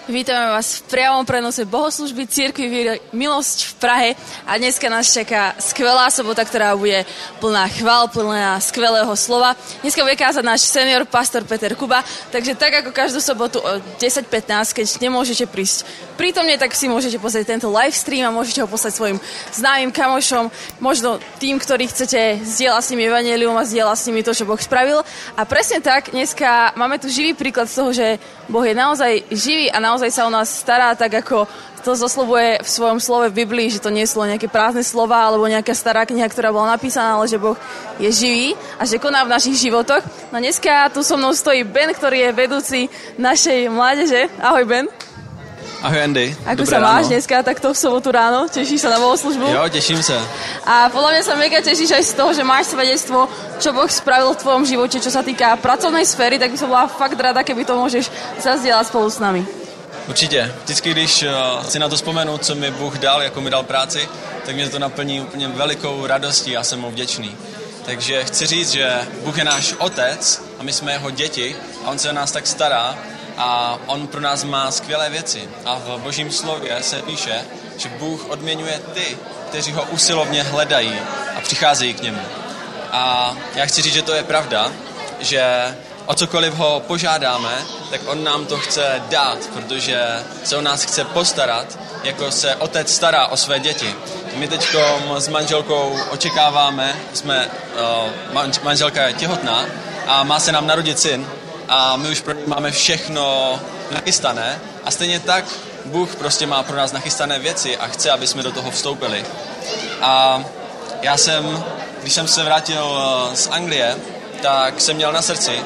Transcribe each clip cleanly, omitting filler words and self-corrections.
Vítame vás v priamom prenose bohoslužby Cirkvi Milosť v Prahe a dneska nás čaká skvelá sobota, ktorá bude plná chvál, plná skvelého slova. Dneska bude kázať náš senior pastor Peter Kuba, takže tak ako každú sobotu o 10:15, keď nemôžete prísť prítomne, tak si môžete pozrieť tento live stream a môžete ho poslať svojim známym kamošom, možno tým, ktorí chcete zdieľať s nimi evanjelium a zdieľať s nimi to, čo Boh spravil. A presne tak, dneska máme tu živý príklad z toho, že Boh je naozaj živý a naozaj sa o nás stará, tak ako to zoslovuje v svojom slove v Biblii, že to nie sú len nejaké prázdne slova alebo nejaká stará kniha, ktorá bola napísaná, ale že Boh je živý a že koná v našich životoch. No dneska tu so mnou stojí Ben, ktorý je vedúci našej mládeže. Ahoj Ben. Ahoj Andy. Ako dobré sa máš ráno. Dneska takto v sobotu ráno? Tešíš sa na bohoslužbu? Jo, teším sa. A podľa mňa sa mega tešíš aj z toho, že máš svedectvo, čo Boh spravil v tvojom živote, čo sa týka pracovnej sféry, tak by som bola fakt rada, keby to môžeš zazdieľať spolu s nami. Určitě. Vždycky, když chci na to vzpomenout, co mi Bůh dal, jako mi dal práci, tak mě to naplní úplně velikou radostí, já jsem mu vděčný. Takže chci říct, že Bůh je náš otec a my jsme jeho děti a on se o nás tak stará a on pro nás má skvělé věci. A v Božím slově se píše, že Bůh odměňuje ty, kteří ho usilovně hledají a přicházejí k němu. A já chci říct, že to je pravda, že o cokoliv ho požádáme, tak on nám to chce dát, protože se o nás chce postarat, jako se otec stará o své děti. My teď s manželkou očekáváme, manželka je těhotná a má se nám narodit syn a my už pro ní máme všechno nachystané a stejně tak Bůh prostě má pro nás nachystané věci a chce, aby jsme do toho vstoupili. A když jsem se vrátil z Anglie, tak jsem měl na srdci,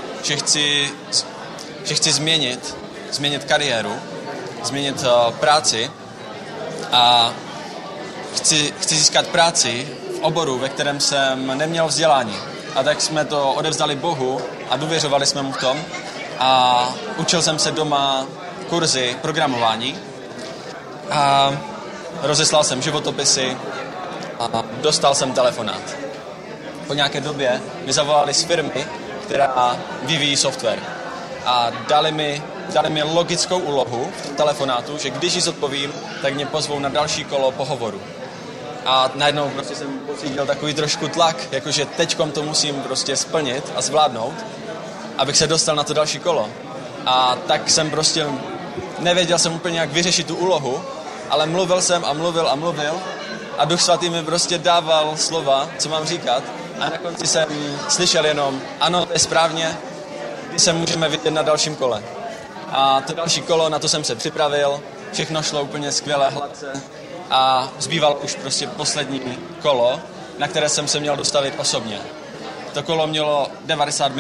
že chci změnit kariéru, změnit práci a chci získat práci v oboru, ve kterém jsem neměl vzdělání. A tak jsme to odevzdali Bohu a důvěřovali jsme mu v tom a učil jsem se doma kurzy programování a rozeslal jsem životopisy a dostal jsem telefonát. Po nějaké době mi zavolali z firmy, která vyvíjí software. A dali mi logickou úlohu v telefonátu, že když ji zodpovím, tak mě pozvou na další kolo pohovoru. A najednou prostě jsem pocítil takový trošku tlak, jakože teďkom to musím prostě splnit a zvládnout, abych se dostal na to další kolo. A tak jsem prostě nevěděl jsem úplně, jak vyřešit tu úlohu, ale mluvil jsem a mluvil a Duch Svatý mi prostě dával slova, co mám říkat. A na konci jsem slyšel jenom, ano, to je správně, když se můžeme vidět na dalším kole. A to další kolo, na to jsem se připravil, všechno šlo úplně skvěle, hladce a zbýval už prostě poslední kolo, na které jsem se měl dostavit osobně. To kolo mělo 90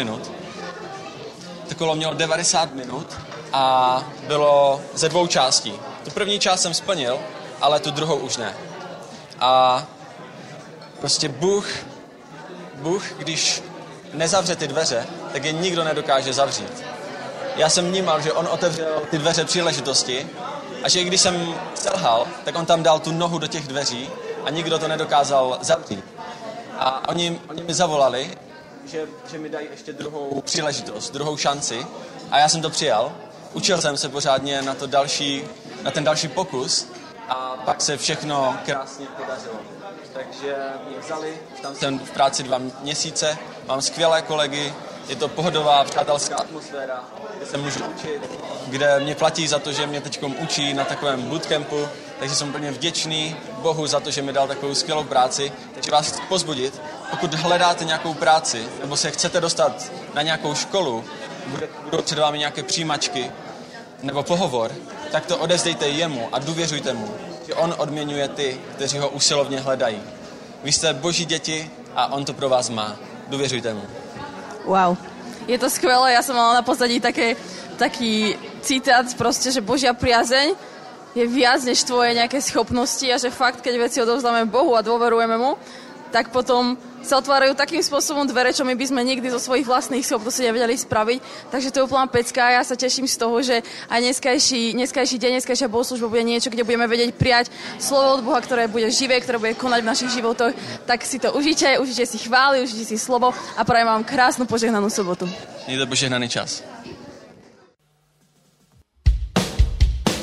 minut a bylo ze 2 částí. Tu první část jsem splnil, ale tu druhou už ne. A prostě Bůh, když nezavře ty dveře, tak je nikdo nedokáže zavřít. Já jsem vnímal, že on otevřel ty dveře příležitosti a že i když jsem selhal, tak on tam dal tu nohu do těch dveří a nikdo to nedokázal zavřít. A oni mi zavolali, že mi dají ještě druhou příležitost, druhou šanci a já jsem to přijal. Učil jsem se pořádně na ten další pokus a pak se všechno krásně podařilo. Takže mě vzali, tam jsem v práci 2 měsíce, mám skvělé kolegy, je to pohodová, přátelská atmosféra, kde se můžu učit, kde mě platí za to, že mě teďkom učí na takovém bootcampu, takže jsem úplně vděčný Bohu za to, že mi dal takovou skvělou práci. Takže vás chci pozbudit, pokud hledáte nějakou práci, nebo se chcete dostat na nějakou školu, budou před vámi nějaké přijímačky nebo pohovor, tak to odevzdejte jemu a důvěřujte mu, že on odměňuje ty, kteří ho usilovně hledají. Vy jste Boží děti a on to pro vás má. Důvěřujte mu. Wow. Je to skvelé, ja som mala na pozadí taký citát proste, že Božia priazeň je viac než tvoje nejaké schopnosti a že fakt, keď veci odovzdáme Bohu a dôverujeme mu, tak potom sa otvárajú takým spôsobom dvere, čo my by sme nikdy zo svojich vlastných schopností nevedeli spraviť. Takže to je úplná pecka a ja sa teším z toho, že aj dneskajší deň, dneskajšia bohoslužba bude niečo, kde budeme vedieť prijať slovo od Boha, ktoré bude živé, ktoré bude konať v našich životoch. Tak si to užite si chvály, užite si slovo a prajem vám krásnu požehnanú sobotu. Mějte požehnaný čas.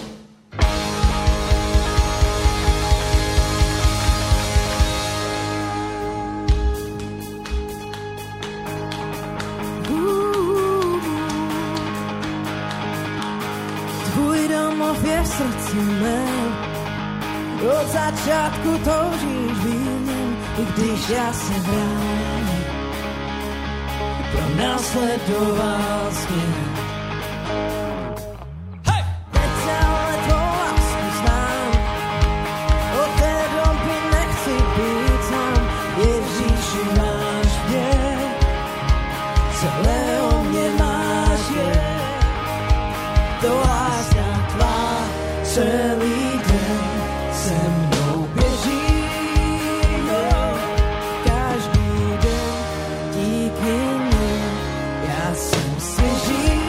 znov je v srdci mém. Od začátku toužíš být mým, i když já se bráním. Pronásledoval směr. Teď ale tvou lásku znám, od té doby nechci být sám. Ježíši, máš mě, celého mě máš je. To láska tvá celý den se mnou běží. Každý den díky ní já jsem svěží.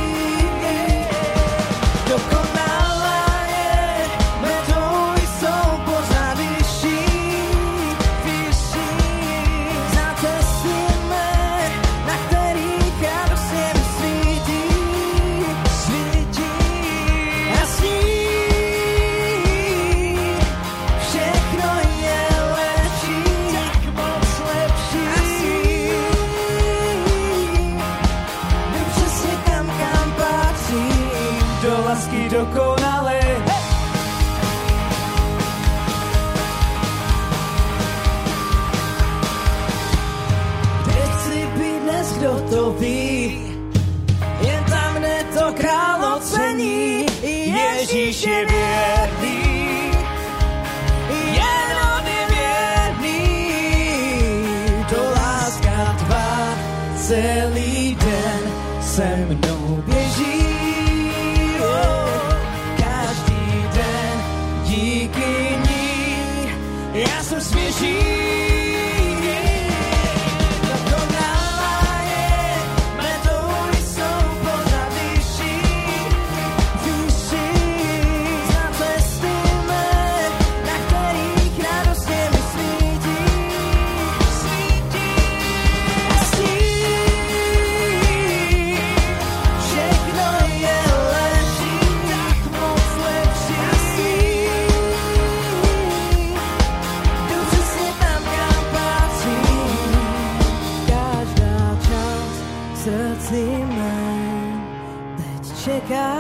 Dokonalá je, metody jsou pořád vyšší. Za cesty mé, na kterých radost je mi svítí. A sní. Všechno je lepší, tak moc lepší. A sní. Vím přesně kam patřím, do lásky dokonalé. Kde chci být dnes, kdo to ví? Jen tam, kde to králo cení. Ježíš je věrný, jen on je věrný. To láska tvá celý den se mnou běží. Každý den díky ní já jsem svěží. Dokonalá je, metody jsou pořád vyšší. Za cesty mé, na kterých radost je mi svítí. A sní. Všechno je lepší, tak moc lepší. A sní. Jdu přesně tam, kam patřím. Každá část v srdci mém teď čeká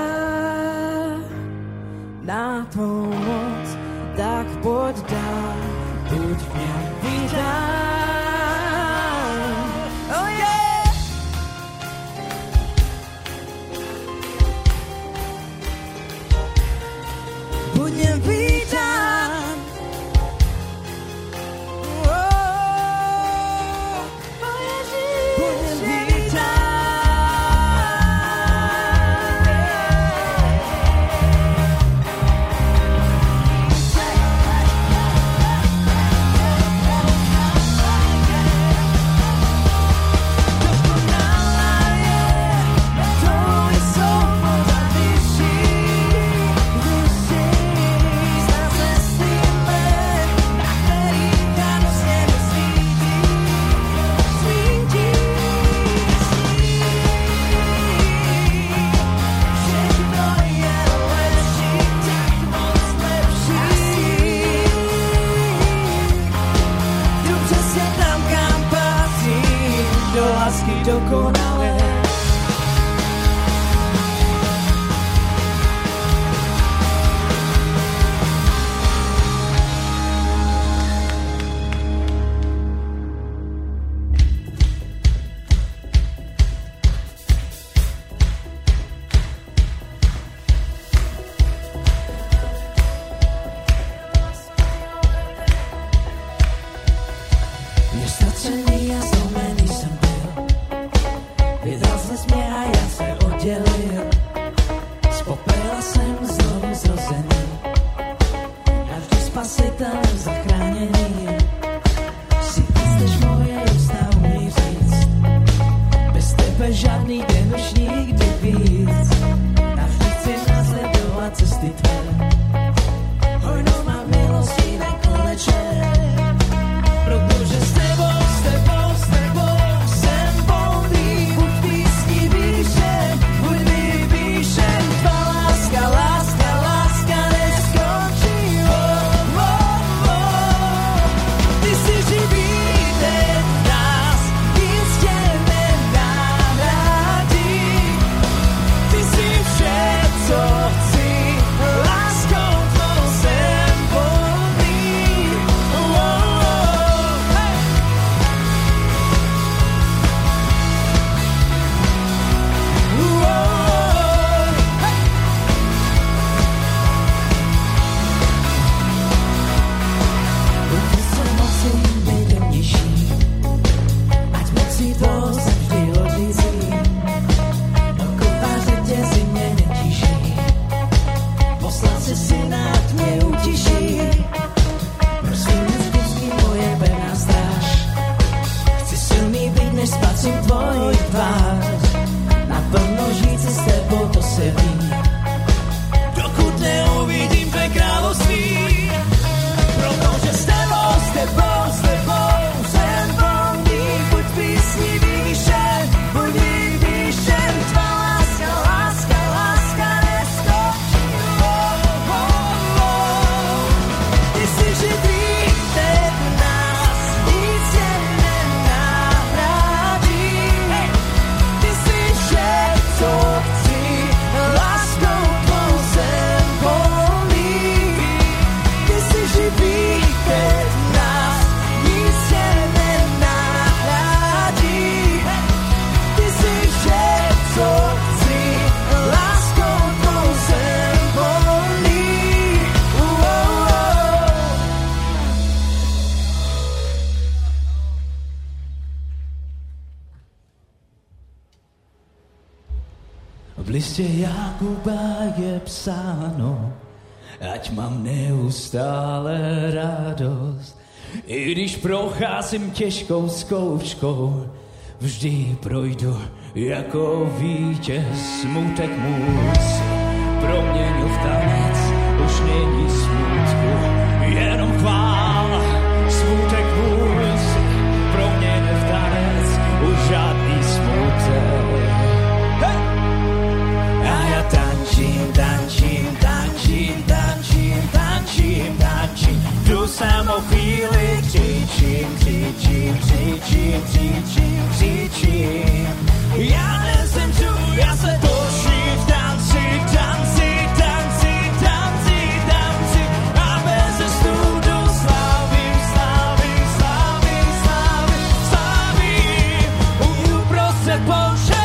na tvou moc, tak pojď dál, buď v něm vítán. Oh yeah! Buď v něm vítán. Oh, Ježíš, buď v něm vítán. V listě Jakuba je psáno, ať mám neustále radost. I když procházím těžkou zkouškou, vždy projdu jako vítěz. Smutek můj si proměnil v tanec, už není smutku, jenom chvála. Smutek můj si proměnil v tanec, už žádný smutek. Hey! A já tančím, tančím, tančím, tančím, tančím, tančím. Tu samou chvíli křičím, křičím, křičím, křičím, křičím. Já nezemřu, já se točím v tanci, tanci, tanci, tanci, tanci. A bez studu slavím, slavím, slavím, slavím, slavím. Uprostřed pouště.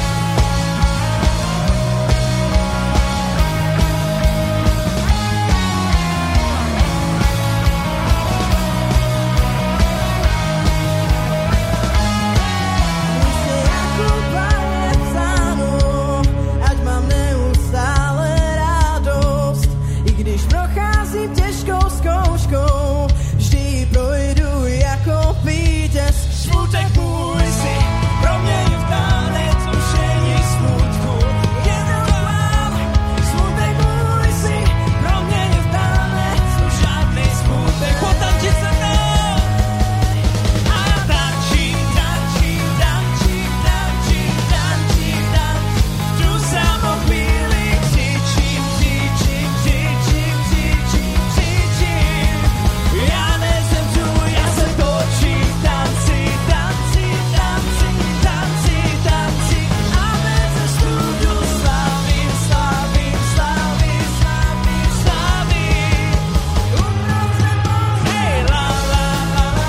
Těžkou zkouškou, vždy projdu jako vítěz. Smutek můj si proměnil v tanec, už není smutku, jenom chvála. Smutek můj si proměnil v tanec, už žádný smutek. Potančit se mnou. A já tančím, tančím, tančím, tančím, tančím, tančím. Tu samou chvíli křičím, křičím, křičím, křičím, křičím. Já nezemřu, já se točím v tanci, tanci, tanci, tanci, tanci. A bez studu slavím, slavím, slavím, slavím, slavím. Uprostřed pouště. Hej, la, la, la, la,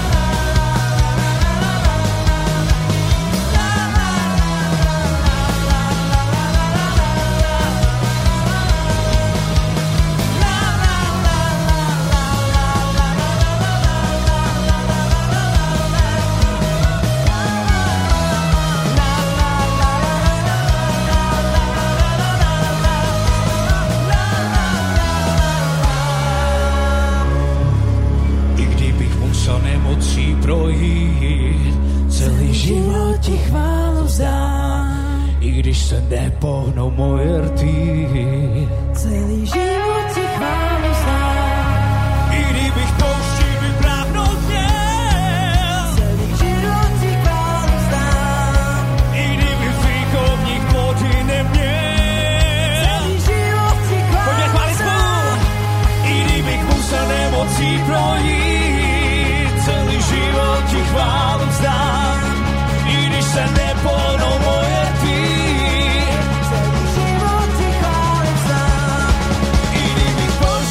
I kdybych musel nemocí projít, celý život ti chválu vzdám. I když se nepohnou moje rty, Celý život ti chválu vzdám. i kdybych pouští vypráhnout měl, Celý život ti chválu vzdám. i kdybych výkovník vody neměl. Celý život ti Pojďme chválu chválit spolu. vzdám. I kdybych musel nemocí projít, celý život ti chválu vzdám. I když se nepohnou moje rty, Celý život ti chválu vzdám. i kdybych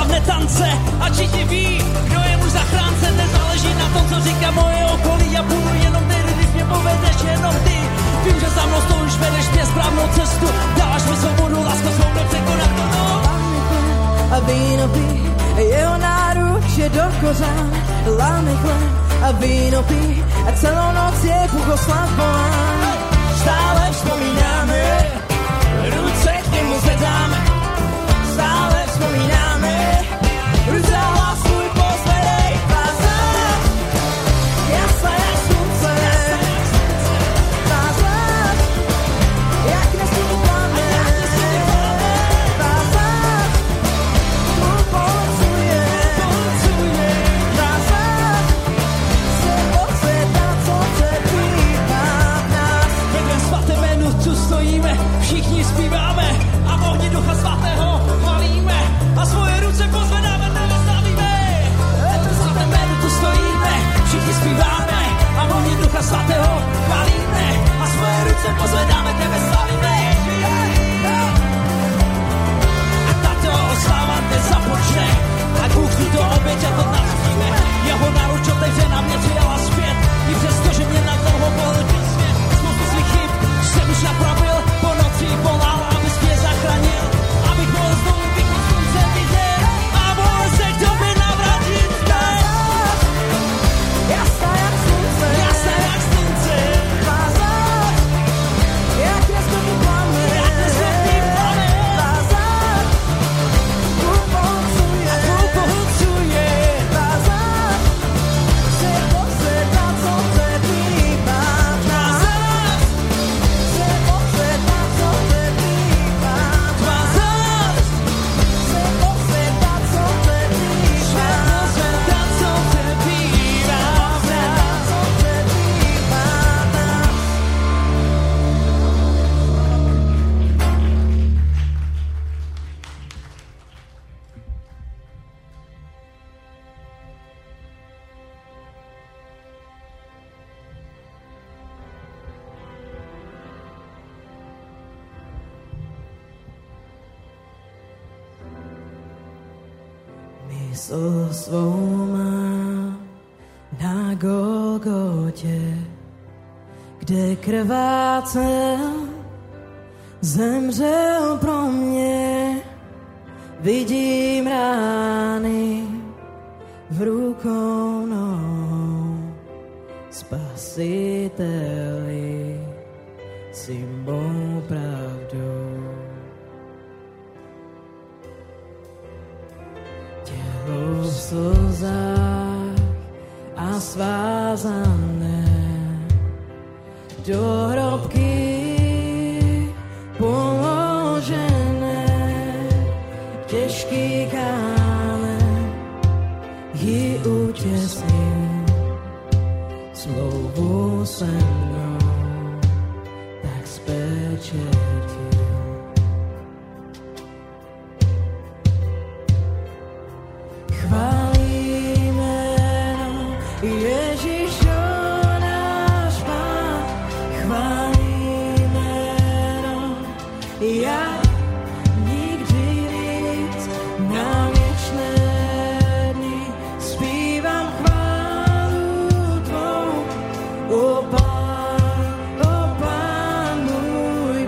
táhne tance a všichni ví, kdo je muž zachránce. Nezáleží na tom, co říká moje okolí, já půjdu jenom tehdy, když mě povedeš jenom ty. Vím, že za mnou stojíš, vedeš mě správnou cestu, dáš mi svobodu, lásko svou nepřekonat to. A víno pí, jeho náruč je do kořán. Láme chleb a víno pí, a celou noc je Bůh oslav volán. Stále vzpomínáme, ruce k němu zvedáme. Stále vzpomínáme, ruce a hlas svůj pozvedej. Tváře, jasná jak slunce. Tváře, jak nesmí pláme. Tváře, tvůj polecuje. Tváře, se pozvedá, co přebývá v nás. Ve tvém svatém jménu tu stojíme, všichni zpíváme a v ohni Ducha Svatého chvalíme a svoje ruce pozvedáme, tebe slavíme. Ve tvém svatém jménu tu stojíme, všichni zpíváme a v ohni Ducha Svatého chvalíme a svoje ruce pozvedáme, tebe slavíme. A tato oslava dnes započne a Bůh tuto oběť a to navštíme. Jeho náruč otevřena mě přijala zpět, i přesto, že mě na dlouho pohltil svět. Spoustu svých chyb jsem už napravil, po noci volal, abys mě zachránil, abych mohl znovu vychýt slunce vidět a mohl se k tobě navrátit zpět. Jasná jak slunce. Jasná jak slunce. Tváře, jak nesmí pláme. Jak nesmí pláme. Tváře, tvůj pohlcuje. Tvůj pohlcuje. Tváře, se pozvedá, co přebývá v nás. Se pozvedá, co přebývá v nás. Se pozvedá, co přebývá v nás. Co přebývá v nás. Co přebývá v nás. Mysl svou mám na Golgotě, kde krvácel, zemřel pro mě. Vidím rány v rukou nohou, Spasiteli, jsi mou pravdou. Tělo v slzách a svázané do hrobky položené, těžký kámen ji utěsnil, smlouvu se mnou tak spečetil. Chválí jméno Ježíšo náš Pán, chválí jméno, jak nikdy víc na věčné dny zpívám chválu tvou, o Pán můj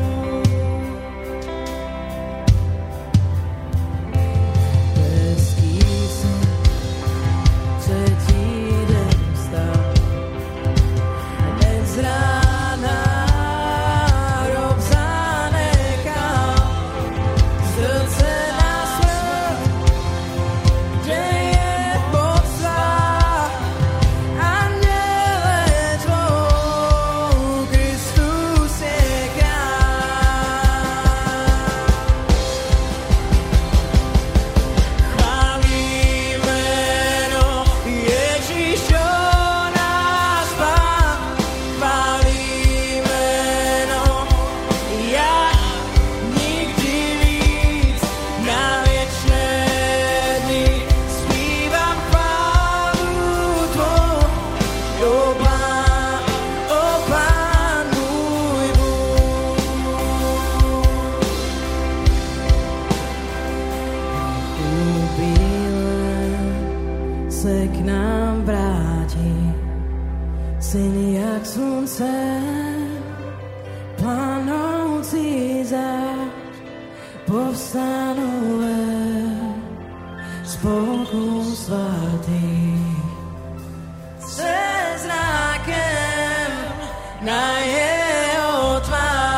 Bůh. Bez se k nám vrátí. Syn jak slunce, planoucí zář, povstanou spolku svatých. Se zrákem na jeho tvár.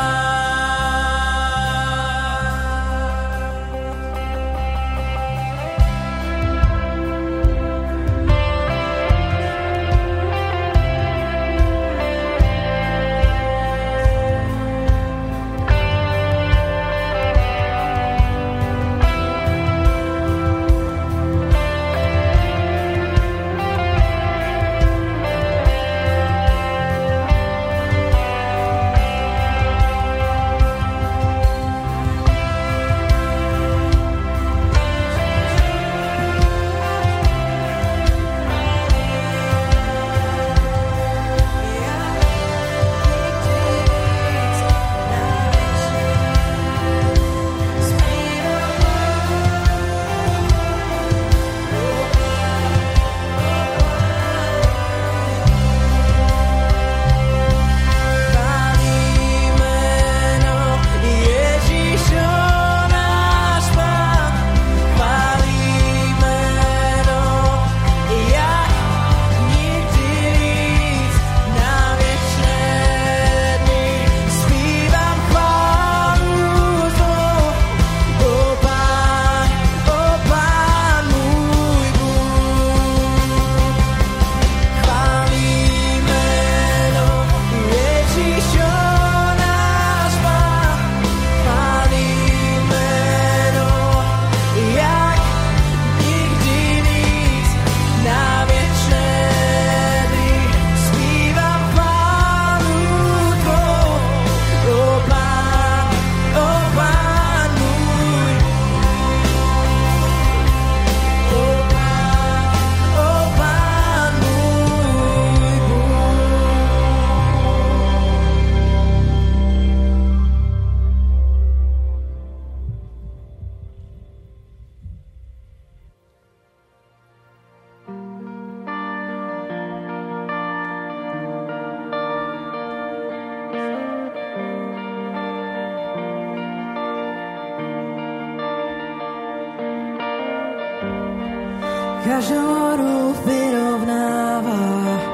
Každou horu vyrovnává,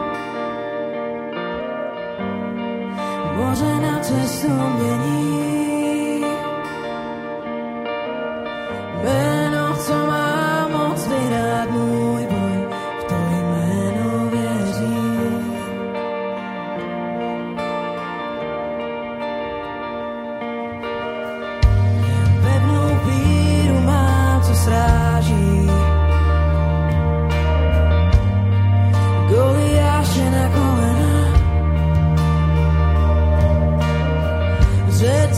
moře na cestu mění. Jméno, co má moc vyhrát můj boj, v to jméno věřím. Pevnou víru mám, co sráží, Goliáše na kolena, řec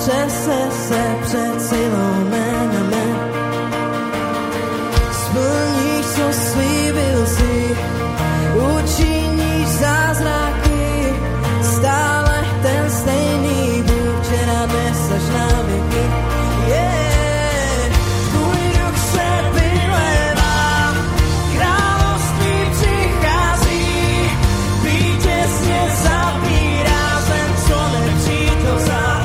třese se před Siloménem. Splníš, co slíbil si, učiníš zázraky, stále ten stejný Bůh, včera, dnes až na věky. Tvůj duch se vylévá, království přichází, vítězně zabírá zem, co nepřítel vzal.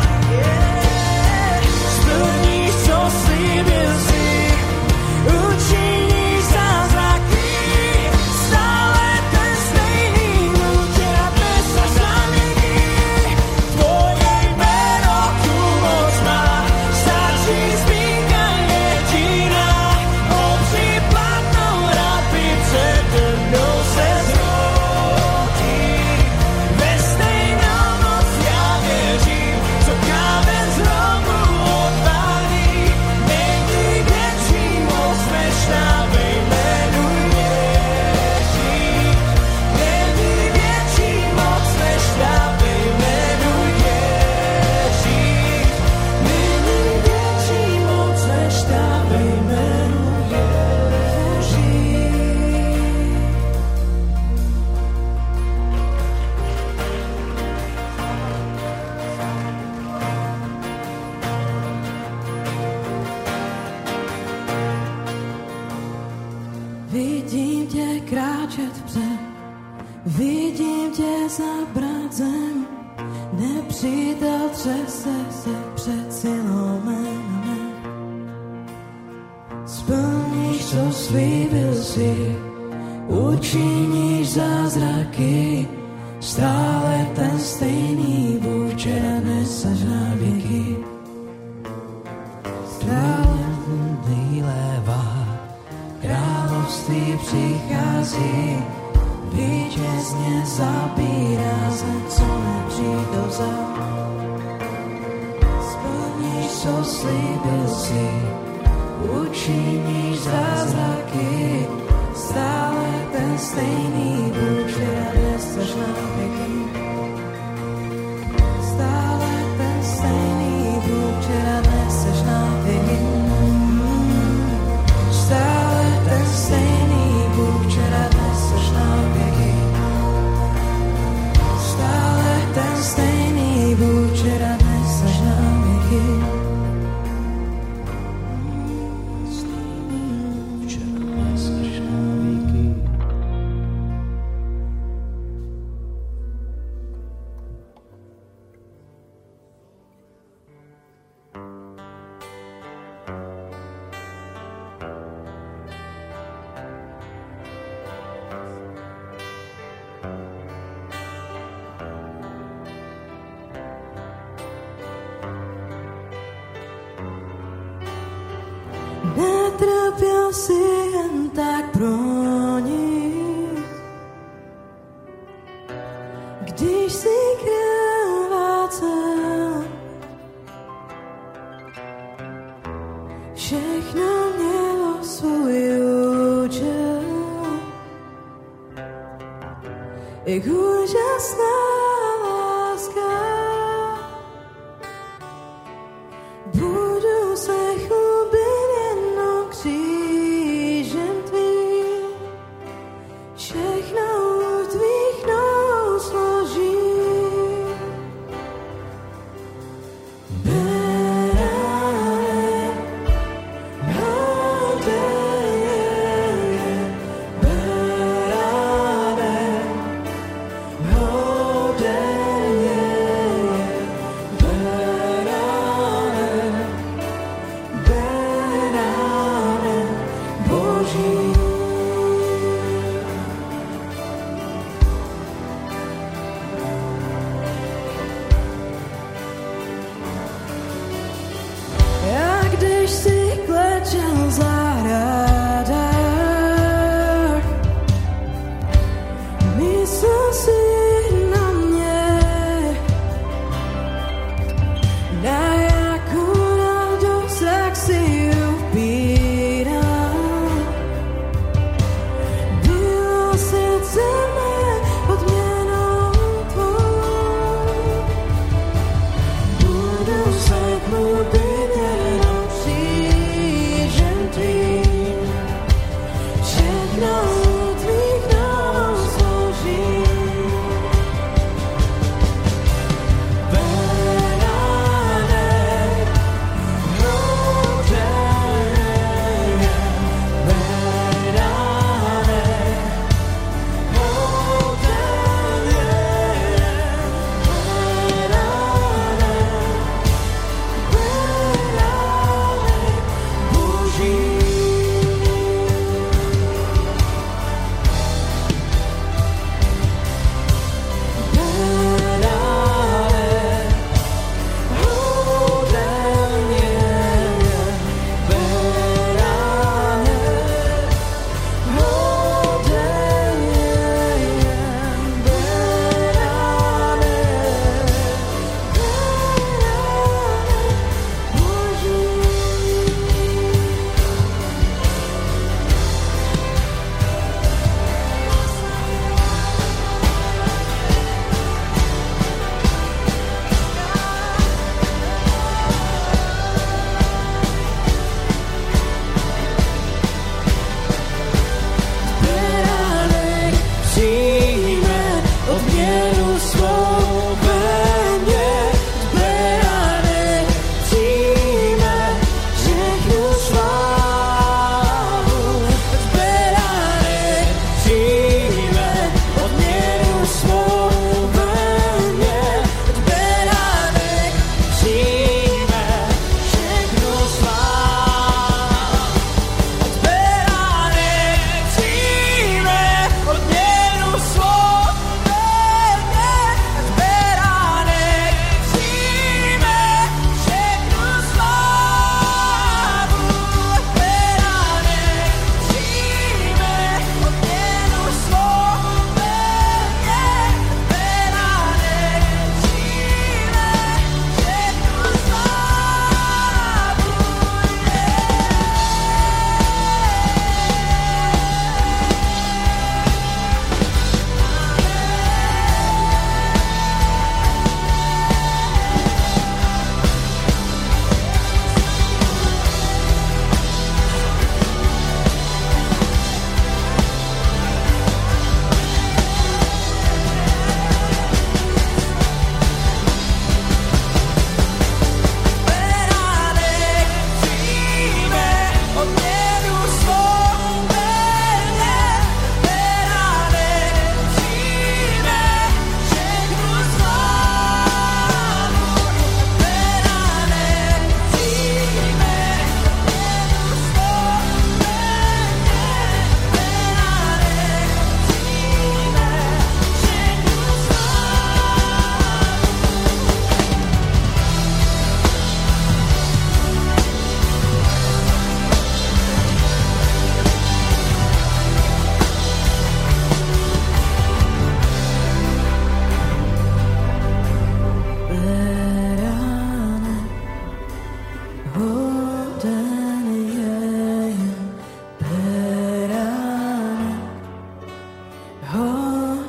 Splníš, co slíbil si, učiníš zázraky, stále ten stejný Bůh, včera, dnes až na věky. Tvoje jméno tu moc má, stačí zmínka jediná, obří platnou rabí přede mnou se zrodí. Ve stejnou moc já věřím, co kámen z hrobu odválí, není větší moc než na ve jménu Ježíš. Není větší moc než na ve jménu Ježíš. Není větší moc než na ve jménu Ježíš. Vidím tě kráčet před, vidím tě zabrat zem, nepřítel třese se před Siloménem. Splníš, co slíbil si, učiníš zázraky, stále ten stejný Bůh, včera, dnes až na věky. Stále vylévá, království přichází, vítězně zabírá zem, co nepřítel vzal. Splníš, co slíbil si, učiníš zázraky, stále ten stejný Bůh, včera, dnes až na věky. Stále ten stejný Bůh, včera, dnes až na věky. Stále ten stejný Bůh, včera, dnes až na věky. Stále ten stejný Bůh, včera, dnes až na věky. Včera, dnes až na věky. Netrpěl si jen tak pro nic, když si krvácel. Všechno mělo svůj účel, jak úžasná láska. Budu se chlubit jenom křížem tvým, všechno u tvých nohou složím. Berane, berane, berane,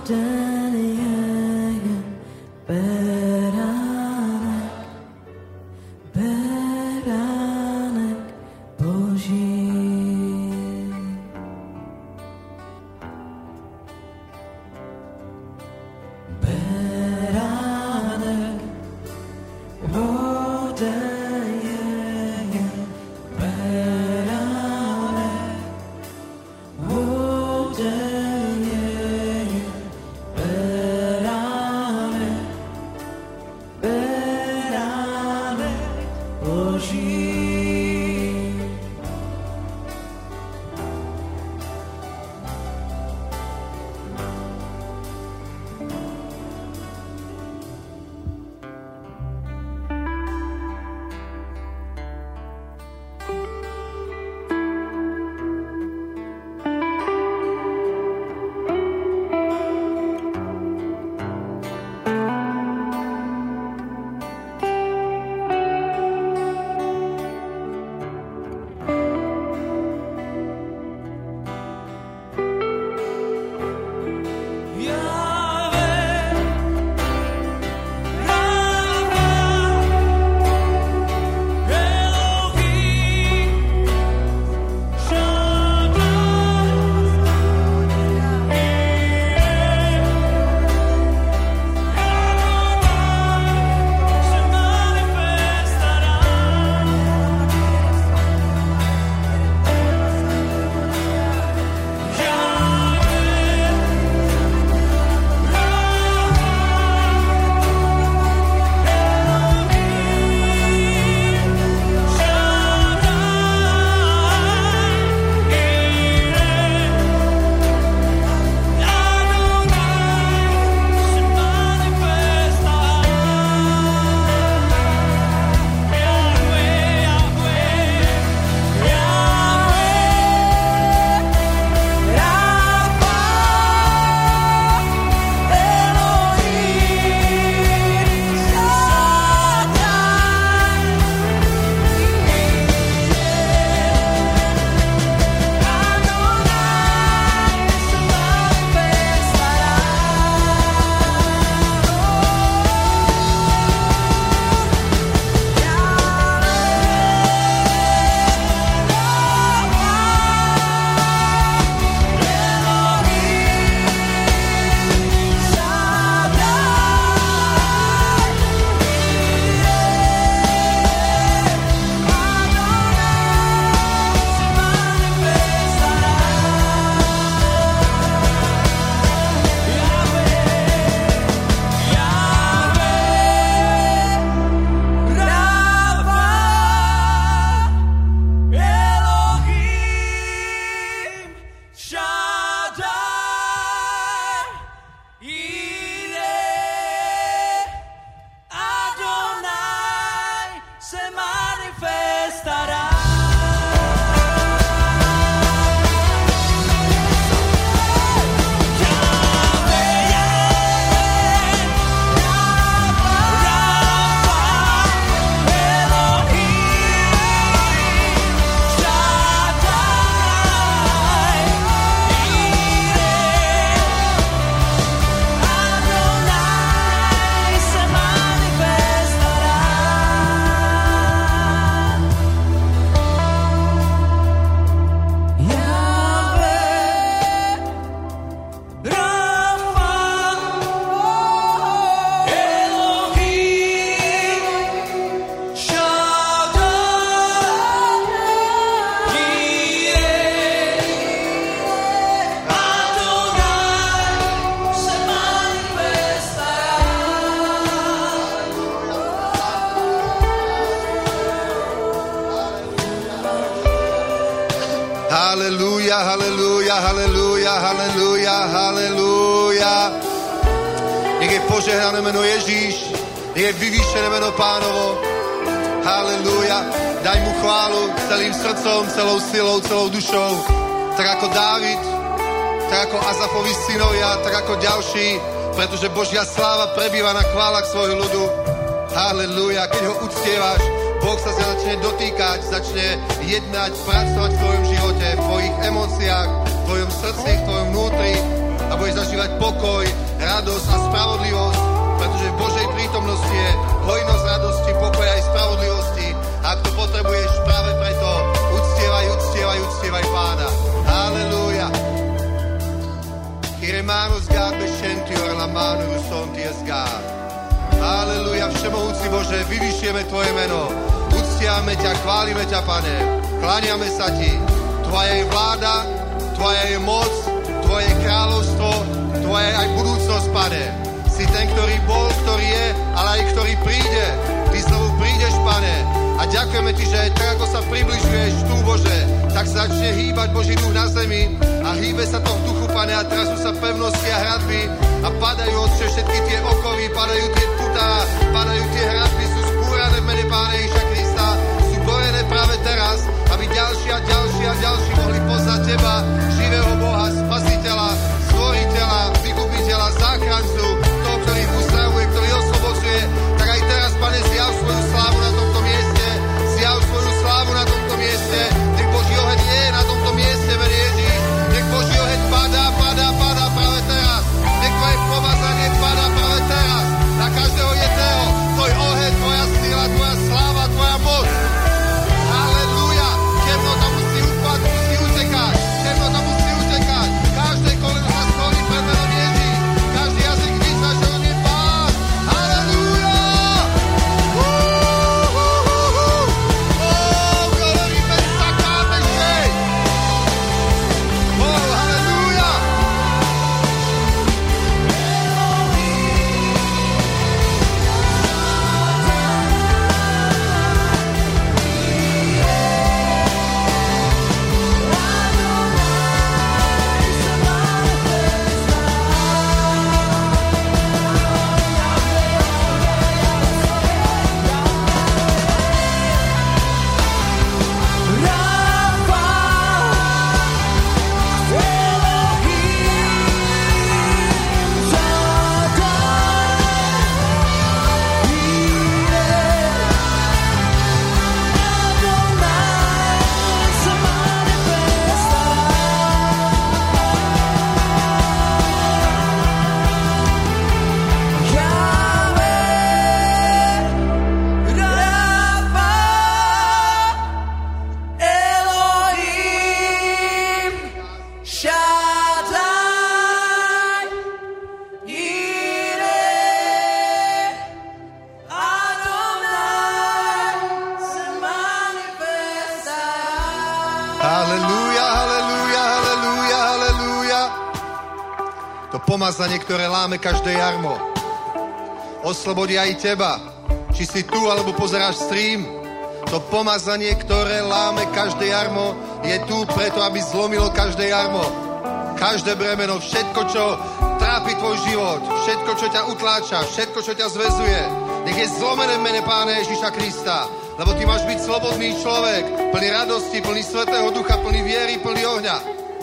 ten jeden beránek Boží. Beránek, ten jeden beránek, ten jeden beránek, beránek Boží. Halleluja, halleluja, halleluja, halleluja, halleluja. Nech je požehnané meno Ježíš, nech je vyvýšené meno Pánovo. Halleluja. Daj mu chválu celým srdcom, celou silou, celou dušou. Tak ako Dávid, tak ako Azafovi synovia, tak ako ďalší, pretože Božia sláva prebýva na chválach svojho ľudu. Halleluja. Keď ho uctievaš, Boh sa začne dotýkať, začne jednať, pracovať v tvojom živote, v tvojich emóciách, v tvojom srdci, v tvojom vnútri. a budeš zažívať pokoj, radosť a spravodlivosť, pretože v Božej prítomnosti je hojnosť radosti, pokoja aj spravodlivosti. A ak to potrebuješ, práve preto uctievaj Pána. Halelúja. Iremanos God bešentior la manu sonties God. Halelúja, všemohúci Bože, vyvyšujeme Tvoje meno. Uctiame ťa, chválime ťa, Pane. Kláňame sa Ti. Tvoja je vláda, Tvoja je moc, Tvoje je kráľovstvo, Tvoja je aj budúcnosť, Pane. Si ten, ktorý bol, ktorý je, ale aj ktorý príde. Ty znovu prídeš, Pane. A ďakujeme Ti, že tak, ako sa približuješ tu, Bože, tak sa začne hýbať Boží duch na zemi a hýbe sa to v duchu, Pane, a teraz sú sa pevnosti a hradby a padajú, Otče, všetky tie okovy, padajú tie putá, padajú tie hradby, sú spúrané v mene Pána Ježiša Krista, sú borené práve teraz, aby ďalší a ďalší mohli poznať Teba, živého Boha, Spasiteľa, Stvoriteľa, Vykupiteľa, Záchrancu, toho, ktorý uzdravuje, ktorý oslobodzuje. Tak aj teraz, Pane, zjav svoju slávu na tomto mieste, zjav svoju slávu na tomto mieste, nech Boží oheň je na tomto mieste, mene Ježíš, nech Boží oheň padá práve teraz, nech Tvoje pomazanie padá práve teraz, na každého jedného, Tvoj oheň, Tvoja sila, Tvoja sláva, Tvoja moc. Halelúja, temnota musí upadnúť, musí utekať, temnota musí utekať, každé koleno sa skloní pred menom Ježíš, každý jazyk vyzná, že on je Pán. Halelúja! Glory be sakáme šej! Halelúja! Pomazanie, ktoré láme každé jarmo. Oslobodí aj teba, či si tu, alebo pozeráš stream. To pomazanie, ktoré láme každé jarmo, je tu preto, aby zlomilo každé jarmo. Každé bremeno, všetko, čo trápi tvoj život, všetko, čo ťa utláča, všetko, čo ťa zväzuje, nech je zlomené v mene Pána Ježiša Krista. Lebo ty máš byť slobodný človek, plný radosti, plný Svätého Ducha, plný viery, plný ohňa.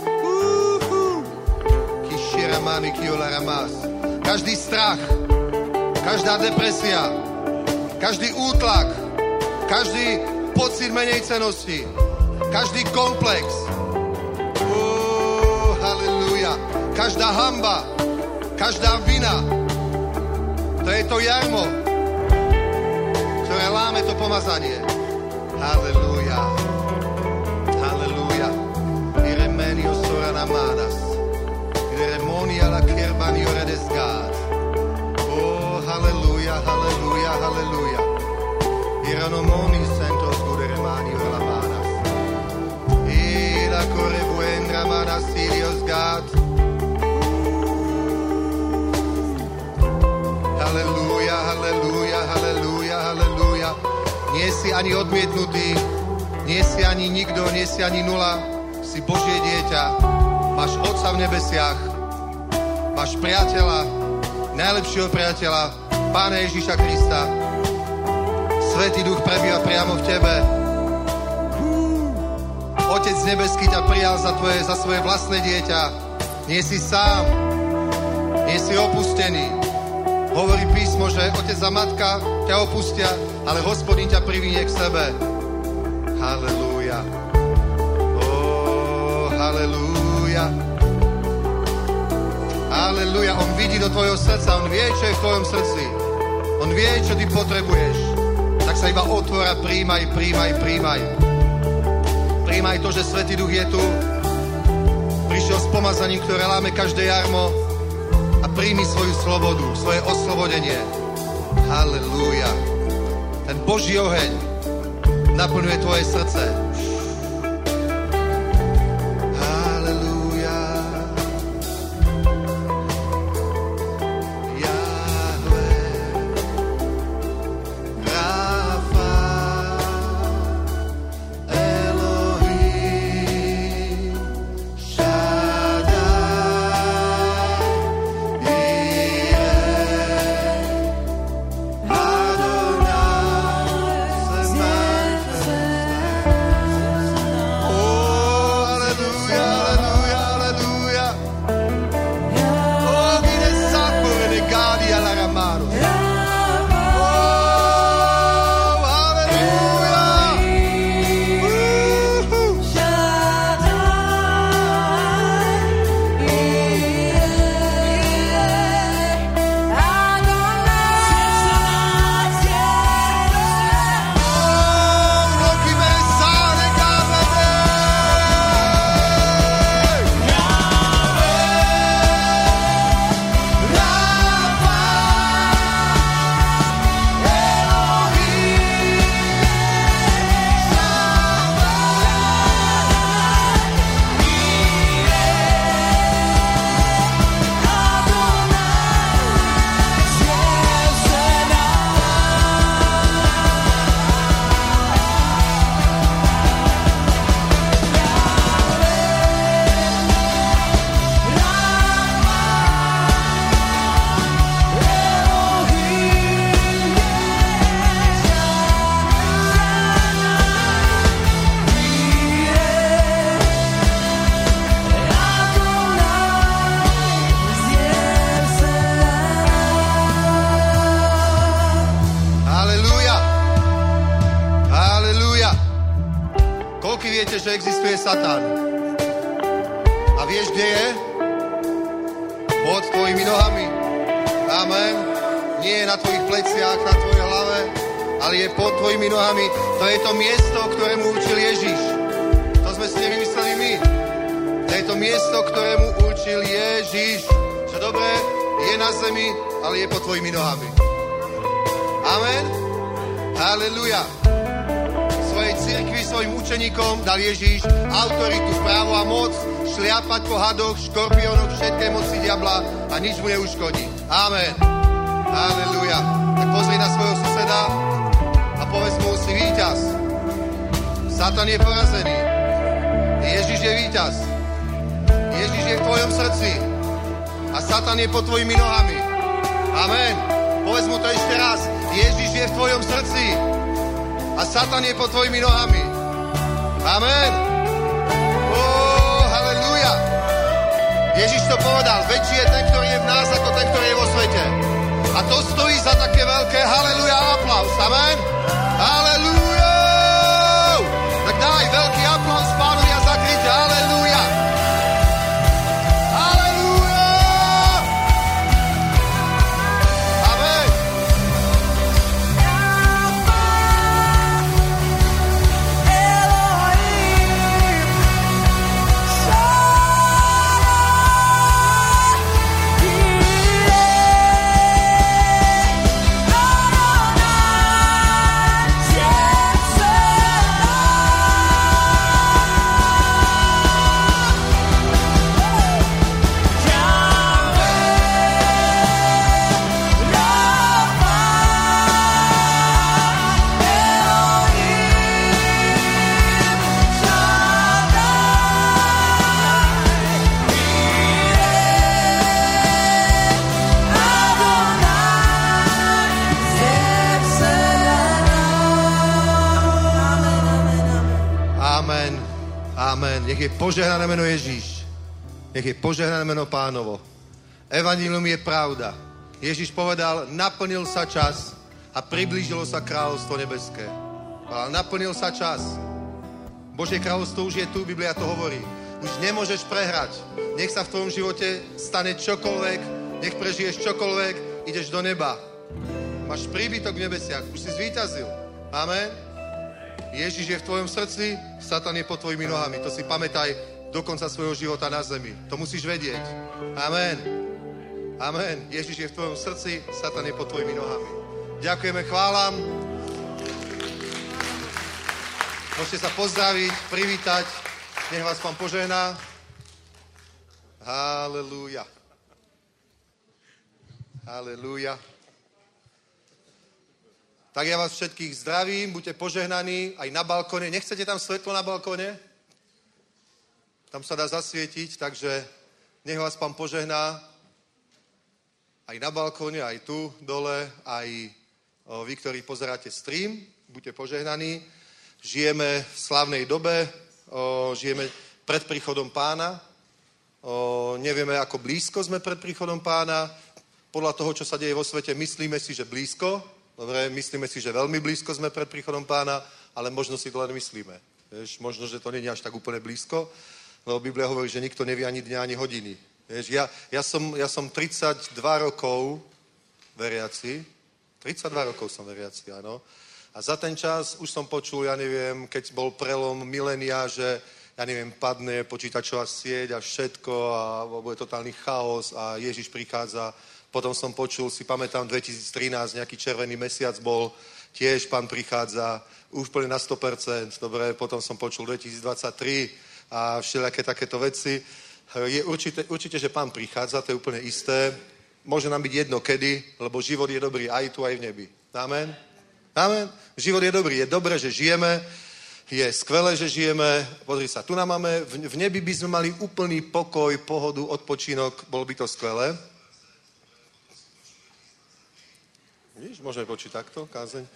Každý strach, každá depresia, každý útlak, každý pocit menejcenosti, každý komplex, halleluja, každá hanba, každá vina, to je to jarmo, ktoré láme to pomazanie. Halleluja, halleluja, iremenio sorana manas. Ceremonia la kerbanio redesgat. Oh, halleluja, halleluja, halleluja. Iranomoni sentos guderemanio la manas. Ila correbuendra manas sirios gat. Halleluja, halleluja, halleluja, halleluja. Nie si ani odmietnutý, nie si ani nikto, nie si ani nula. Si Božie dieťa. Máš Otca v nebesiach, máš priateľa, najlepšieho priateľa, Pána Ježiša Krista. Svätý Duch prebýva priamo v tebe. Otec nebeský ťa prijal za svoje vlastné dieťa. Nie si sám, nie si opustený. Hovorí písmo, že otec a matka ťa opustia, ale Hospodin ťa privinie k sebe. Halelúja. Oh, halelúja. Aleluja, on vidí do tvojho srdca, on vie, čo je v tvojom srdci. On vie, čo ty potrebuješ. Tak sa iba otvor a príjmaj. Príjmaj to, že Svätý Duch je tu. Prišiel s pomazaním, ktoré láme každé jarmo a príjmi svoju slobodu, svoje oslobodenie. Halelúja. Ten Boží oheň naplňuje tvoje srdce. Halelúja. Jahve, Rafa, Elohim, Shaddai, Jireh, Adonai, viete, že existuje Satan. A vieš, kde je? Pod tvojimi nohami. Amen. Nie je na tvojich pleciach, na tvojej hlave, ale je pod tvojimi nohami. To je to miesto, ktorému učil Ježiš. To sme si nevymysleli my. To je to miesto, ktorému učil Ježiš. Čo dobré, je na zemi, ale je pod tvojimi nohami. Amen. Halleluja. Svojej cirkvi, svojim učeníkom dal Ježiš autoritu, právo a moc šliapať po hadoch, škorpiónoch, všetkej moci diabla a nič mu neuškodí. Amen. Halleluja. Tak pozri na svojho suseda a povedz mu, si víťaz. Satan je porazený. Ježiš je víťaz. Ježiš je v tvojom srdci a Satan je pod tvojimi nohami. Amen. Povedz mu to ešte raz. Ježiš je v tvojom srdci a Satan je pod tvojimi nohami. Amen. Halleluja. Ježiš to povedal. Väčší je ten, ktorý je v nás, ako ten, ktorý je vo svete. A to stojí za také veľké halleluja a aplaus. Amen. Halleluja. Tak daj veľký aplaus Pánovi a zakryť halleluja. Nech je požehnané meno Ježíš. Nech je požehnané meno Pánovo. Evanjelium je pravda. Ježíš povedal, naplnil sa čas a priblížilo sa kráľovstvo nebeské. Naplnil sa čas. Božie kráľovstvo už je tu, Biblia to hovorí. Už nemôžeš prehrať. Nech sa v tvojom živote stane čokoľvek, nech prežiješ čokoľvek, ideš do neba. Máš príbytok v nebesiach, už si zvíťazil. Amen. Ježiš je v tvojom srdci, Satan je pod tvojimi nohami. To si pamätaj do konca svojho života na zemi. To musíš vedieť. Amen. Amen. Ježiš je v tvojom srdci, Satan je pod tvojimi nohami. Ďakujeme, chválam. Môžete sa pozdraviť, privítať. Nech vás Pán požehná. Halelúja. Halelúja. Tak ja vás všetkých zdravím, buďte požehnaní aj na balkóne. Nechcete tam svetlo na balkóne? Tam sa dá zasvietiť, takže nech vás Pán požehná. Aj na balkóne, aj tu dole, aj vy, ktorí pozeráte stream, buďte požehnaní. Žijeme v slávnej dobe, žijeme pred príchodom Pána. Nevieme, ako blízko sme pred príchodom Pána. Podľa toho, čo sa deje vo svete, myslíme si, že blízko. Dobre, myslíme si, že veľmi blízko sme pred príchodom Pána, ale možno si to len myslíme. Vieš, možno, že to nie je až tak úplne blízko, lebo Biblia hovorí, že nikto nevie ani dňa, ani hodiny. Vieš, ja som 32 rokov veriaci. 32 rokov som veriaci, áno. A za ten čas už som počul, ja neviem, keď bol prelom milénia, že, ja neviem, padne počítačová sieť a všetko a bude totálny chaos a Ježiš prichádza. Potom som počul, si pamätám, 2013, nejaký červený mesiac bol, tiež Pán prichádza, úplne na 100%. Dobre, potom som počul 2023 a všelijaké takéto veci. Je určite, že Pán prichádza, to je úplne isté. Môže nám byť jedno kedy, lebo život je dobrý aj tu, aj v nebi. Amen? Amen? Život je dobrý. Je dobré, že žijeme. Je skvelé, že žijeme. Pozri sa, tu nám máme, v nebi by sme mali úplný pokoj, pohodu, odpočinok. Bolo by to skvelé. Víš, môžeme počuť takto, kázeň.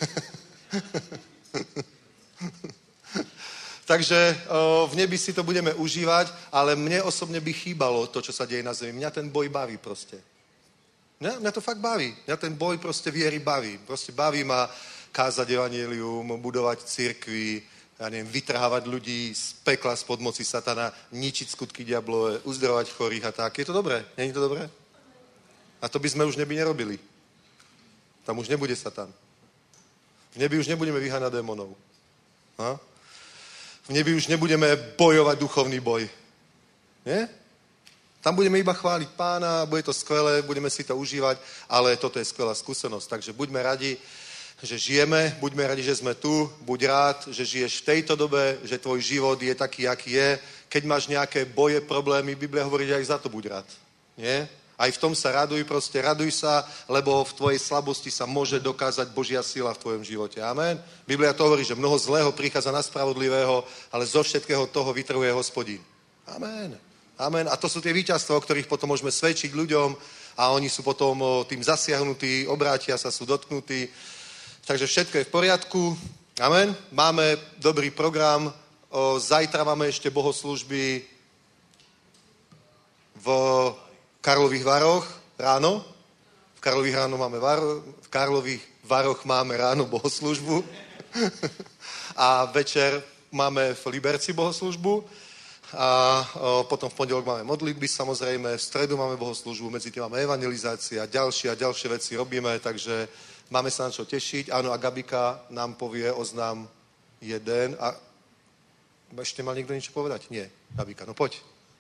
Takže v nebi si to budeme užívať, ale mne osobne by chýbalo to, čo sa deje na zemi. Mňa ten boj baví proste. Mňa to fakt baví. Mňa ten boj proste viery baví. Proste baví ma kázať evanjelium, budovať cirkvi, ja neviem, vytrhávať ľudí z pekla, spod moci satana, ničiť skutky diablové, uzdravovať chorých a tak. Je to dobré? Není to dobré? A to by sme už nebi nerobili. Tam už nebude Satan. V nebi už nebudeme vyháňať démonov. Ha? V nebi už nebudeme bojovať duchovný boj. Nie? Tam budeme iba chváliť Pána, bude to skvelé, budeme si to užívať, ale toto je skvelá skúsenosť. Takže buďme radi, že žijeme, buďme radi, že sme tu, buď rád, že žiješ v tejto dobe, že tvoj život je taký, aký je. Keď máš nejaké boje, problémy, Biblia hovorí, že aj za to buď rád. Nie? Aj v tom sa raduj, proste raduj sa, lebo v tvojej slabosti sa môže dokázať Božia sila v tvojom živote. Amen. Biblia to hovorí, že mnoho zlého prichádza na spravodlivého, ale zo všetkého toho vytrhuje Hospodín. Amen. Amen. A to sú tie víťazstvá, o ktorých potom môžeme svedčiť ľuďom a oni sú potom tým zasiahnutí, obrátia sa, sú dotknutí. Takže všetko je v poriadku. Amen. Máme dobrý program. Zajtra máme ešte bohoslúžby v Karlových Varoch ráno. V Karlových Varoch máme ráno bohoslúžbu. A večer máme v Liberci bohoslúžbu. A potom v pondelok máme modlitby, samozrejme. V stredu máme bohoslúžbu, medzi tým máme evangelizácia a ďalšie veci robíme, takže máme sa na čo tešiť. Áno, a Gabika nám povie oznám jeden. A ešte mal niekto niečo povedať? Nie. Gabika, no poď.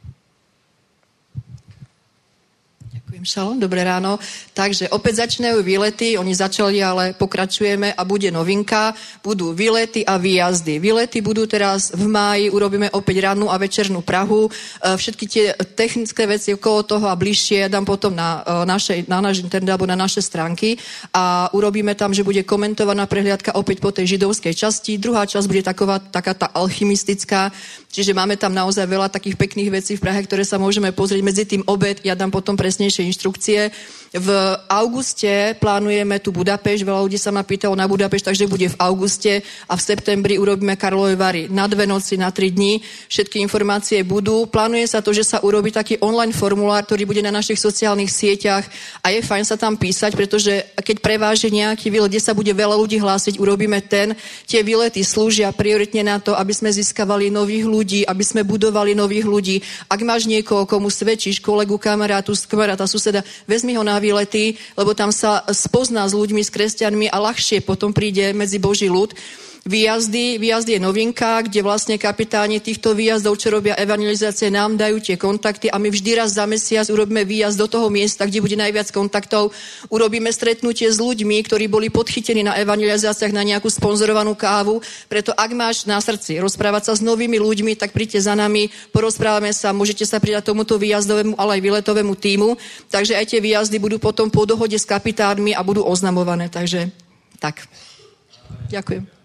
Ďakujem, šalom, dobré ráno. Takže opäť začínajú výlety, oni začali, ale pokračujeme a bude novinka. Budú výlety a výjazdy. Výlety budú teraz v máji, urobíme opäť rannú a večernú Prahu. Všetky tie technické veci okolo toho a bližšie dám potom na náš internet alebo na naše stránky a urobíme tam, že bude komentovaná prehliadka opäť po tej židovskej časti. Druhá časť bude taká tá alchymistická, čiže máme tam naozaj veľa takých pekných vecí v Prahe, ktoré sa môžeme pozrieť. Medzi tým obed, ja dám potom presnejšie inštrukcie. V auguste plánujeme tu Budapešť, veľa ľudí sa ma pýtalo na Budapešť, takže bude v auguste a v septembri urobíme Karlovy Vary na 2 noci, na 3 dní. Všetky informácie budú. Plánuje sa to, že sa urobí taký online formulár, ktorý bude na našich sociálnych sieťach a je fajn sa tam písať, pretože keď preváži nejaký výlet, kde sa bude veľa ľudí hlásiť, urobíme ten. Tie výlety slúžia prioritne na to, aby sme získavali nových ľudí, aby sme budovali nových ľudí. Ak máš niekoho, komu svedčíš, kolegu, kamaráta, suseda, vezmi ho na výlety, lebo tam sa spozná s ľuďmi, s kresťanmi a ľahšie potom príde medzi Boží ľud. Výjazdy je novinka, kde vlastne kapitáni týchto výjazdov, čo robia evangelizácie, nám dajú tie kontakty a my vždy raz za mesiac urobíme výjazd do toho miesta, kde bude najviac kontaktov. Urobíme stretnutie s ľuďmi, ktorí boli podchytení na evangelizáciách na nejakú sponzorovanú kávu. Preto ak máš na srdci rozprávať sa s novými ľuďmi, tak príďte za nami, porozprávame sa, môžete sa pridať tomuto výjazdovému, ale aj výletovému tímu. Takže aj tie výjazdy budú potom po dohode s kapitánmi a budú oznamované. Takže tak. Ďakujem.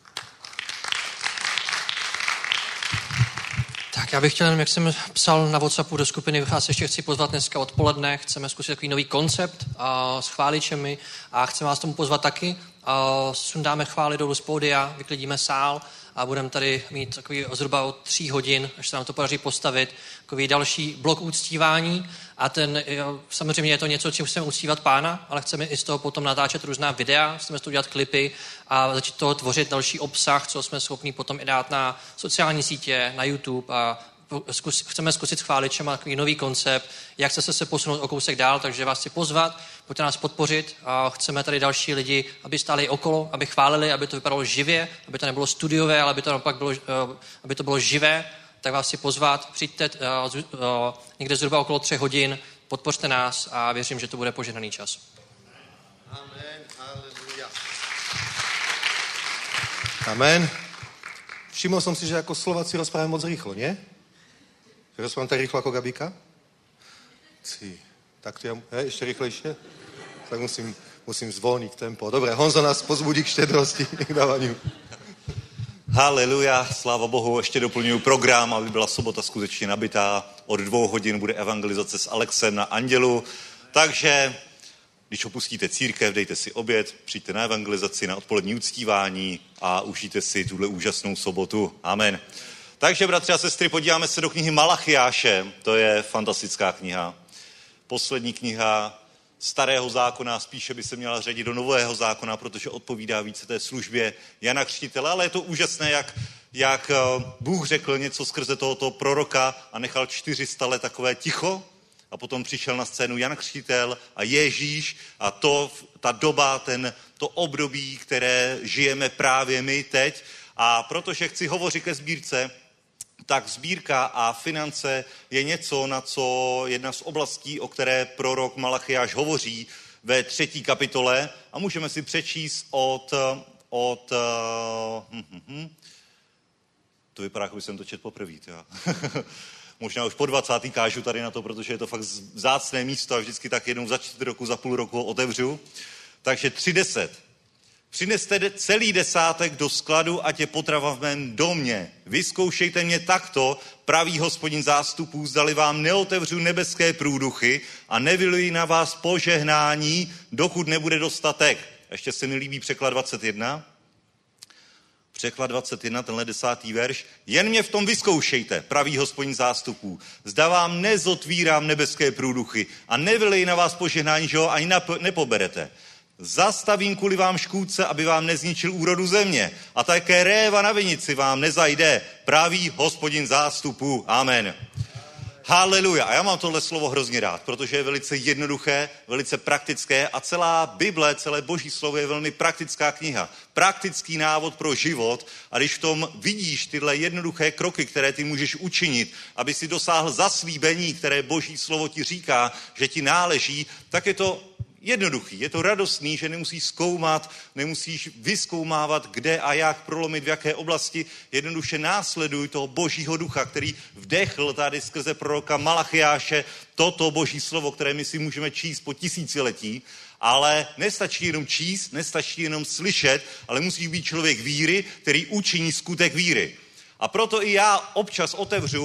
Tak já bych chtěl, jak jsem psal na WhatsAppu do skupiny, vás ještě chci pozvat dneska odpoledne, chceme zkusit takový nový koncept s chváličemi a chceme vás tomu pozvat taky. Sundáme chvály dolů z pódia, vyklidíme sál a budeme tady mít takový zhruba od 3 hodin, až se nám to podaří postavit, takový další blok uctívání a samozřejmě je to něco, čím chceme uctívat Pána, ale chceme i z toho potom natáčet různá videa, chceme z toho dělat klipy a začít toho tvořit další obsah, co jsme schopni potom i dát na sociální sítě, na YouTube a chceme zkusit s chváličem takový nový koncept, jak se posunout o kousek dál, takže vás chci pozvat, pojďte nás podpořit a chceme tady další lidi, aby stáli okolo, aby chválili, aby to vypadalo živě, aby to nebylo studiové, ale aby to naopak bylo, aby to bylo živé, tak vás chci pozvat, přijďte někde zhruba okolo 3 hodin, podpořte nás a věřím, že to bude požehnaný čas. Amen, aleluja. Amen. Všiml som si, že ako Slováci rozprávajú moc rýchlo, nie? Že rozprávam tak rýchlo ako Gabika? Tak to ja... ešte rýchlejšie? Tak musím zvolniť tempo. Dobre, Honzo nás pozbudí k štedrosti, k dávaniu. Haleluja, sláva Bohu, ještě doplňuji program, aby byla sobota skutečně nabitá. Od 2 hodin bude evangelizace s Alexem na Andělu, takže když opustíte církev, dejte si oběd, přijďte na evangelizaci, na odpolední uctívání a užijte si tuhle úžasnou sobotu. Amen. Takže, bratři a sestry, podíváme se do knihy Malachiáše, to je fantastická kniha. Poslední kniha Starého zákona, spíše by se měla řadit do Nového zákona, protože odpovídá více té službě Jana Křtitele, ale je to úžasné, jak Bůh řekl něco skrze tohoto proroka a nechal 400 let takové ticho a potom přišel na scénu Jan Křtitel a Ježíš a ta doba, to období, které žijeme právě my teď a protože chci hovořit ke sbírce, tak sbírka a finance je něco, na co jedna z oblastí, o které prorok Malachiáš hovoří ve 3. kapitole a můžeme si přečíst to vypadá, jako by jsem to četl poprvé. Možná už po 20. kážu tady na to, protože je to fakt vzácné místo a vždycky tak jednou za 4 roku, za půl roku ho otevřu. Takže 3:10. Přineste celý desátek do skladu, ať je potrava v mém domě. Vyzkoušejte mě takto, pravý Hospodin zástupů, zdali vám neotevřu nebeské průduchy a nevyluji na vás požehnání, dokud nebude dostatek. Ještě se mi líbí překlad 21. Překlad 21, tenhle 10. verš. Jen mě v tom vyzkoušejte, pravý Hospodin zástupů. Zda vám nezotvírám nebeské průduchy a nevyleji na vás požehnání, že ho ani nepoberete. Zastavím kvůli vám škůdce, aby vám nezničil úrodu země. A také réva na vinici vám nezajde. Pravý Hospodin zástupů. Amen. Haleluja. A já mám tohle slovo hrozně rád, protože je velice jednoduché, velice praktické a celá Bible, celé Boží slovo je velmi praktická kniha. Praktický návod pro život a když v tom vidíš tyhle jednoduché kroky, které ty můžeš učinit, aby si dosáhl zaslíbení, které Boží slovo ti říká, že ti náleží, tak je to jednoduchý, je to radostný, že nemusíš zkoumat, nemusíš vyzkoumávat, kde a jak prolomit, v jaké oblasti. Jednoduše následuj toho Božího ducha, který vdechl tady skrze proroka Malachiáše toto Boží slovo, které my si můžeme číst po tisíciletí, ale nestačí jenom číst, nestačí jenom slyšet, ale musíš být člověk víry, který učiní skutek víry. A proto i já občas otevřu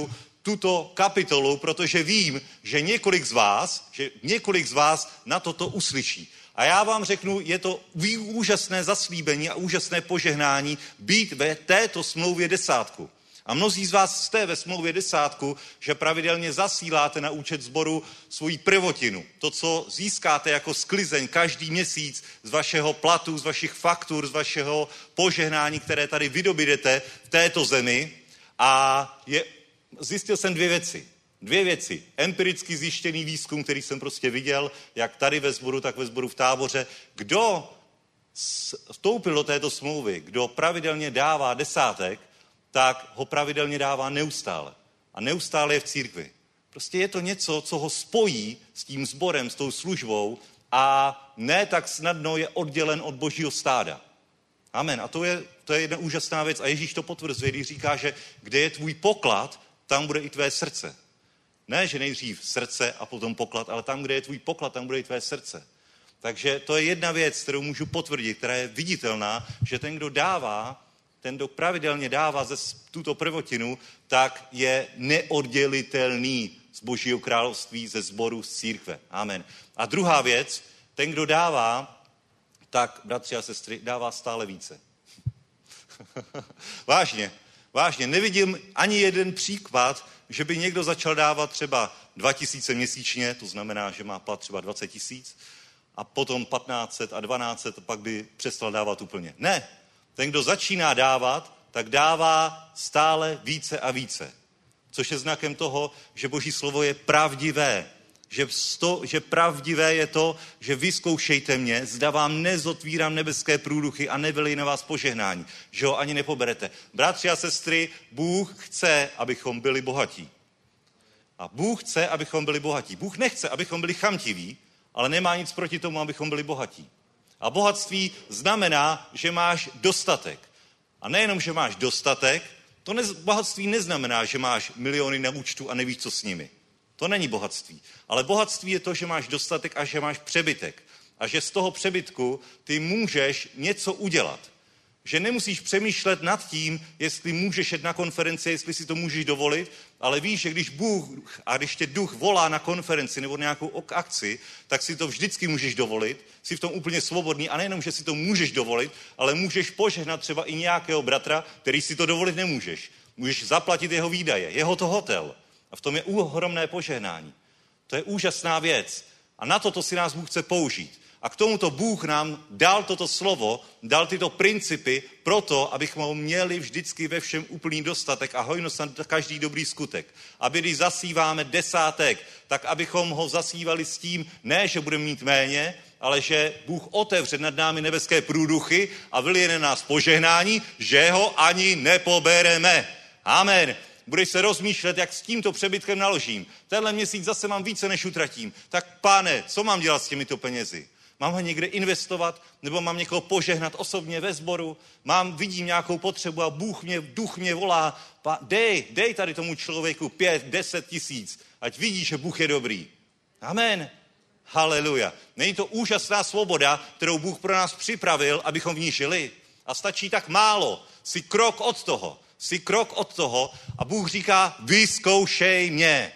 tuto kapitolu, protože vím, že několik z vás na toto uslyší. A já vám řeknu, je to úžasné zaslíbení a úžasné požehnání být ve této smlouvě 10. A mnozí z vás jste ve smlouvě 10, že pravidelně zasíláte na účet sboru svoji prvotinu. To, co získáte jako sklizeň každý měsíc z vašeho platu, z vašich faktur, z vašeho požehnání, které tady vydobídete v této zemi. A zjistil jsem dvě věci. Empiricky zjištěný výzkum, který jsem prostě viděl, jak tady ve sboru, tak ve sboru v Táboře. Kdo vstoupil do této smlouvy, kdo pravidelně dává 10, tak ho pravidelně dává neustále. A neustále je v církvi. Prostě je to něco, co ho spojí s tím sborem, s tou službou a ne tak snadno je oddělen od božího stáda. Amen. A to je jedna úžasná věc. A Ježíš to potvrzuje, když říká, že kde je tvůj poklad, tam bude i tvé srdce. Ne, že nejdřív srdce a potom poklad, ale tam, kde je tvůj poklad, tam bude i tvé srdce. Takže to je jedna věc, kterou můžu potvrdit, která je viditelná, že ten, kdo pravidelně dává tuto prvotinu, tak je neoddělitelný z Božího království, ze sboru, z církve. Amen. A druhá věc, ten, kdo dává, tak, bratři a sestry, dává stále více. Vážně, nevidím ani jeden příklad, že by někdo začal dávat třeba 2000 měsíčně, to znamená, že má plat třeba 20 000, a potom 1500 a 1200, a pak by přestal dávat úplně. Ne, ten, kdo začíná dávat, tak dává stále více a více. Což je znakem toho, že Boží slovo je pravdivé. Že pravdivé je to, že vyzkoušejte mě, zda vám nezotvírám nebeské průduchy a nevylej na vás požehnání, že ho ani nepoberete. Bratři a sestry, Bůh chce, abychom byli bohatí. A Bůh chce, abychom byli bohatí. Bůh nechce, abychom byli chamtiví, ale nemá nic proti tomu, abychom byli bohatí. A bohatství znamená, že máš dostatek. A nejenom, že máš dostatek, bohatství neznamená, že máš miliony na účtu a nevíš, co s nimi. To není bohatství. Ale bohatství je to, že máš dostatek a že máš přebytek. A že z toho přebytku ty můžeš něco udělat. Že nemusíš přemýšlet nad tím, jestli můžeš jít na konferenci, jestli si to můžeš dovolit, ale víš, že když tě duch volá na konferenci nebo nějakou akci, tak si to vždycky můžeš dovolit, jsi v tom úplně svobodný a nejenom, že si to můžeš dovolit, ale můžeš požehnat třeba i nějakého bratra, který si to dovolit nemůžeš. Můžeš zaplatit jeho výdaje, jeho to hotel. A v tom je ohromné požehnání. To je úžasná věc. A na to si nás Bůh chce použít. A k tomuto Bůh nám dal toto slovo, dal tyto principy proto, abychom měli vždycky ve všem úplný dostatek a hojnost na každý dobrý skutek. Aby když zasíváme 10, tak abychom ho zasívali s tím, ne, že budeme mít méně, ale že Bůh otevře nad námi nebeské průduchy a vylije na nás požehnání, že ho ani nepobereme. Amen. Budeš se rozmýšlet, jak s tímto přebytkem naložím. Tenhle měsíc zase mám více, než utratím. Tak Pane, co mám dělat s těmito penězi? Mám ho někde investovat, nebo mám někoho požehnat osobně ve sboru? Vidím nějakou potřebu a duch mě volá, dej tady tomu člověku 5-10 tisíc, ať vidí, že Bůh je dobrý. Amen. Haleluja. Není to úžasná svoboda, kterou Bůh pro nás připravil, abychom v ní žili? A stačí tak málo. Jsi krok od toho a Bůh říká, vyzkoušej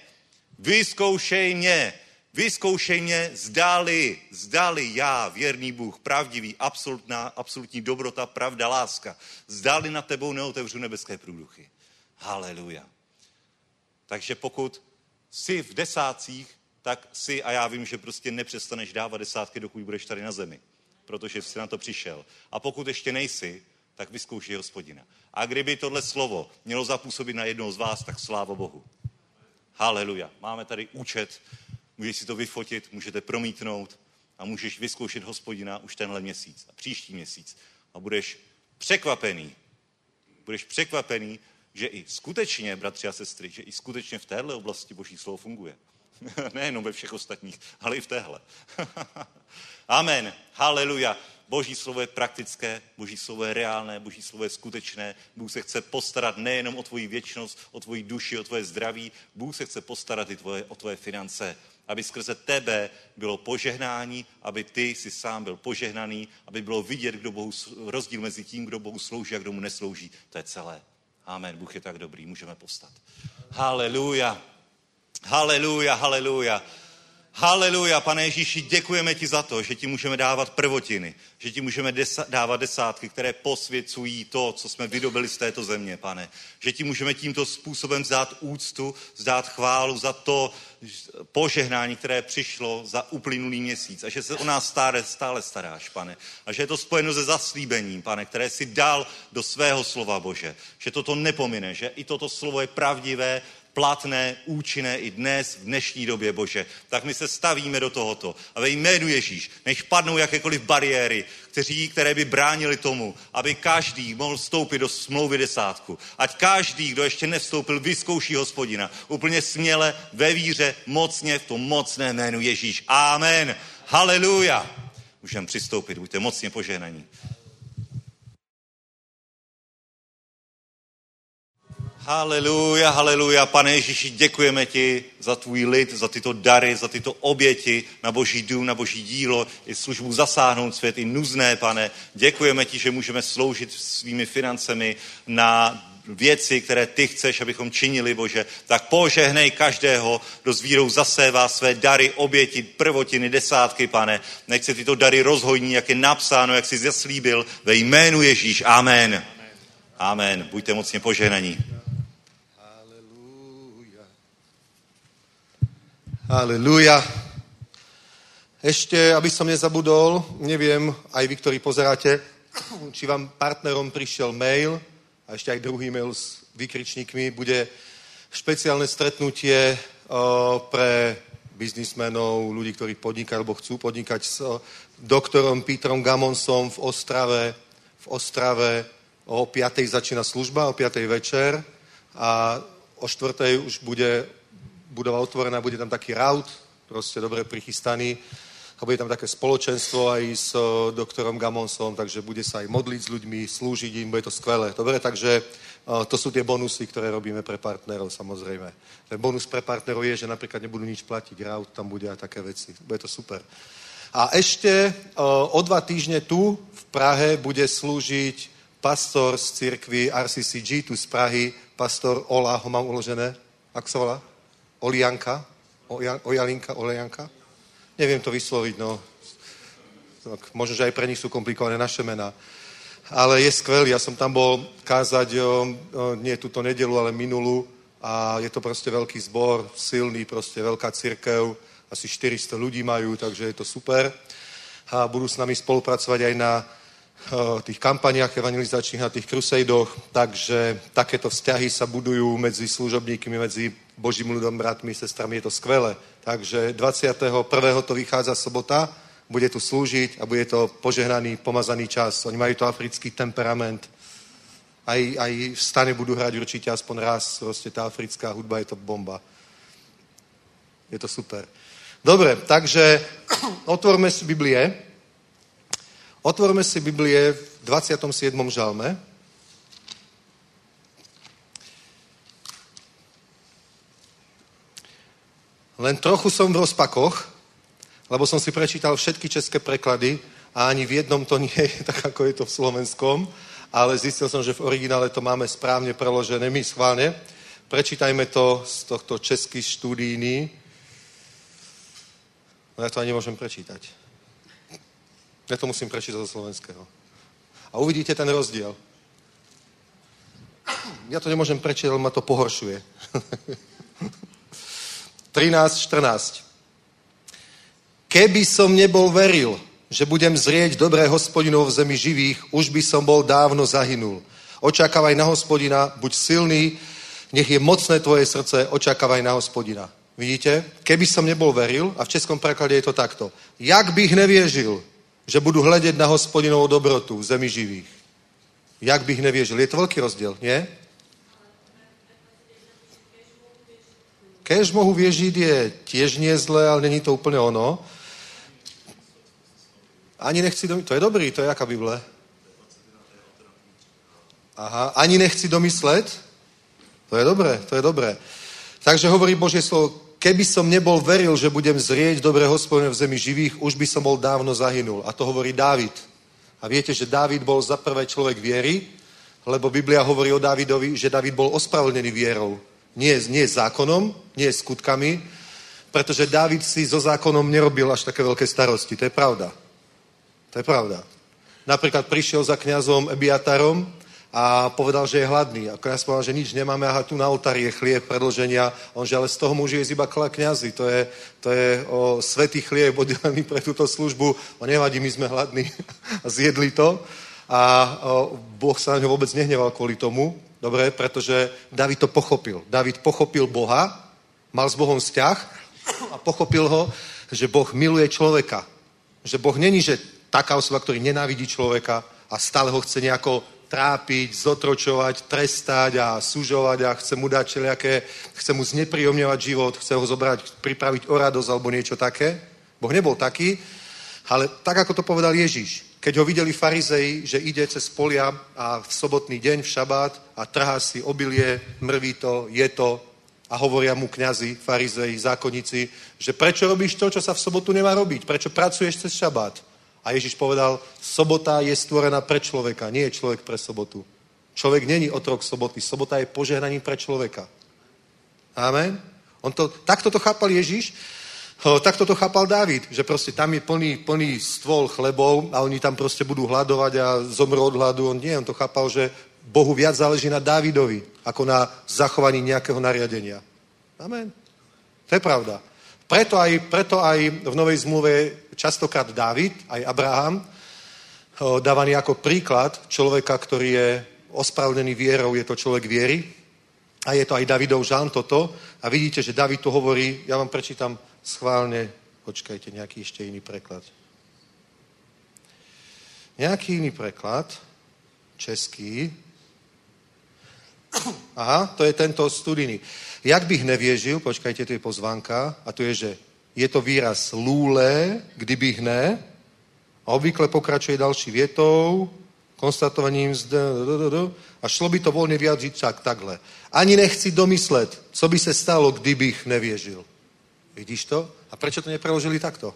mě, zdali já, věrný Bůh, pravdivý, absolutní dobrota, pravda, láska, zdali nad tebou neotevřu nebeské průduchy. Haleluja. Takže pokud jsi v 10, tak si, a já vím, že prostě nepřestaneš dávat 10, dokud budeš tady na zemi, protože jsi na to přišel. A pokud ještě nejsi, tak vyzkoušej Hospodina. A kdyby tohle slovo mělo zapůsobit na jednoho z vás, tak sláva Bohu. Haleluja. Máme tady účet, můžeš si to vyfotit, můžete promítnout a můžeš vyzkoušet Hospodina už tenhle měsíc a příští měsíc. A budeš překvapený, že i skutečně, bratři a sestry, že i skutečně v téhle oblasti Boží slovo funguje. Nejenom ve všech ostatních, ale i v téhle. Amen. Haleluja. Boží slovo je praktické, Boží slovo je reálné, Boží slovo je skutečné. Bůh se chce postarat nejenom o tvoji věčnost, o tvoji duši, o tvoje zdraví. Bůh se chce postarat i o tvoje finance. Aby skrze tebe bylo požehnání, aby ty si sám byl požehnaný, aby bylo vidět, rozdíl mezi tím, kdo Bohu slouží a kdo mu neslouží. To je celé. Amen. Bůh je tak dobrý, můžeme povstat. Haleluja. Haleluja, haleluja. Haleluja, Pane Ježíši, děkujeme ti za to, že ti můžeme dávat prvotiny, že ti můžeme dávat desátky, které posvěcují to, co jsme vydobili z této země, Pane. Že ti můžeme tímto způsobem vzdát úctu, vzdát chválu za to požehnání, které přišlo za uplynulý měsíc a že se o nás stále staráš, Pane. A že je to spojeno se zaslíbením, Pane, které si dal do svého slova, Bože. Že toto nepomine, že i toto slovo je pravdivé, platné, účinné i dnes, v dnešní době, Bože. Tak my se stavíme do tohoto. A ve jménu Ježíš, nech padnou jakékoliv bariéry, které by bránili tomu, aby každý mohl vstoupit do smlouvy desátku. Ať každý, kdo ještě nevstoupil, vyzkouší Hospodina. Úplně směle, ve víře, mocně, v tom mocné jménu Ježíš. Amen. Haleluja. Můžeme přistoupit, buďte mocně požehnaní. Haleluja, haleluja. Pane Ježíši, děkujeme ti za tvůj lid, za tyto dary, za tyto oběti na Boží dům, na Boží dílo, i službu zasáhnout svět, i nuzné, Pane. Děkujeme ti, že můžeme sloužit svými financemi na věci, které ty chceš, abychom činili, Bože. Tak požehnej každého, kdo s vírou zasévá své dary, oběti, prvotiny, desátky, Pane. Nech se tyto dary rozhojní, jak je napsáno, jak jsi zaslíbil, ve jménu Ježíš. Amen. Amen. Buďte mocně požehnaní. Halelúja. Ešte, aby som nezabudol, neviem, aj vy, ktorí pozeráte, či vám partnerom prišiel mail, a ešte aj druhý mail s výkričníkmi, bude špeciálne stretnutie pre biznismenov, ľudí, ktorí podnikajú, alebo chcú podnikať s doktorom Petrom Gamonsom v Ostrave. O 5:00 začína služba, o 5:00 večer a o 4:00 už bude budova otvorená, bude tam taký raut, proste dobre prichystaný a bude tam také spoločenstvo aj s doktorom Gamonsom, takže bude sa aj modliť s ľuďmi, slúžiť im, bude to skvelé. Dobre, takže to sú tie bonusy, ktoré robíme pre partnerov, samozrejme. Ten bonus pre partnerov je, že napríklad nebudú nič platiť, raut tam bude a také veci. Bude to super. A ešte o 2 týždne tu v Prahe bude slúžiť pastor z cirkvi RCCG, tu z Prahy, pastor Ola, ho mám uložené, ako sa volá? Olijanka? Olejanka? Neviem to vysloviť, no. Tak, možno, že aj pre nich sú komplikované naše mená. Ale je skvelý, ja som tam bol kázať, nie túto nedelu, ale minulú a je to proste veľký zbor, silný, proste veľká cirkev, asi 400 ľudí majú, takže je to super. A budú s nami spolupracovať aj na tých kampaniách evangelizačných, na tých crusejdoch, takže takéto vzťahy sa budujú medzi služobníkmi, medzi Božím ľudom, bratmi, sestrami, je to skvelé. Takže 21. to vychádza sobota, bude tu slúžiť a bude to požehnaný, pomazaný čas. Oni majú to africký temperament. Aj v stane budú hrať určite aspoň raz, proste tá africká hudba je to bomba. Je to super. Dobre, takže otvorme si Biblie. Otvorme si Biblie v 27. žalme. Len trochu som v rozpakoch, lebo som si prečítal všetky české preklady a ani v jednom to nie je tak, ako je to v slovenskom, ale zistil som, že v originále to máme správne preložené. My schválne. Prečítajme to z tohto český študijný. No ja to ani nemôžem prečítať. Ja to musím prečítať zo slovenského. A uvidíte ten rozdiel. Ja to nemôžem prečítať, ale ma to pohoršuje. 13:14. Keby som nebol veril, že budem zrieť dobré Hospodinov v zemi živých, už by som bol dávno zahynul. Očakávaj na Hospodina, buď silný, nech je mocné tvoje srdce, očakávaj na Hospodina. Vidíte? Keby som nebol veril, a v českom preklade je to takto. Jak bych neviežil, že budu hledět na Hospodinovou dobrotu v zemi živých. Jak bych nevěřil. Je to velký rozdíl, nie? Kéž mohu věřit je tiež nie zlé, ale není to úplně ono. Ani nechci domyslet. To je dobrý, to je jaká Bible? Aha, ani nechci domyslet. To je dobré, to je dobré. Takže hovorí Božie slovo, keby som nebol veril, že budem zrieť dobré Hospodina v zemi živých, už by som bol dávno zahynul. A to hovorí Dávid. A viete, že Dávid bol za prvé človek viery, Lebo Biblia hovorí o Dávidovi, že Dávid bol ospravedlnený vierou. Nie zákonom, nie skutkami, pretože Dávid si so zákonom nerobil až také veľké starosti. To je pravda. To je pravda. Napríklad prišiel za kňazom Ebiatarom a povedal, že je hladný. A kňaz povedal, že nič nemáme, aha, tu na oltári je chlieb predĺženia. On, že ale z toho môže jesť iba kňazi. To je svätý chlieb oddelený pre túto službu. On nevadí, my sme hladní. A zjedli to. A Boh sa na ňo vôbec nehneval kvôli tomu. Dobre, pretože David to pochopil. David pochopil Boha, mal s Bohom vzťah a pochopil ho, že Boh miluje človeka. Že Boh není, že taká osoba, ktorý nenávidí človeka a stále ho chce nejako trápiť, zotročovať, trestať a sužovať a chce mu dať všelijaké, chce mu znepríjemňovať život, chce ho zobrať, pripraviť o radosť alebo niečo také. Boh nebol taký, ale tak, ako to povedal Ježiš. Keď ho videli farizeji, že ide cez polia a v sobotný deň, v šabát a trhá si obilie, mrví to, je to a hovoria mu kňazi, farizeji, zákonníci, že prečo robíš to, čo sa v sobotu nemá robiť? Prečo pracuješ cez šabát? A Ježiš povedal, sobota je stvorená pre človeka, nie je človek pre sobotu. Človek není otrok soboty, sobota je požehnaním pre človeka. Amen? Takto to chápal Ježiš, takto to chápal Dávid, že proste tam je plný stôl chlebov a oni tam proste budú hľadovať a zomrú od hladu. On to chápal, že Bohu viac záleží na Dávidovi, ako na zachovaní nejakého nariadenia. Amen. To je pravda. Preto aj v Novej zmluve častokrát Dávid, aj Abraham, dávaný ako príklad človeka, ktorý je ospravedlnený vierou, je to človek viery. A je to aj Davidov žalm toto. A vidíte, že David tu hovorí, ja vám prečítam schválne, počkajte, nejaký ešte iný preklad. Nejaký iný preklad, český. Aha, to je tento studijný. Jak bych nevěřil, počkajte, to je pozvánka, a to je, že je to výraz lůle, kdybych ne, a obvykle pokračuje další větou, konstatovaním a šlo by to volně vyjádřit takhle. Ani nechci domyslet, co by se stalo, kdybych nevěřil. Vidíš to? A prečo to nepreložili takto?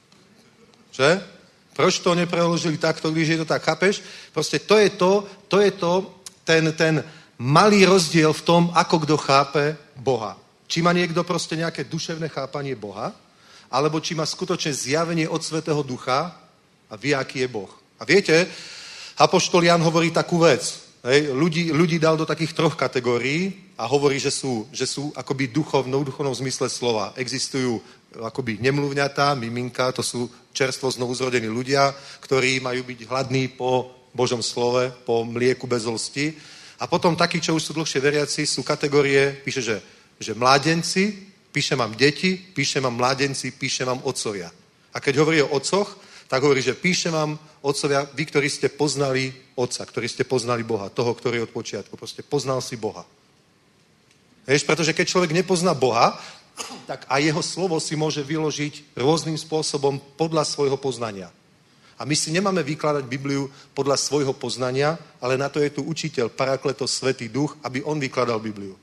Že? Proč to nepreložili takto, když je to tak, chápeš? Proste to je to, ten malý rozdiel v tom, ako kto chápe Boha. Či má niekto proste nejaké duševné chápanie Boha, alebo či má skutočne zjavenie od Svätého Ducha a vie, aký je Boh. A viete, apoštol Jan hovorí takú vec. Hej, ľudí dal do takých 3 kategórií a hovorí, že sú akoby duchovnom zmysle slova. Existujú akoby nemluvňatá, miminka, to sú čerstvo znovuzrodení ľudia, ktorí majú byť hladní po Božom slove, po mlieku bez lsti. A potom takí, čo už sú dlhšie veriaci, sú kategórie, píše, že mládenci, píše mám deti, píše mám mládenci, píše mám otcovia. A keď hovorí o otcoch, tak hovorí, že píše vám otcovia, vy, ktorí ste poznali otca, ktorí ste poznali Boha, toho, ktorý od počiatku, proste poznal si Boha. Vieš, pretože keď človek nepozná Boha, tak aj jeho slovo si môže vyložiť rôznym spôsobom podľa svojho poznania. A my si nemáme vykladať Bibliu podľa svojho poznania, ale na to je tu učiteľ, Parakletos, Svätý Duch, aby on vykladal Bibliu.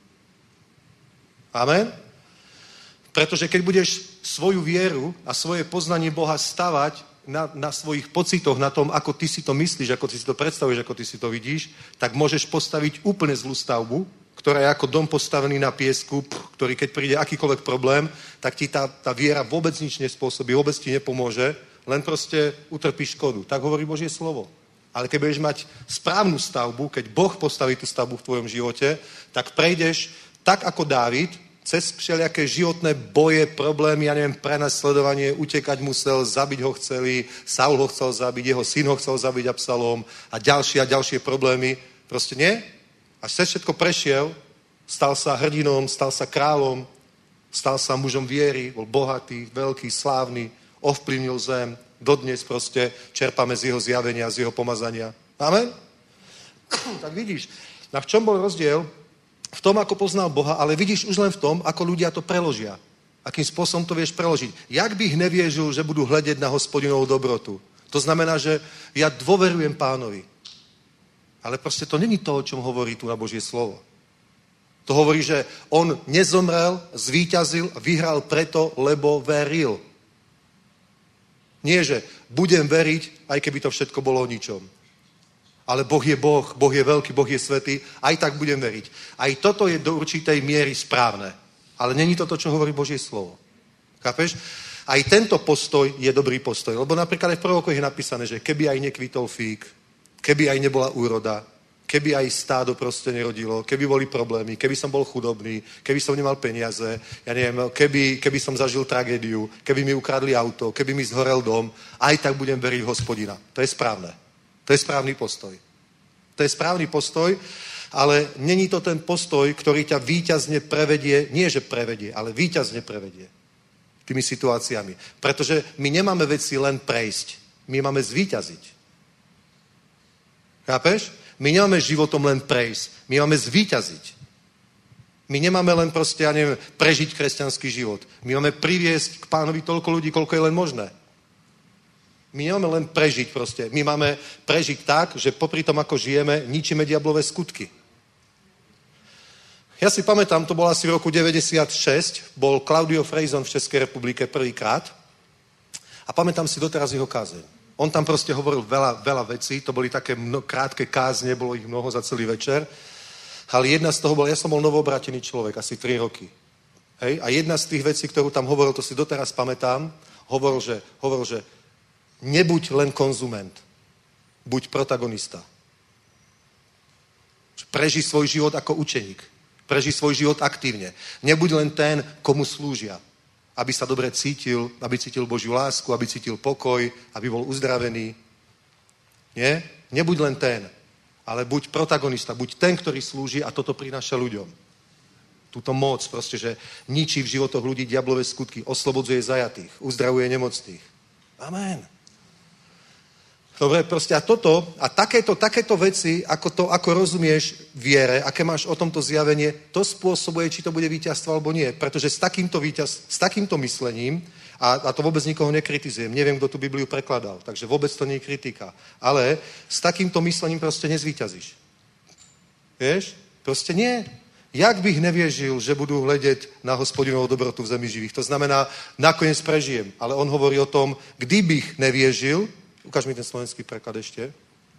Amen? Pretože keď budeš svoju vieru a svoje poznanie Boha stavať na svojich pocitoch, na tom, ako ty si to myslíš, ako ty si to predstavuješ, ako ty si to vidíš, tak môžeš postaviť úplne zlú stavbu, ktorá je ako dom postavený na piesku, ktorý keď príde akýkoľvek problém, tak ti tá viera vôbec nič nespôsobí, vôbec ti nepomôže, len proste utrpíš škodu. Tak hovorí Božie slovo. Ale keď budeš mať správnu stavbu, keď Boh postaví tú stavbu v tvojom živote, tak prejdeš tak ako Dávid, cez všelijaké životné boje, problémy, ja neviem, prenasledovanie, utekať musel, zabiť ho chceli, Saul ho chcel zabiť, jeho syn ho chcel zabiť Absalom a ďalšie problémy. Proste nie. Až cez všetko prešiel, stal sa hrdinom, stal sa kráľom, stal sa mužom viery, bol bohatý, veľký, slávny, ovplyvnil zem, dodnes proste čerpáme z jeho zjavenia, z jeho pomazania. Amen? Tak vidíš, na v čom bol rozdiel? V tom, ako poznal Boha, ale vidíš už len v tom, ako ľudia to preložia. Akým spôsobom to vieš preložiť. Jak bych nevieril, že budú hľadiť na Hospodinovú dobrotu. To znamená, že ja dôverujem Pánovi. Ale proste to není to, o čom hovorí tu na Božie slovo. To hovorí, že on nezomrel, zvíťazil a vyhral preto, lebo veril. Nie, že budem veriť, aj keby to všetko bolo o ničom. ale Boh je Boh, Boh je veľký, Boh je svätý, aj tak budem veriť. Aj toto je do určitej miery správne. Ale není to, čo hovorí Božie slovo. Chápeš? Aj tento postoj je dobrý postoj. Lebo napríklad aj v prorokoch je napísané, že keby aj nekvitol fík, keby aj nebola úroda, keby aj stádo proste nerodilo, keby boli problémy, keby som bol chudobný, keby som nemal peniaze, ja neviem, keby som zažil tragédiu, keby mi ukradli auto, keby mi zhorel dom, aj tak budem veriť v Hospodina. To je správne. To je správny postoj. To je správny postoj, ale není to ten postoj, ktorý ťa víťazne prevedie, nie že prevedie, ale víťazne prevedie tými situáciami. Pretože my nemáme veci len prejsť, my máme zvíťaziť. Chápeš? My nemáme životom len prejsť, my máme zvíťaziť. My nemáme len proste, ja neviem, prežiť kresťanský život. My máme priviesť k Pánovi toľko ľudí, koľko je len možné. My nemáme len prežiť proste. My máme prežiť tak, že popri tom, ako žijeme, ničíme diablové skutky. Ja si pamätám, to bolo asi v roku 96, bol Claudio Frejzon v Českej republike prvýkrát a pamätám si doteraz jeho kázeň. On tam proste hovoril veľa vecí, to boli také krátke kázne, bolo ich mnoho za celý večer, ale jedna z toho bola, ja som bol novoobratený človek, asi 3 roky. Hej? A jedna z tých vecí, ktorú tam hovoril, to si doteraz pamätám, hovoril, že nebuď len konzument, buď protagonista. Prežij svoj život ako učeník. Prežij svoj život aktívne. Nebuď len ten, komu slúžia. Aby sa dobre cítil, aby cítil Božiu lásku, aby cítil pokoj, aby bol uzdravený. Nie? Nebuď len ten, ale buď protagonista, buď ten, ktorý slúži a toto prináša ľuďom. Túto moc proste, že ničí v životoch ľudí diablové skutky, oslobodzuje zajatých, uzdravuje nemocných. Amen. Dobre, proste a toto, a takéto veci, ako rozumieš viere, aké máš o tomto zjavenie, to spôsobuje, či to bude víťazstvo alebo nie. Pretože s takýmto myslením, a to vôbec nikoho nekritizujem, neviem, kto tu Bibliu prekladal, takže vôbec to nie je kritika, ale s takýmto myslením proste nezvíťazíš. Vieš? Proste nie. Jak bych nevěřil, že budu hledět na Hospodinovou dobrotu v zemi živých. To znamená, nakoniec prežijem. Ale on hovorí o tom, kdybych nevěřil, ukáž mi ten slovenský preklad ešte.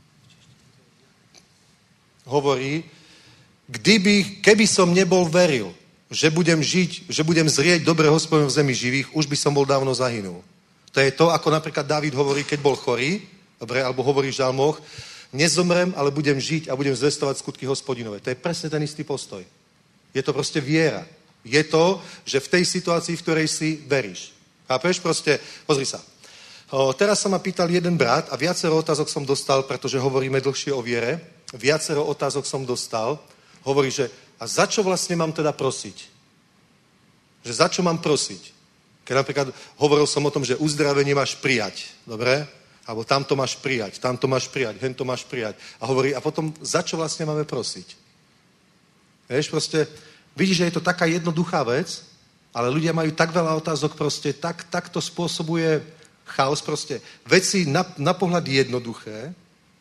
Hovorí, keby som nebol veril, že budem žiť, že budem zrieť dobre Hospodinu v zemi živých, už by som bol dávno zahynul. To je to, ako napríklad Dávid hovorí, keď bol chorý, dobre, alebo hovorí v žalmoch, nezomrem, ale budem žiť a budem zvestovať skutky Hospodinové. To je presne ten istý postoj. Je to proste viera. Je to, že v tej situácii, v ktorej si veríš. Chápeš? Proste, pozri sa. Teraz sa ma pýtal jeden brat a viacero otázok som dostal, pretože hovoríme dlhšie o viere. Viacero otázok som dostal. Hovorí, že a za čo vlastne mám teda prosiť? Že za čo mám prosiť? Keď napríklad hovoril som o tom, že uzdravenie máš prijať. Dobre? Alebo tamto máš prijať, hento máš prijať. A hovorí, a potom za čo vlastne máme prosiť? Vieš, proste, vidíš, že je to taká jednoduchá vec, ale ľudia majú tak veľa otázok, proste, tak to spôsobuje chaos, proste. Veci na pohľad jednoduché,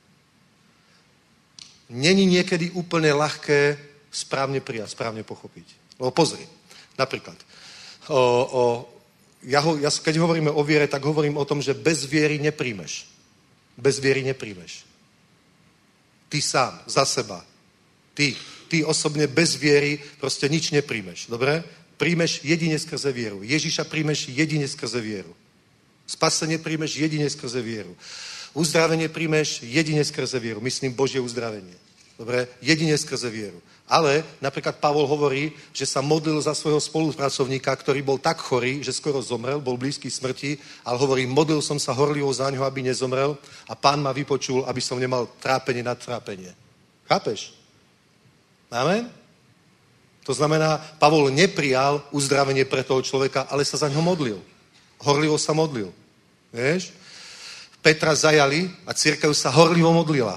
není niekedy úplne ľahké správne prijať, správne pochopiť. Lebo pozri, napríklad, keď hovoríme o viere, tak hovorím o tom, že bez viery nepríjmeš. Bez viery nepríjmeš. Ty sám, za seba. Ty osobne bez viery proste nič nepríjmeš. Dobre? Príjmeš jedine skrze vieru. Ježiša príjmeš jedine skrze vieru. Spasenie príjmeš jedine skrze vieru. Uzdravenie príjmeš jedine skrze vieru. Myslím Božie uzdravenie. Dobre? Jedine skrze vieru. Ale napríklad Pavol hovorí, že sa modlil za svojho spolupracovníka, ktorý bol tak chorý, že skoro zomrel, bol blízky smrti, ale hovorí, modlil som sa horlivo za ňo, aby nezomrel a Pán ma vypočul, aby som nemal trápenie nad trápenie. Chápeš? Amen? To znamená, Pavol neprijal uzdravenie pre toho človeka, ale sa za ňo modlil. Horlivo sa modlil. Vieš? Petra zajali a cirkev sa horlivo modlila.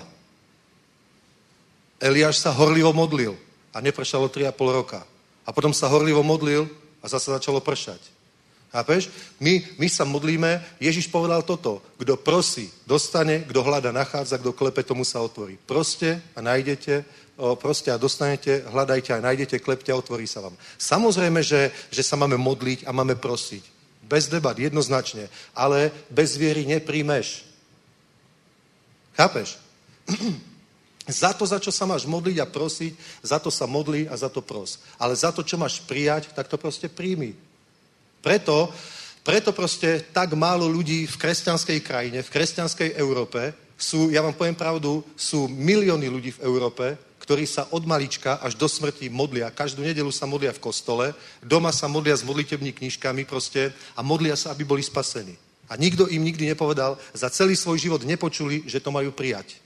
Eliáš sa horlivo modlil a nepršalo 3,5 roka. A potom sa horlivo modlil a zase začalo pršať. Chápeš? My sa modlíme, Ježiš povedal toto, kto prosí, dostane, kto hľada, nachádza, kto klepe, tomu sa otvorí. Proste a nájdete, proste a dostanete, hľadajte a nájdete, klepte a otvorí sa vám. Samozrejme, že sa máme modliť a máme prosiť. Bez debat, jednoznačne. Ale bez viery nepríjmeš. Chápeš? Za to, za čo sa máš modliť a prosiť, za to sa modli a za to pros. Ale za to, čo máš prijať, tak to proste príjmi. Preto proste tak málo ľudí v kresťanskej krajine, v kresťanskej Európe sú, ja vám poviem pravdu, sú milióny ľudí v Európe, ktorí sa od malička až do smrti modlia. Každú nedeľu sa modlia v kostole, doma sa modlia s modlitebnými knižkami proste a modlia sa, aby boli spasení. A nikto im nikdy nepovedal, za celý svoj život nepočuli, že to majú prijať.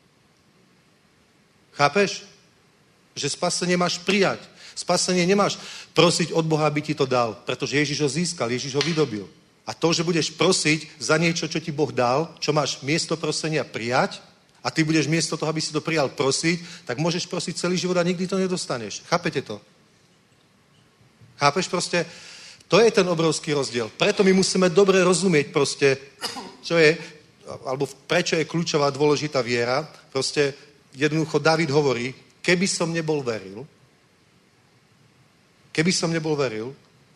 Chápeš? Že spasenie máš prijať. Spasenie nemáš prosiť od Boha, aby ti to dal, pretože Ježiš ho získal, Ježiš ho vydobil. A to, že budeš prosiť za niečo, čo ti Boh dal, čo máš miesto prosenia prijať, a ty budeš miesto toho, aby si to prijal prosiť, tak môžeš prosiť celý život a nikdy to nedostaneš. Chápete to? Chápeš proste? To je ten obrovský rozdiel. Preto my musíme dobre rozumieť proste, čo je, alebo prečo je kľúčová dôležitá viera. Proste jednoducho Dávid hovorí, keby som nebol veril,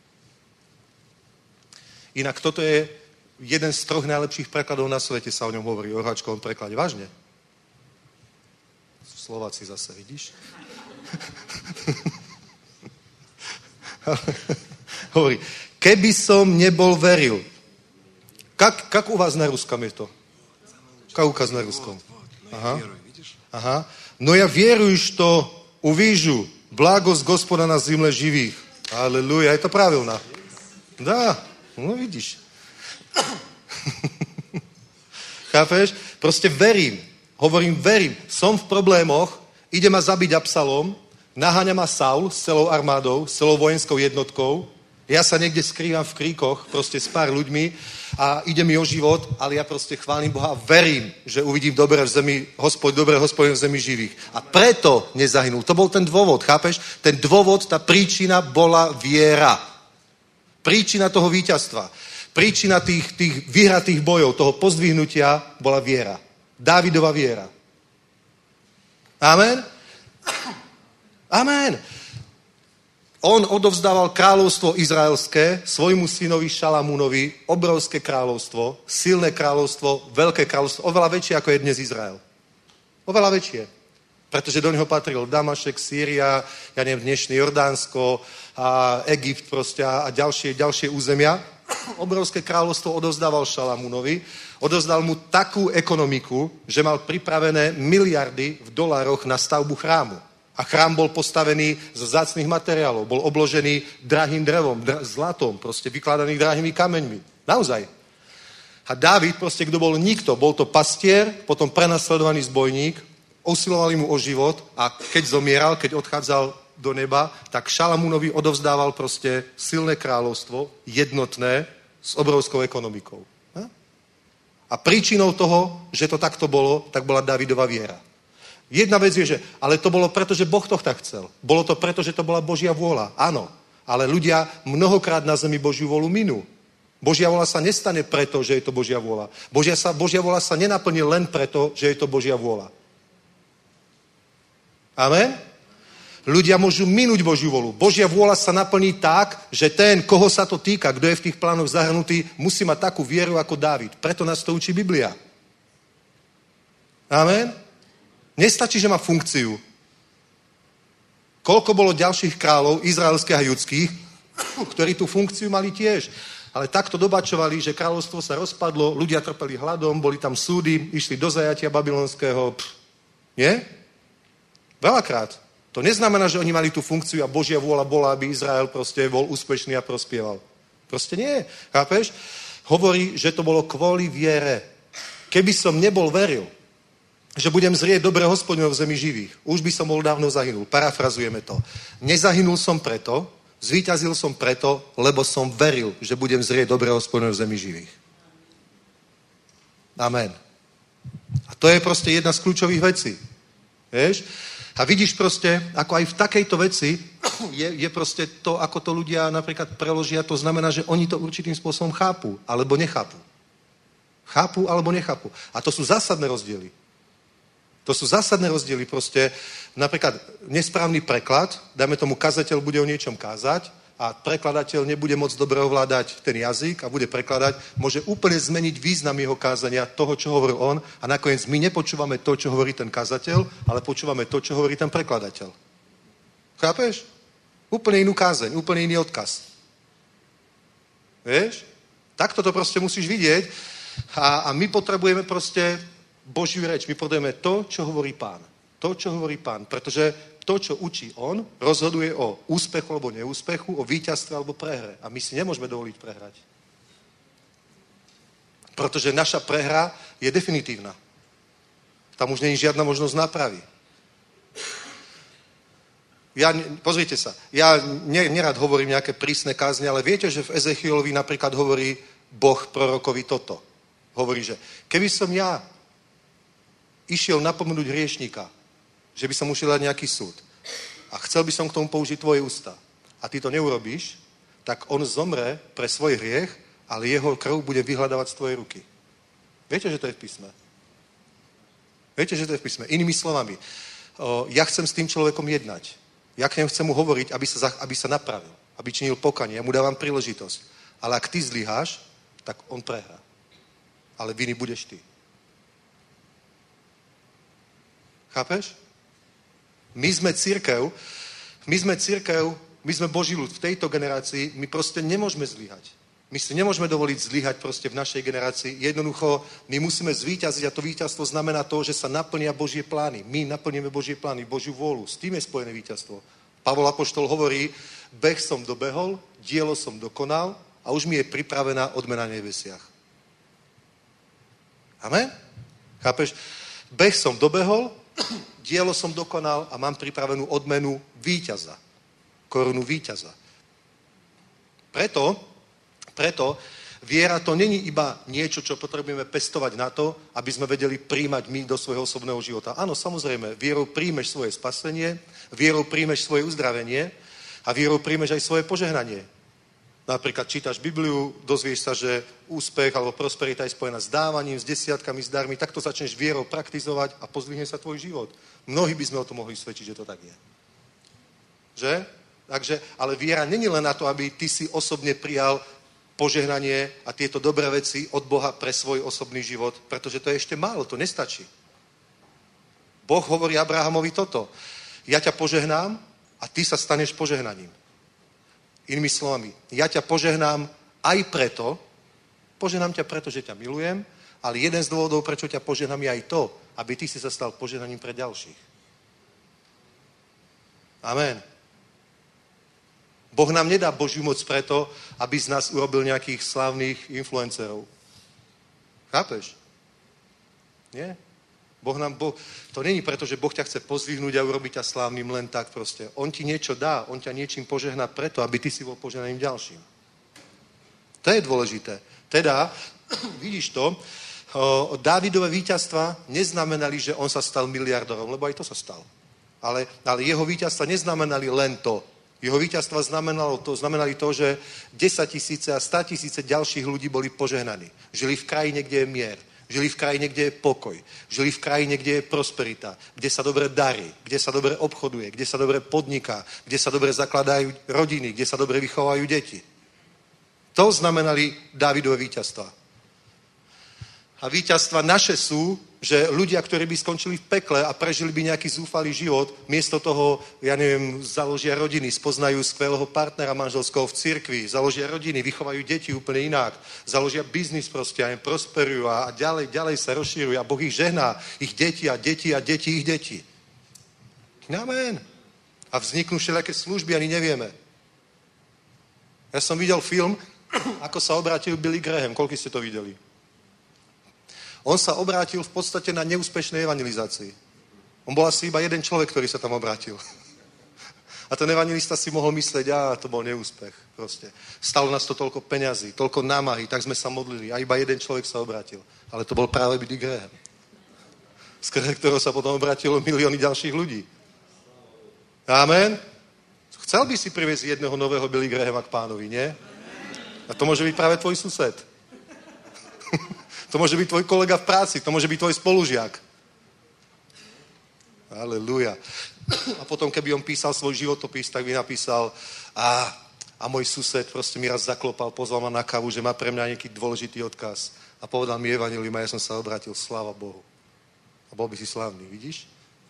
inak toto je jeden z 3 najlepších prekladov na svete, sa o ňom hovorí, o orháčkovom preklade. Vážne? Slováci zase, vidíš? Hovorí, keby som nebol veril. Как у вас на русском je to? Как у вас на русском? Ага. Но я верую, что увижу благость Господа на земле живых. Аллилуйя, это правильно. Да, no vidíš. Chápeš? Proste verím. Hovorím, verím. Som v problémoch, ide ma zabiť Absalom, naháňa ma Saul s celou armádou, s celou vojenskou jednotkou. Ja sa niekde skrývam v kríkoch, proste s pár ľuďmi a ide mi o život, ale ja proste chválim Boha a verím, že uvidím dobré v zemi, dobré hospodin v zemi živých. A preto nezahynul. To bol ten dôvod, chápeš? Ten dôvod, tá príčina bola viera. Príčina toho víťazstva. Príčina tých vyhratých bojov, toho pozdvihnutia bola viera. Dávidova viera. Amen? Amen. On odovzdával kráľovstvo izraelské svojmu synovi Šalamúnovi, obrovské kráľovstvo, silné kráľovstvo, veľké kráľovstvo, oveľa väčšie ako je dnes Izrael. Oveľa väčšie. Pretože do neho patril Damašek, Sýria, ja neviem, dnešné Jordánsko a Egypt proste a ďalšie územia. Obrovské kráľovstvo odovzdával Šalamúnovi. Odovzdal mu takú ekonomiku, že mal pripravené miliardy v dolároch na stavbu chrámu. A chrám bol postavený z vzácnych materiálov. Bol obložený drahým drevom, zlatom, proste vykladaný drahými kameňmi. Naozaj. A Dávid, proste kto bol nikto, bol to pastier, potom prenasledovaný zbojník, usilovali mu o život a keď zomieral, keď odchádzal do neba, tak Šalamúnovi odovzdával proste silné kráľovstvo, jednotné, s obrovskou ekonomikou. A príčinou toho, že to takto bolo, tak bola Dávidova viera. Jedna vec je, že ale to bolo preto, že Boh to tak chcel. Bolo to preto, že to bola Božia vôľa. Áno. Ale ľudia mnohokrát na zemi Božiu vôľu minú. Božia vôľa sa nestane preto, že je to Božia vôľa. Božia vôľa sa nenaplní len preto, že je to Božia vôľa. Amen? Ľudia môžu minúť Božiu vôľu. Božia vôľa sa naplní tak, že ten, koho sa to týka, kto je v tých plánoch zahrnutý, musí mať takú vieru ako Dávid. Preto nás to učí Biblia. Amen? Nestačí, že má funkciu. Koľko bolo ďalších kráľov, izraelských a judských, ktorí tú funkciu mali tiež. Ale takto dobačovali, že kráľovstvo sa rozpadlo, ľudia trpeli hladom, boli tam súdy, išli do zajatia babylonského. Nie? Veľakrát. To neznamená, že oni mali tú funkciu a Božia vôľa bola, aby Izrael proste bol úspešný a prospieval. Proste nie. Chápeš? Hovorí, že to bolo kvôli viere. Keby som nebol veril, že budem zrieť dobré hospodinov v zemi živých, už by som bol dávno zahynul. Parafrazujeme to. Nezahynul som preto, zvíťazil som preto, lebo som veril, že budem zrieť dobré hospodinov v zemi živých. Amen. A to je proste jedna z kľúčových vecí. Vieš? A vidíš proste, ako aj v takejto veci je proste to, ako to ľudia napríklad preložia, to znamená, že oni to určitým spôsobom chápu, alebo nechápu. Chápu, alebo nechápu. A to sú zásadné rozdiely. To sú zásadné rozdiely proste. Napríklad nesprávny preklad, dáme tomu kazateľ bude o niečom kázať a a prekladateľ nebude moc dobre ovládať ten jazyk a bude prekladať, môže úplne zmeniť význam jeho kázania, toho, čo hovoril on a nakoniec my nepočúvame to, čo hovorí ten kazateľ, ale počúvame to, čo hovorí ten prekladateľ. Chápeš? Úplne inú kázeň, úplne iný odkaz. Vieš? Takto to proste musíš vidieť a my potrebujeme proste Božiu reč. My potrebujeme to, čo hovorí Pán. To, čo hovorí Pán. Pretože to, čo učí on, rozhoduje o úspechu alebo neúspechu, o víťazstve alebo prehre. A my si nemôžeme dovoliť prehrať. Pretože naša prehra je definitívna. Tam už není žiadna možnosť nápravy. Pozrite sa, ja nerad hovorím nejaké prísne kázne, ale viete, že v Ezechielovi napríklad hovorí Boh prorokovi toto. Hovorí, že keby som ja išiel napomenúť hriešníka, že by som ušiel dať nejaký súd a chcel by som k tomu použiť tvoje ústa a ty to neurobíš, tak on zomre pre svoj hriech, ale jeho krv bude vyhľadávať z tvojej ruky. Viete, že to je v písme? Viete, že to je v písme? Inými slovami, ja chcem s tým človekom jednať. Ja k nemu chcem mu hovoriť, aby sa napravil, aby činil pokanie. Ja mu dávam príležitosť. Ale ak ty zlyháš, tak on prehrá. Ale viny budeš ty. Chápeš? My sme cirkev, my sme Boží ľud. V tejto generácii my proste nemôžeme zlyhať. My si nemôžeme dovoliť zlyhať proste v našej generácii. Jednoducho, my musíme zvíťaziť a to víťazstvo znamená to, že sa naplnia Božie plány. My naplníme Božie plány, Božiu vôľu. S tým je spojené víťazstvo. Pavol apoštol hovorí, beh som dobehol, dielo som dokonal a už mi je pripravená odmena na nebesiach. Amen? Chápeš? Beh som dobehol, dielo som dokonal a mám pripravenú odmenu víťaza. Korunu víťaza. Preto viera to není iba niečo, čo potrebujeme pestovať na to, aby sme vedeli príjmať my do svojho osobného života. Áno, samozrejme, vierou príjmeš svoje spasenie, vierou príjmeš svoje uzdravenie a vierou príjmeš aj svoje požehnanie. Napríklad čítaš Bibliu, dozvieš sa, že úspech alebo prosperita je spojená s dávaním, s desiatkami, s darmi, tak to začneš vierou praktizovať a pozdvihne sa tvoj život. Mnohí by sme o tom mohli svedčiť, že to tak je. Že? Takže, ale viera není len na to, aby ty si osobne prijal požehnanie a tieto dobré veci od Boha pre svoj osobný život, pretože to je ešte málo, to nestačí. Boh hovorí Abrahamovi toto. Ja ťa požehnám a ty sa staneš požehnaním. Inými slovami, ja ťa požehnám aj preto, požehnám ťa preto, že ťa milujem, ale jeden z dôvodov, prečo ťa požehnám, je aj to, aby ty si sa stal požehnaním pre ďalších. Amen. Boh nám nedá Božiu moc preto, aby z nás urobil nejakých slávnych influencerov. Chápeš? Nie? To není preto, že Boh ťa chce pozdvihnúť a urobiť ťa slávnym len tak proste. On ti niečo dá, on ťa niečím požehná preto, aby ty si bol požehnaním ďalším. To je dôležité. Teda, vidíš to, Dávidové víťazstva neznamenali, že on sa stal miliardárom, lebo aj to sa stal. Ale jeho víťazstva neznamenali len to. Jeho víťazstva znamenali to, že 10 000 a 100 000 ďalších ľudí boli požehnaní. Žili v krajine, kde je mier. Žili v krajine, kde je pokoj. Žili v krajine, kde je prosperita. Kde sa dobre darí. Kde sa dobre obchoduje. Kde sa dobre podniká. Kde sa dobre zakladajú rodiny. Kde sa dobre vychovajú deti. To znamenali Dávidové víťazstva. A víťazstva naše sú, že ľudia, ktorí by skončili v pekle a prežili by nejaký zúfalý život, miesto toho, založia rodiny, spoznajú skvelého partnera manželského v cirkvi, založia rodiny, vychovajú deti úplne inak, založia biznis proste a prosperujú a ďalej sa rozširujú a Boh ich žehná, ich deti a deti a deti ich deti. Amen. A vzniknú všelijaké služby, ani nevieme. Ja som videl film, ako sa obrátil Billy Graham. Koľko ste to videli? On sa obrátil v podstate na neúspešnej evangelizácii. On bol asi iba jeden človek, ktorý sa tam obrátil. A ten evangelista si mohol myslieť, to bol neúspech. Proste. Stalo nás to toľko peňazí, toľko námahy, tak sme sa modlili a iba jeden človek sa obrátil. Ale to bol práve Billy Graham. Skrze ktorého sa potom obrátilo milióny ďalších ľudí. Amen. Chcel by si priviesť jedného nového Billy Grahama k Pánovi, nie? A to môže byť práve tvoj sused. To môže byť tvoj kolega v práci, to môže byť tvoj spolužiak. Halelúja. A potom, keby on písal svoj životopis, tak by napísal a A môj sused proste mi raz zaklopal, pozval ma na kávu, že má pre mňa nejaký dôležitý odkaz. A povedal mi evanjelium a ja som sa obrátil, sláva Bohu. A bol by si slávny, vidíš?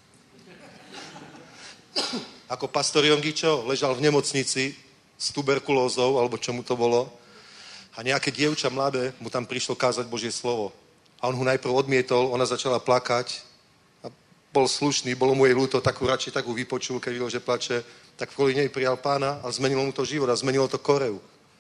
Ako pastor Jongičo ležal v nemocnici s tuberkulózou, alebo čo mu to bolo. A nejaké dievča mladé mu tam prišlo kázať Božie slovo. A on ho najprv odmietol, ona začala plakať. A bol slušný, bolo mu jej ľúto, takú radšej takú vypočul, keď videl, že plače. Tak kvôli nej prijal Pána a zmenilo mu to život a zmenilo to Koreu.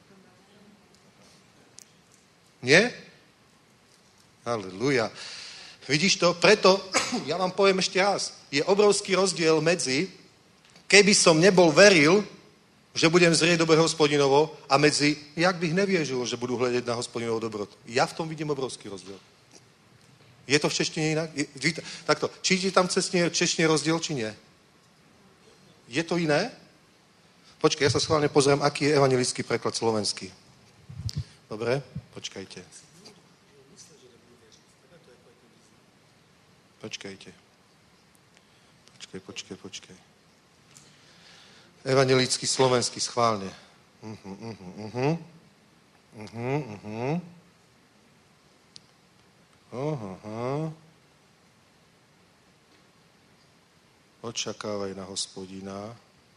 Nie? Halleluja. Vidíš to? Preto, ja vám poviem ešte raz, je obrovský rozdiel medzi, keby som nebol veril, že budem zrieť dobre Hospodinovo a medzi, jak bych neviežil, že budu hľadať na Hospodinovo dobrotu. Ja v tom vidím obrovský rozdiel. Je to v češtine inak? Takto, či je tam češtine rozdiel, či nie? Je to iné? Počkaj, ja sa schválne pozriem, aký je evangelický preklad slovenský. Dobre, počkajte. Počkaj. Evangelický slovenský, schválne. Očakávaj na Hospodina.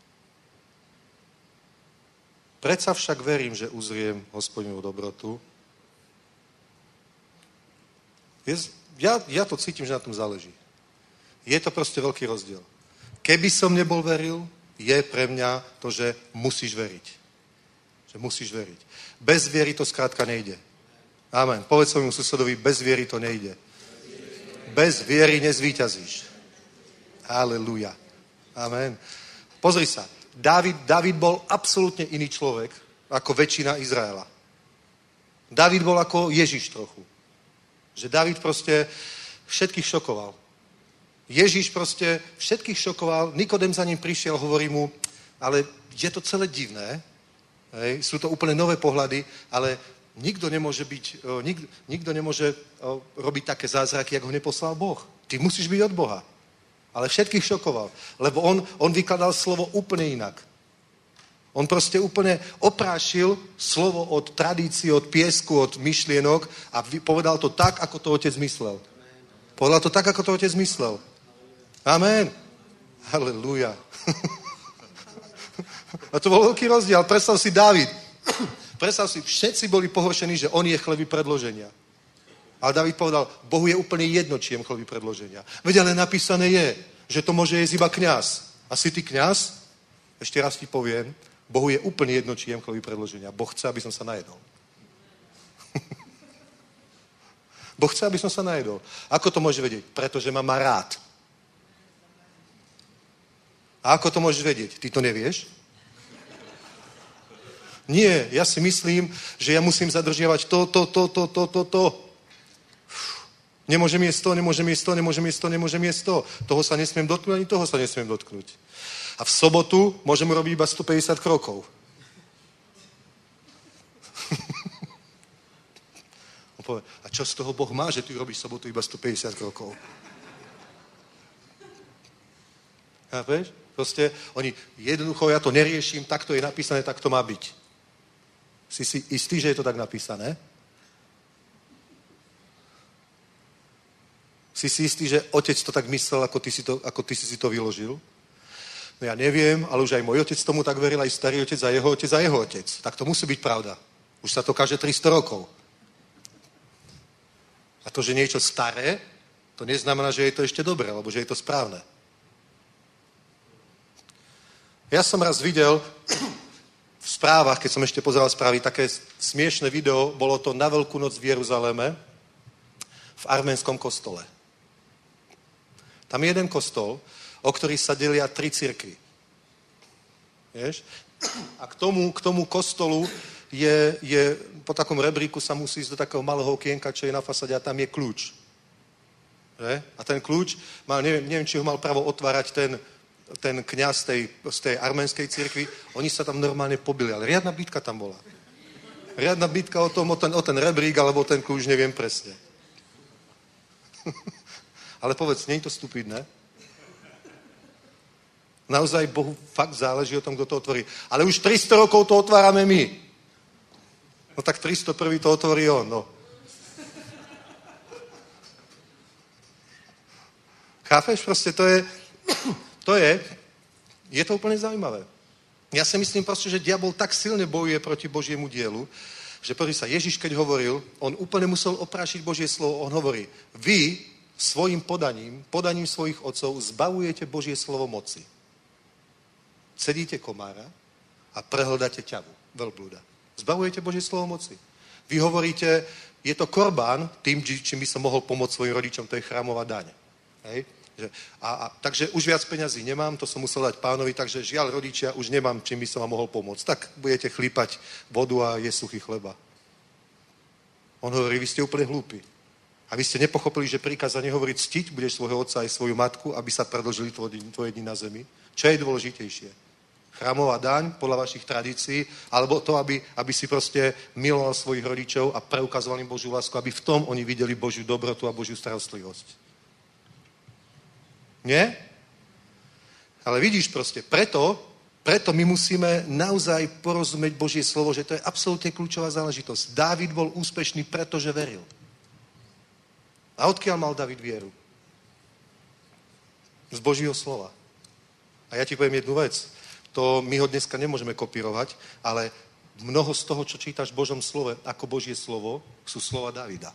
Predsa však verím, že uzriem Hospodinovu dobrotu. Ja to cítim, že na tom záleží. Je to proste veľký rozdiel. Keby som nebol veril, je pre mňa to, že musíš veriť. Že musíš veriť. Bez viery to skrátka nejde. Amen. Povedz svojmu susedovi, bez viery to nejde. Bez viery nezvíťazíš. Halleluja. Amen. Pozri sa. Dávid bol absolútne iný človek ako väčšina Izraela. Dávid bol ako Ježiš trochu. Že Dávid proste všetkých šokoval. Ježiš proste všetkých šokoval. Nikodem za ním prišiel, hovorí mu, ale je to celé divné. Hej, sú to úplne nové pohľady, ale nikto nemôže robiť také zázraky, jak ho neposlal Boh. Ty musíš byť od Boha. Ale všetkých šokoval, lebo on vykladal slovo úplne inak. On proste úplne oprášil slovo od tradícií, od piesku, od myšlienok a povedal to tak, ako to otec myslel. Povedal to tak, ako to otec myslel. Amen. Halleluja. A to bol veľký rozdiel. Predstav si Dávid. Predstav si, všetci boli pohoršení, že on je chleby predloženia. Ale Dávid povedal, Bohu je úplne jedno, či jem chleby predloženia. Veď ale napísané je, že to môže jesť iba kňaz. A si ty kňaz? Ešte raz ti poviem, Bohu je úplne jedno, či jem chleby predloženia. Boh chce, aby som sa najedol. Boh chce, aby som sa najedol. Ako to môže vedieť? Pretože ma má rád. A ako to môžeš vedieť? Ty to nevieš? Nie, ja si myslím, že ja musím zadržiavať to. Nemôžem jesť to. Toho sa nesmiem dotknúť, ani toho sa nesmiem dotknúť. A v sobotu môžem robiť iba 150 krokov. On povie, a čo z toho Boh má, že ty robíš v sobotu iba 150 krokov? Chápeš? Proste oni, jednoducho, ja to neriešim, tak to je napísané, tak to má byť. Si istý, že je to tak napísané? Si istý, že otec to tak myslel, ako ty si to vyložil? No ja neviem, ale už aj môj otec tomu tak veril, aj starý otec a jeho otec a jeho otec. Tak to musí byť pravda. Už sa to káže 300 rokov. A to, že niečo staré, to neznamená, že je to ešte dobré, alebo že je to správne. Ja som raz videl v správach, keď som ešte pozeral správy, také smiešné video, bolo to na Veľkú noc v Jeruzaleme, v arménskom kostole. Tam je jeden kostol, o ktorý sa delia 3 cirkvi. Vieš? A k tomu kostolu je po takom rebríku sa musí ísť do takého malého okienka, čo je na fasade a tam je kľúč. Že? A ten kľúč, neviem, či ho mal právo otvárať ten kňaz z tej arménskej cirkvi, oni sa tam normálne pobili, ale riadna bitka tam bola. Riadna bitka o ten rebrík, alebo ten kľúč, neviem presne. Ale povedz, nie je to stupidné? Naozaj Bohu fakt záleží o tom, kto to otvorí. Ale už 300 rokov to otvárame my. No tak 301. to otvorí on, no. Chápeš? Proste je to úplne zaujímavé. Ja si myslím proste, že diabol tak silne bojuje proti Božiemu dielu, že pozri sa, Ježiš keď hovoril, on úplne musel oprášiť Božie slovo, on hovorí, vy svojim podaním svojich otcov zbavujete Božie slovo moci. Cedíte komára a prehľadáte ťavu, veľblúda. Zbavujete Božie slovo moci. Vy hovoríte, je to korbán, tým, čím by som mohol pomôcť svojim rodičom, to je chrámová daň. Hej? Takže už viac peňazí nemám, to som musel dať pánovi, takže žiaľ rodičia, už nemám, čím by som vám mohol pomôcť. Tak budete chlípať vodu a jesť suchý chleba. On hovorí, vy ste úplne hlúpi. A vy ste nepochopili, že prikázanie hovorí ctiť, budeš svojho otca aj svoju matku, aby sa predĺžili tvoje dni na zemi. Čo je dôležitejšie? Chrámová daň podľa vašich tradícií, alebo to, aby si proste miloval svojich rodičov a preukazoval im Božiu lásku, aby v tom oni videli Božiu dobrotu a Božiu starostlivosť. Nie? Ale vidíš proste, preto my musíme naozaj porozumieť Božie slovo, že to je absolútne kľúčová záležitosť. Dávid bol úspešný, pretože veril. A odkiaľ mal Dávid vieru? Z Božího slova. A ja ti poviem jednu vec. To my ho dneska nemôžeme kopírovať, ale mnoho z toho, čo čítaš v Božom slove, ako Božie slovo, sú slova Davida.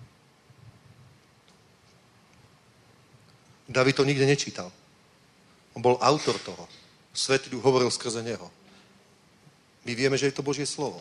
David to nikde nečítal. On bol autor toho. Svätý Duch hovoril skrze neho. My vieme, že je to Božie slovo.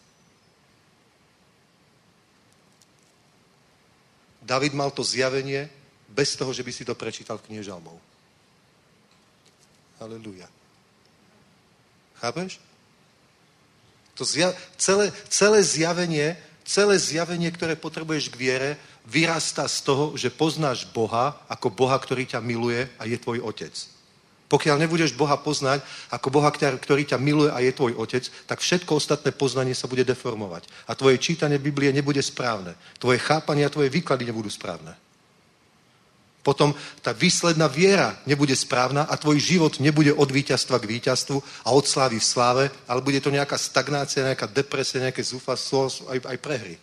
David mal to zjavenie bez toho, že by si to prečítal v knihe Žalmov. Halelúja. Chápeš? To celé zjavenie, ktoré potrebuješ k viere, vyrastá z toho, že poznáš Boha ako Boha, ktorý ťa miluje a je tvoj otec. Pokiaľ nebudeš Boha poznať ako Boha, ktorý ťa miluje a je tvoj otec, tak všetko ostatné poznanie sa bude deformovať. A tvoje čítanie Biblie nebude správne. Tvoje chápanie a tvoje výklady nebudú správne. Potom tá výsledná viera nebude správna a tvoj život nebude od víťazstva k víťazstvu a od slávy v sláve, ale bude to nejaká stagnácia, nejaká depresia, nejaké zúfalstvo, aj prehry.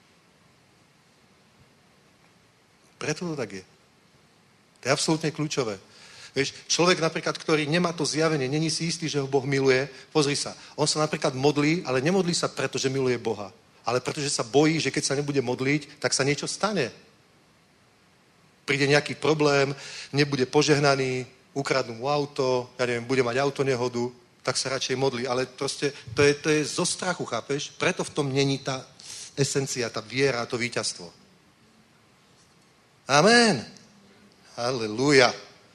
Preto to tak je. To je absolútne kľúčové. Vieš, človek napríklad, ktorý nemá to zjavenie, není si istý, že ho Boh miluje, pozri sa, on sa napríklad modlí, ale nemodlí sa preto, že miluje Boha, ale pretože sa bojí, že keď sa nebude modliť, tak sa niečo stane. Príde nejaký problém, nebude požehnaný, ukradnú mu auto, ja neviem, bude mať autonehodu, tak sa radšej modlí. Ale proste to je zo strachu, chápeš? Preto v tom není tá esencia, tá viera, to víťazstvo. Amen. Halelúja.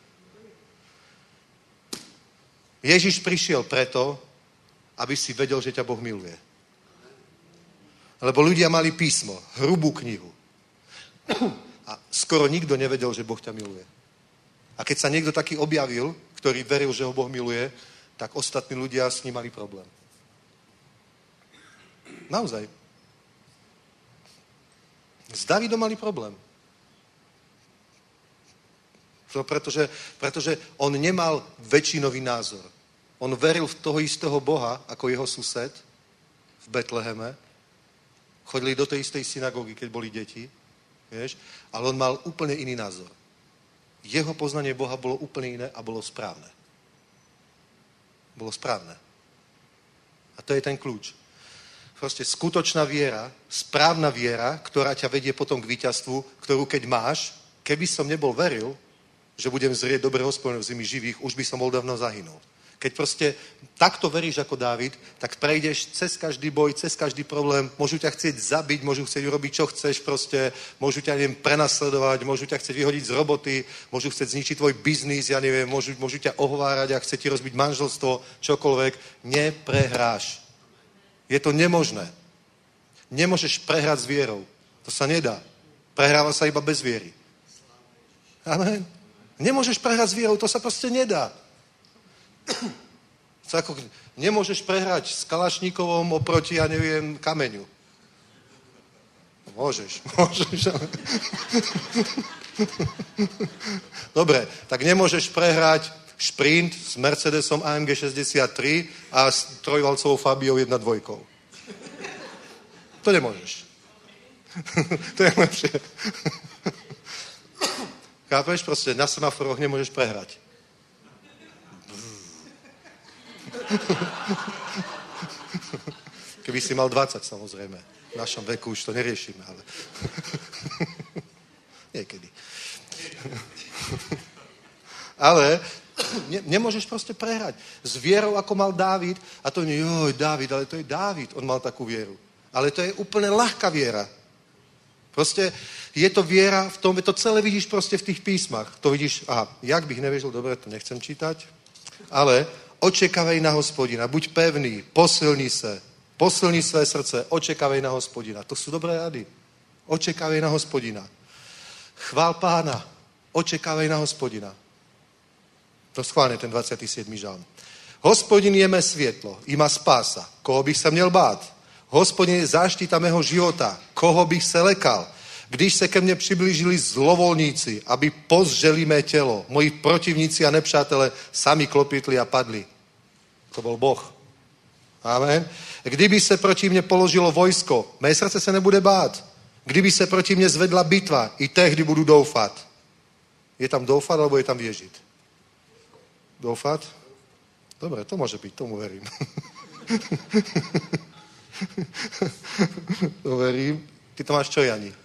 Ježiš prišiel preto, aby si vedel, že ťa Boh miluje. Lebo ľudia mali písmo, hrubú knihu. A skoro nikto nevedel, že Boh ťa miluje. A keď sa niekto taký objavil, ktorý veril, že ho Boh miluje, tak ostatní ľudia s ním mali problém. Naozaj. S Davidom mali problém. Pretože on nemal väčšinový názor. On veril v toho istého Boha, ako jeho sused v Betleheme. Chodili do tej istej synagógy, keď boli deti. Vieš? Ale on mal úplne iný názor. Jeho poznanie Boha bolo úplne iné a bolo správne. Bolo správne. A to je ten kľúč. Proste skutočná viera, správna viera, ktorá ťa vedie potom k víťazstvu, ktorú keď máš, keby som nebol veril, že budem zrieť dobre Hospodina v zemi živých, už by som bol dávno zahynul. Keď proste takto veríš ako Dávid, tak prejdeš cez každý boj, cez každý problém, môžu ťa chcieť zabiť, môžu chcieť urobiť, čo chceš proste, môžu ťa, neviem, prenasledovať, môžu ťa chcieť vyhodiť z roboty, môžu chcieť zničiť tvoj biznis, ja neviem, môžu ťa ohovárať a chcieť ti rozbiť manželstvo, čokoľvek, neprehráš. Je to nemožné. Nemôžeš prehrať s vierou. To sa nedá. Prehráva sa iba bez viery. Amen. Nemôžeš prehrať s vierou, to sa proste nedá. Nemôžeš prehrať s Kalašníkovom oproti, ja neviem, kameňu. Môžeš. Dobre, tak nemôžeš prehrať šprint s Mercedesom AMG 63 a s trojvalcovou Fabiou 1.2. To nemôžeš. To je lepšie. Chápeš? Proste na semaforoch nemôžeš prehrať. Keby si mal 20, samozrejme. V našom veku už to neriešime, ale... Niekedy. Ale nemôžeš proste prehrať. S vierou, ako mal Dávid, a to nie, joj, Dávid, ale to je Dávid, on mal takú vieru. Ale to je úplne ľahká viera. Proste je to viera v tom, to celé vidíš proste v tých písmach. To vidíš, jak bych nevěřil, dobre, to nechcem čítať, ale očekávej na Hospodina, buď pevný, posilni své srdce, očekávej na Hospodina. To sú dobré rady. Očekávej na Hospodina. Chvál Pána, očekávej na Hospodina. To schválne ten 27. žalm. Hospodin je mé světlo, ima spása. Koho bych se měl bát? Hospodin je záštita mého života. Koho bych se lekal? Když se ke mně přiblížili zlovolníci, aby pozřeli mé tělo, moji protivníci a nepřátelé sami klopitli a padli. To byl Boh. Amen. Kdyby se proti mně položilo vojsko, mé srdce se nebude bát. Kdyby se proti mně zvedla bitva, i tehdy budu doufat. Je tam doufat, alebo je tam věřit? Doufat? Dobre, to môže byť, tomu verím. To verím. Ty to máš čo, Jani?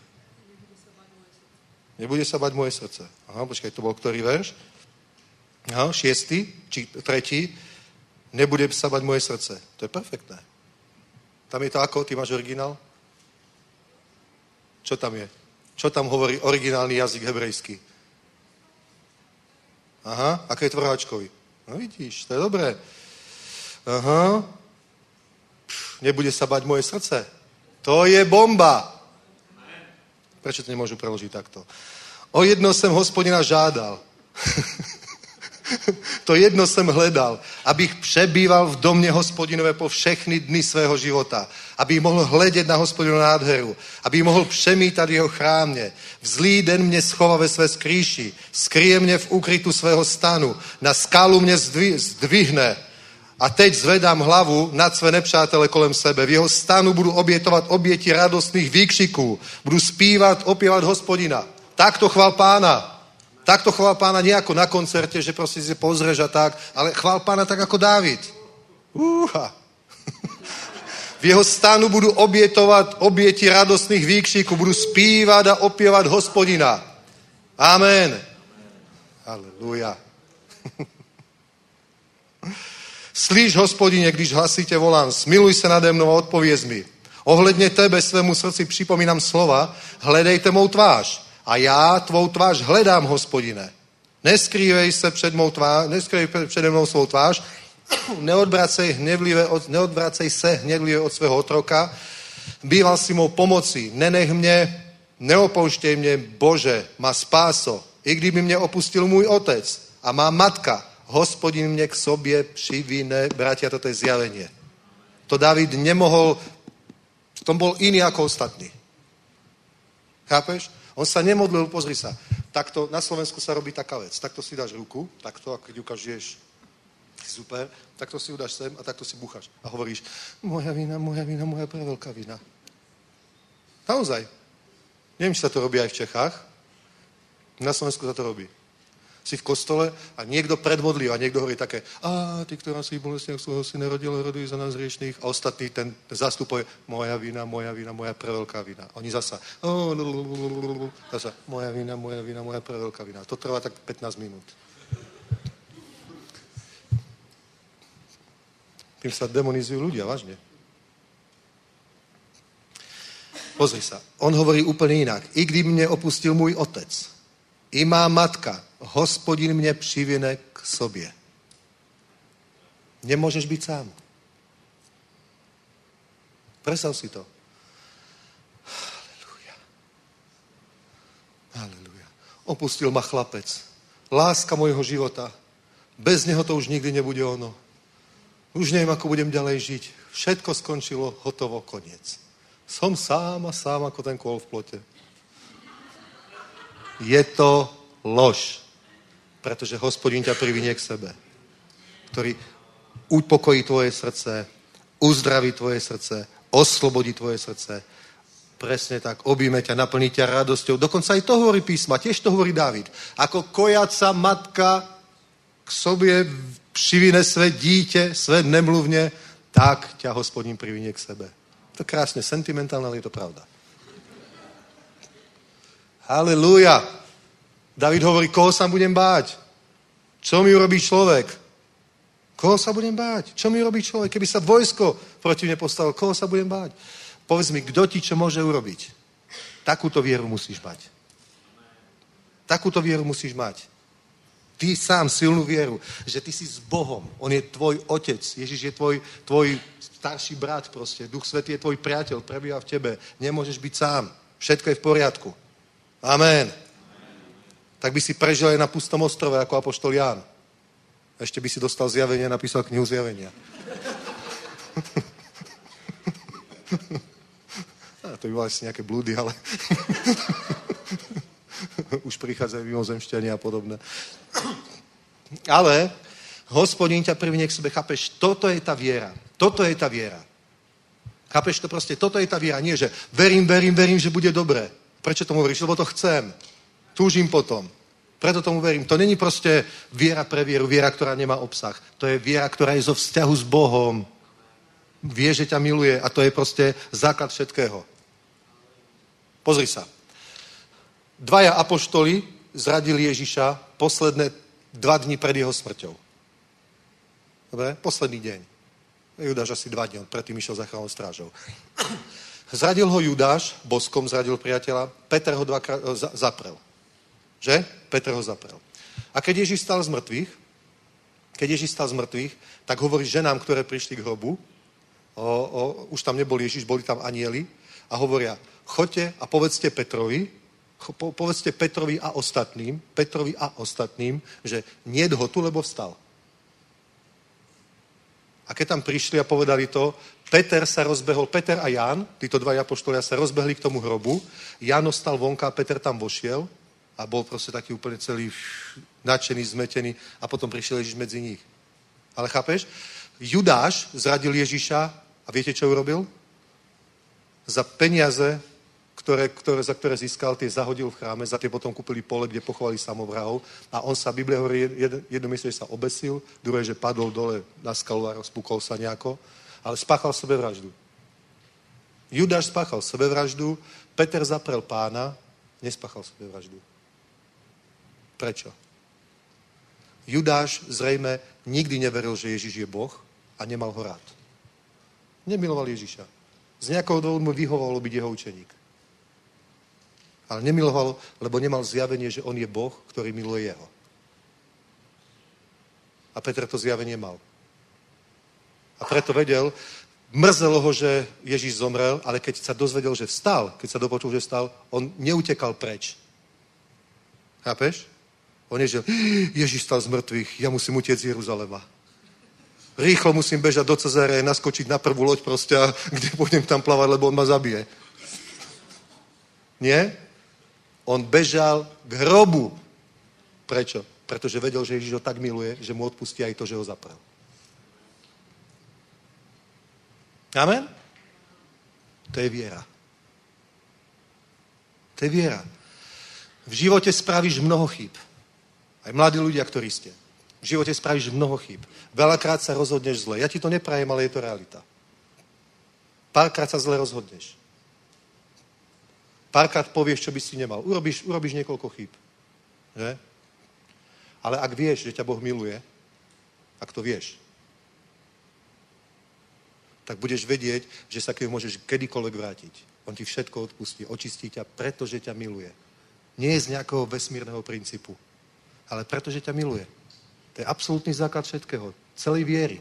Nebude sa bať moje srdce. Aha, počkaj, to bol ktorý verš? Aha, 6. či 3. Nebude sa bať moje srdce. To je perfektné. Tam je to ako? Ty máš originál? Čo tam je? Čo tam hovorí originálny jazyk hebrejský? Aha, aké je tvrháčkovi? No vidíš, to je dobré. Aha. Nebude sa bať moje srdce. To je bomba. Prečo to nemôžu preložiť takto? O jedno jsem Hospodina žádal. To jedno jsem hledal, abych přebýval v domě Hospodinové po všechny dny svého života. Abych mohl hledět na Hospodinu nádheru. Abych mohl přemítat jeho chrámě. V zlý den mě schová ve své skrýši. Skryje mě v úkrytu svého stanu. Na skálu mě zdvihne. A teď zvedám hlavu nad své nepřátele kolem sebe. V jeho stanu budu obětovat oběti radostných výkřiků. Budu zpívat, opěvat Hospodina. Takto chvál Pána. Takto chvál Pána nie ako na koncerte, že proste si pozrieš a tak, ale chvál Pána tak ako Dávid. V jeho stanu budu obětovat oběti radostných výkřiků, budu zpívat a opěvat Hospodina. Amen. Halleluja. Slyš, Hospodine, když hlasitě volám, smiluj se nade mnou a odpověz mi. Ohledně tebe svému srdci připomínám slova, hledejte mou tvář. A já tvou tvář hledám, Hospodine. Neskrývej přede mnou svou tvář, neodvracej se hněvlivě od svého otroka. Býval si mou pomocí, nenech mě, neopouštěj mě, Bože, má spáso. I kdyby mě opustil můj otec a má matka, Hospodin mě k sobě přivine. Bratia, toto je zjavenie. To David nemohol, v tom bol iný ako ostatní. Chápeš? On sa nemodlil, pozri sa, takto na Slovensku sa robí taká vec. Takto si dáš ruku, takto, a keď ukážeš, super, takto si ju dáš sem a takto si bucháš. A hovoríš, moja vina, moja veľká vina. Naozaj. Neviem, či sa to robí aj v Čechách. Na Slovensku sa to robí. Si v kostole a niekto predmodlí a niekto hovorí také, ty, ktorá si bolestne svojho syna rodila, roduj za nás hriešných. A ostatní ten zastupuje, moja vina, moja preveľká vina. Oni zasa, moja vina, moja preveľká vina. To trvá tak 15 minút. Tým sa demonizujú ľudia, vážne. Pozri sa, on hovorí úplne inak. I kdy mne opustil môj otec, i má matka, Hospodin mě přivine k sobě. Nemôžeš byť sám. Predstav si to. Halleluja. Opustil ma chlapec. Láska mojho života. Bez neho to už nikdy nebude ono. Už neviem, ako budem ďalej žiť. Všetko skončilo, hotovo, koniec. Som sám a sám ako ten kôl v plote. Je to lož. Pretože Hospodin ťa privinie k sebe, ktorý upokojí tvoje srdce, uzdraví tvoje srdce, oslobodí tvoje srdce. Presne tak, objíme ťa, naplní ťa radosťou. Dokonca aj to hovorí písma, tiež to hovorí Dávid. Ako kojaca matka k sobě přivine své dítě, své nemluvně, tak ťa Hospodin privinie k sebe. To krásne sentimentálne, ale je to pravda. Halelúja. David hovorí, koho sa budem báť? Čo mi urobí človek? Koho sa budem báť? Čo mi urobí človek? Keby sa vojsko proti mne postavilo, koho sa budem báť? Povedz mi, kto ti čo môže urobiť? Takúto vieru musíš mať. Takúto vieru musíš mať. Ty sám silnú vieru, že ty si s Bohom. On je tvoj otec. Ježiš je tvoj starší brat proste. Duch Svätý je tvoj priateľ, prebýva v tebe. Nemôžeš byť sám. Všetko je v poriadku. Amen. Tak by si prežil aj na pustom ostrove ako apoštol Ján. Ešte by si dostal zjavenie a napísal knihu zjavenia. To by bolo asi nejaké blúdy, ale už prichádzajú mimozemšťania a podobné. Ale Hospodin ťa privinie k sebe, chápeš? Toto je tá viera. Toto je tá viera. Chápeš to proste? Toto je tá viera. Nie, že verím, že bude dobré. Prečo tomu veríš? Lebo to chcem. Túžim potom. Preto tomu verím. To není proste viera pre vieru, viera, ktorá nemá obsah. To je viera, ktorá je zo vzťahu s Bohom. Vie, že ťa miluje a to je proste základ všetkého. Pozri sa. 2 apoštoli zradili Ježiša posledné 2 dni pred jeho smrťou. Dobre? Posledný deň. Judáš asi 2 dní, on predtým išiel za chrámovou strážou. Zradil ho Judáš, boskom zradil priateľa, Peter ho 2-krát zaprel. Že? Peter ho zaprel. A keď Ježiš stal z mŕtvych, tak hovorí ženám, ktoré prišli k hrobu, už tam nebol Ježiš, boli tam anjeli a hovoria, choďte a povedzte Petrovi a ostatným, že niet ho tu, lebo vstal. A keď tam prišli a povedali to, Peter a Ján, títo 2 apoštolia sa rozbehli k tomu hrobu, Ján ostal vonka, Peter tam vošiel a bol proste taký úplne celý nadšený, zmetený a potom prišiel Ježiš medzi nich. Ale chápeš? Judáš zradil Ježiša a viete, čo urobil? Za peniaze, za ktoré získal, tie zahodil v chráme, za tie potom kúpili pole, kde pochovali samovrahov a on sa, Biblia hovorí, jedno myslí, že sa obesil, druhé, že padol dole na skalu a rozpúkol sa nejako, ale spáchal sebevraždu. Judáš spáchal sebevraždu, Peter zaprel Pána, nespáchal sebevraždu. Prečo? Judáš zrejme nikdy neveril, že Ježiš je Boh a nemal ho rád. Nemiloval Ježiša. Z nejakého dôvodu mu vyhovovalo byť jeho učeník. Ale nemiloval, lebo nemal zjavenie, že on je Boh, ktorý miluje jeho. A Peter to zjavenie mal. A preto vedel, mrzelo ho, že Ježiš zomrel, ale keď sa dozvedel, že vstal, keď sa dopočul, že vstal, on neutekal preč. Chápeš? On je, že Ježiš stal z mŕtvych, ja musím utiec z Jeruzalema. Rýchlo musím bežať do Cezáreje, naskočiť na prvú loď proste, kde pôjdem tam plávať, lebo on ma zabije. Nie? On bežal k hrobu. Prečo? Pretože vedel, že Ježiš ho tak miluje, že mu odpustí aj to, že ho zaprel. Amen? To je viera. To je viera. V živote spravíš mnoho chýb. Aj mladí ľudia, ktorí ste. V živote spravíš mnoho chýb. Veľakrát sa rozhodneš zle. Ja ti to neprajem, ale je to realita. Párkrát sa zle rozhodneš. Párkrát povieš, čo by si nemal. Urobíš niekoľko chýb. Že? Ale ak vieš, že ťa Boh miluje, ak to vieš, tak budeš vedieť, že sa k nemu môžeš kedykoľvek vrátiť. On ti všetko odpustí, očistí ťa, pretože ťa miluje. Nie je z nejakého vesmírneho princípu, ale pretože ťa miluje. To je absolútny základ všetkého. Celej viery.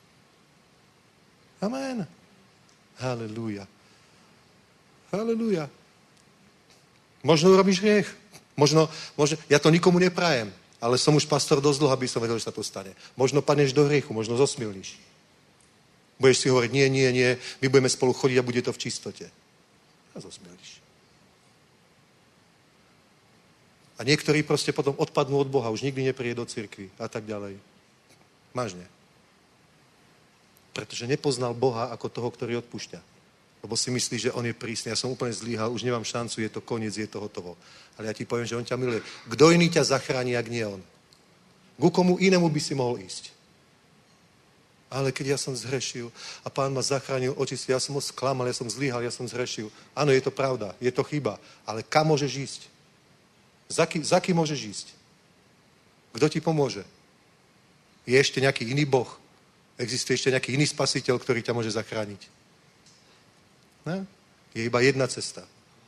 Amen. Halelúja. Halelúja. Možno urobíš hriech. Možno, ja to nikomu neprajem, ale som už pastor dosť dlho, aby som vedel, že sa to stane. Možno padneš do hriechu, možno zosmilníš. Budeš si hovoriť, nie, my budeme spolu chodiť a bude to v čistote. A zosmilníš. A A niektorí proste potom odpadnú od Boha, už nikdy nepríde do cirkvi a tak ďalej. Vážne. Pretože nepoznal Boha ako toho, ktorý odpúšťa. Lebo si myslí, že on je prísny. Ja som úplne zlíhal, už nemám šancu, je to koniec, je to hotovo. Ale ja ti poviem, že on ťa miluje. Kto iný ťa zachráni, ak nie on? Ku komu inému by si mohol ísť? Ale keď ja som zhrešil a Pán ma zachránil, očistil, ja som ho sklamal, ja som zlíhal, ja som zhrešil. Áno, je to pravda, je to chyba. Ale kam môžeš ísť? Za kým môžeš ísť? Kto ti pomôže? Je ešte nejaký iný Boh? Existuje ešte nejaký iný spasiteľ, ktorý ťa môže zachrániť? Ne? Je iba jedna cesta.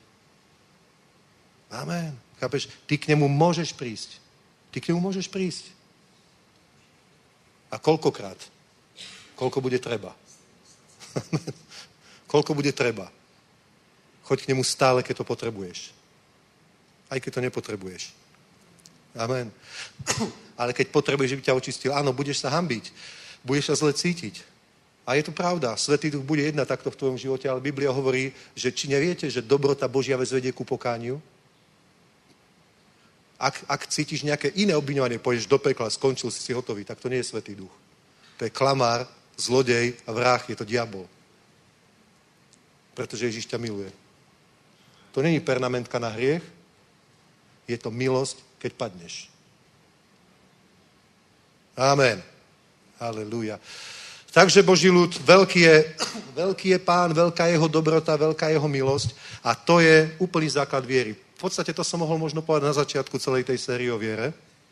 Amen. Chápeš? Ty k nemu môžeš prísť. Ty k nemu môžeš prísť. A koľkokrát? Koľko bude treba? Koľko bude treba? Choď k nemu stále, keď to potrebuješ. Aj keď to nepotrebuješ. Amen. Ale keď potrebuješ, že by ťa očistil, áno, budeš sa hanbiť. Budeš sa zle cítiť. A je to pravda. Svätý Duch bude jednať takto v tvojom živote, ale Biblia hovorí, že či neviete, že dobrota Božia vedie ku pokániu? Ak cítiš nejaké iné obviňovanie, pôjdeš do pekla, skončil si hotový, tak to nie je Svätý Duch. To je klamár, zlodej a vrah, je to diabol. Pretože Ježiš ťa miluje. To není permanentka na hriech, je to milosť, keď padneš. Amen. Halelúja. Takže Boží ľud, veľký je Pán, veľká jeho dobrota, veľká jeho milosť a to je úplný základ viery. V podstate to som mohol možno povedať na začiatku celej tej série o viere.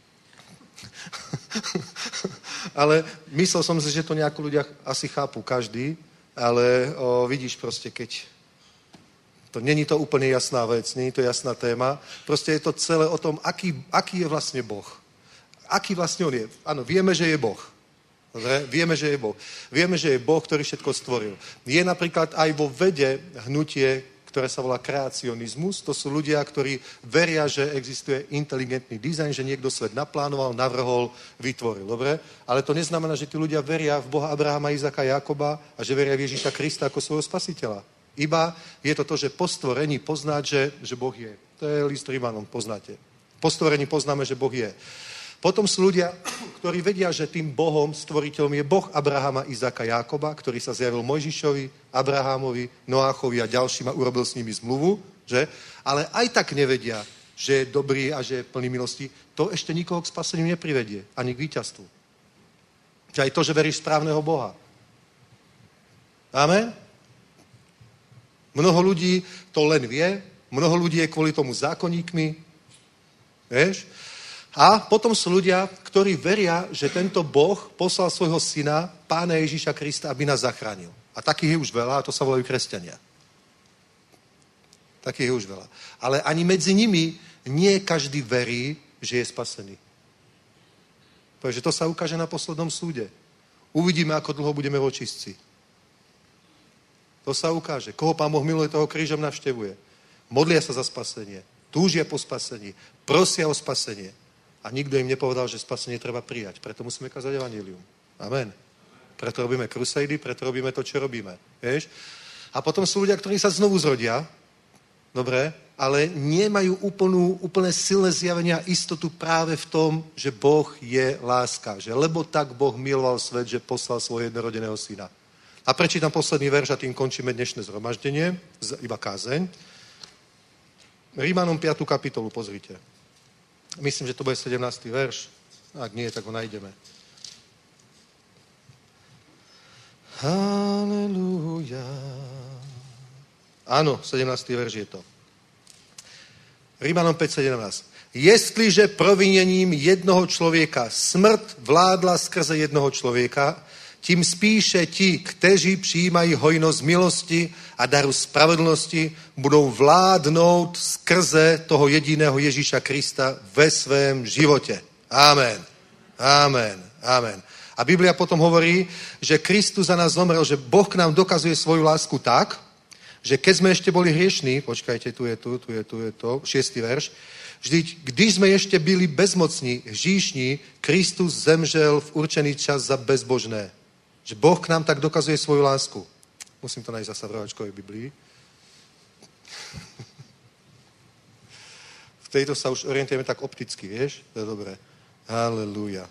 Ale myslel som si, že to nejako ľudia asi chápu každý, ale vidíš proste, keď to není to úplne jasná vec, není to jasná téma, proste je to celé o tom, aký je vlastne Boh. Aký vlastne on je. Áno, vieme, že je Boh. Dobre? Vieme, že je Boh. Vieme, že je Boh, ktorý všetko stvoril. Je napríklad aj vo vede hnutie, ktoré sa volá kreacionizmus. To sú ľudia, ktorí veria, že existuje inteligentný dizajn, že niekto svet naplánoval, navrhol, vytvoril. Dobre? Ale to neznamená, že tí ľudia veria v Boha Abrahama, Izaka, Jakoba a že veria v Ježíša Krista ako svojho spasiteľa. Iba je to, že po stvorení poznáť, že Boh je. To je list Rímanom, poznáte. Po stvorení poznáme, že Boh je. Potom sú ľudia, ktorí vedia, že tým Bohom, stvoriteľom je Boh Abrahama, Izaka, Jákoba, ktorý sa zjavil Mojžišovi, Abrahamovi, Noáchovi a ďalším a urobil s nimi zmluvu, že? Ale aj tak nevedia, že je dobrý a že je plný milosti. To ešte nikoho k spaseniu neprivedie, ani k víťazstvu. Že aj to, že veríš správneho Boha. Amen? Mnoho ľudí to len vie, mnoho ľudí je kvôli tomu zákonníkmi, vieš? A potom sú ľudia, ktorí veria, že tento Boh poslal svojho syna, Pána Ježíša Krista, aby nás zachránil. A takých je už veľa, a to sa volajú kresťania. Takých je už veľa. Ale ani medzi nimi nie každý verí, že je spasený. Takže to sa ukáže na poslednom súde. Uvidíme, ako dlho budeme v očistci. To sa ukáže. Koho Pán Boh miluje, toho krížom navštevuje. Modlia sa za spasenie. Túžia po spasení. Prosia o spasenie. A nikto im nepovedal, že spasenie treba prijať. Preto musíme kázať evanjelium. Amen. Preto robíme krusejdy, preto robíme to, čo robíme. Vieš? A potom sú ľudia, ktorí sa znovu zrodia. Dobre? Ale nemajú úplne silné zjavenia istotu práve v tom, že Boh je láska. Že lebo tak Boh miloval svet, že poslal svojho jednorodeného syna. A prečítam posledný verš a tým končíme dnešné zhromaždenie. Iba kázeň. Rímanom 5. kapitolu, pozrite. Myslím, že to bude 17. verš. Ak nie, tak ho nájdeme. Halelúja. Áno, 17. verš je to. Rímanom 5.17. Jestliže proviněním jednoho člověka smrt vládla skrze jednoho člověka, tím spíše ti, kteří přijímají hojnost milosti a daru spravedlnosti, budou vládnout skrze toho jediného Ježíša Krista ve svém životě. Amen. Amen. Amen. A Biblia potom hovorí, že Kristus za nás zomrel, že Boh k nám dokazuje svoju lásku tak, že keď sme ešte boli hriešní, počkajte, tu je to, 6. verš, vždyť, když jsme ještě byli bezmocní, hříšní, Kristus zemřel v určený čas za bezbožné. Že Boh k nám tak dokazuje svoju lásku. Musím to nájsť zasa v rohačkovej Biblii. V tejto sa už orientujeme tak opticky, vieš? To je dobré. Halelúja.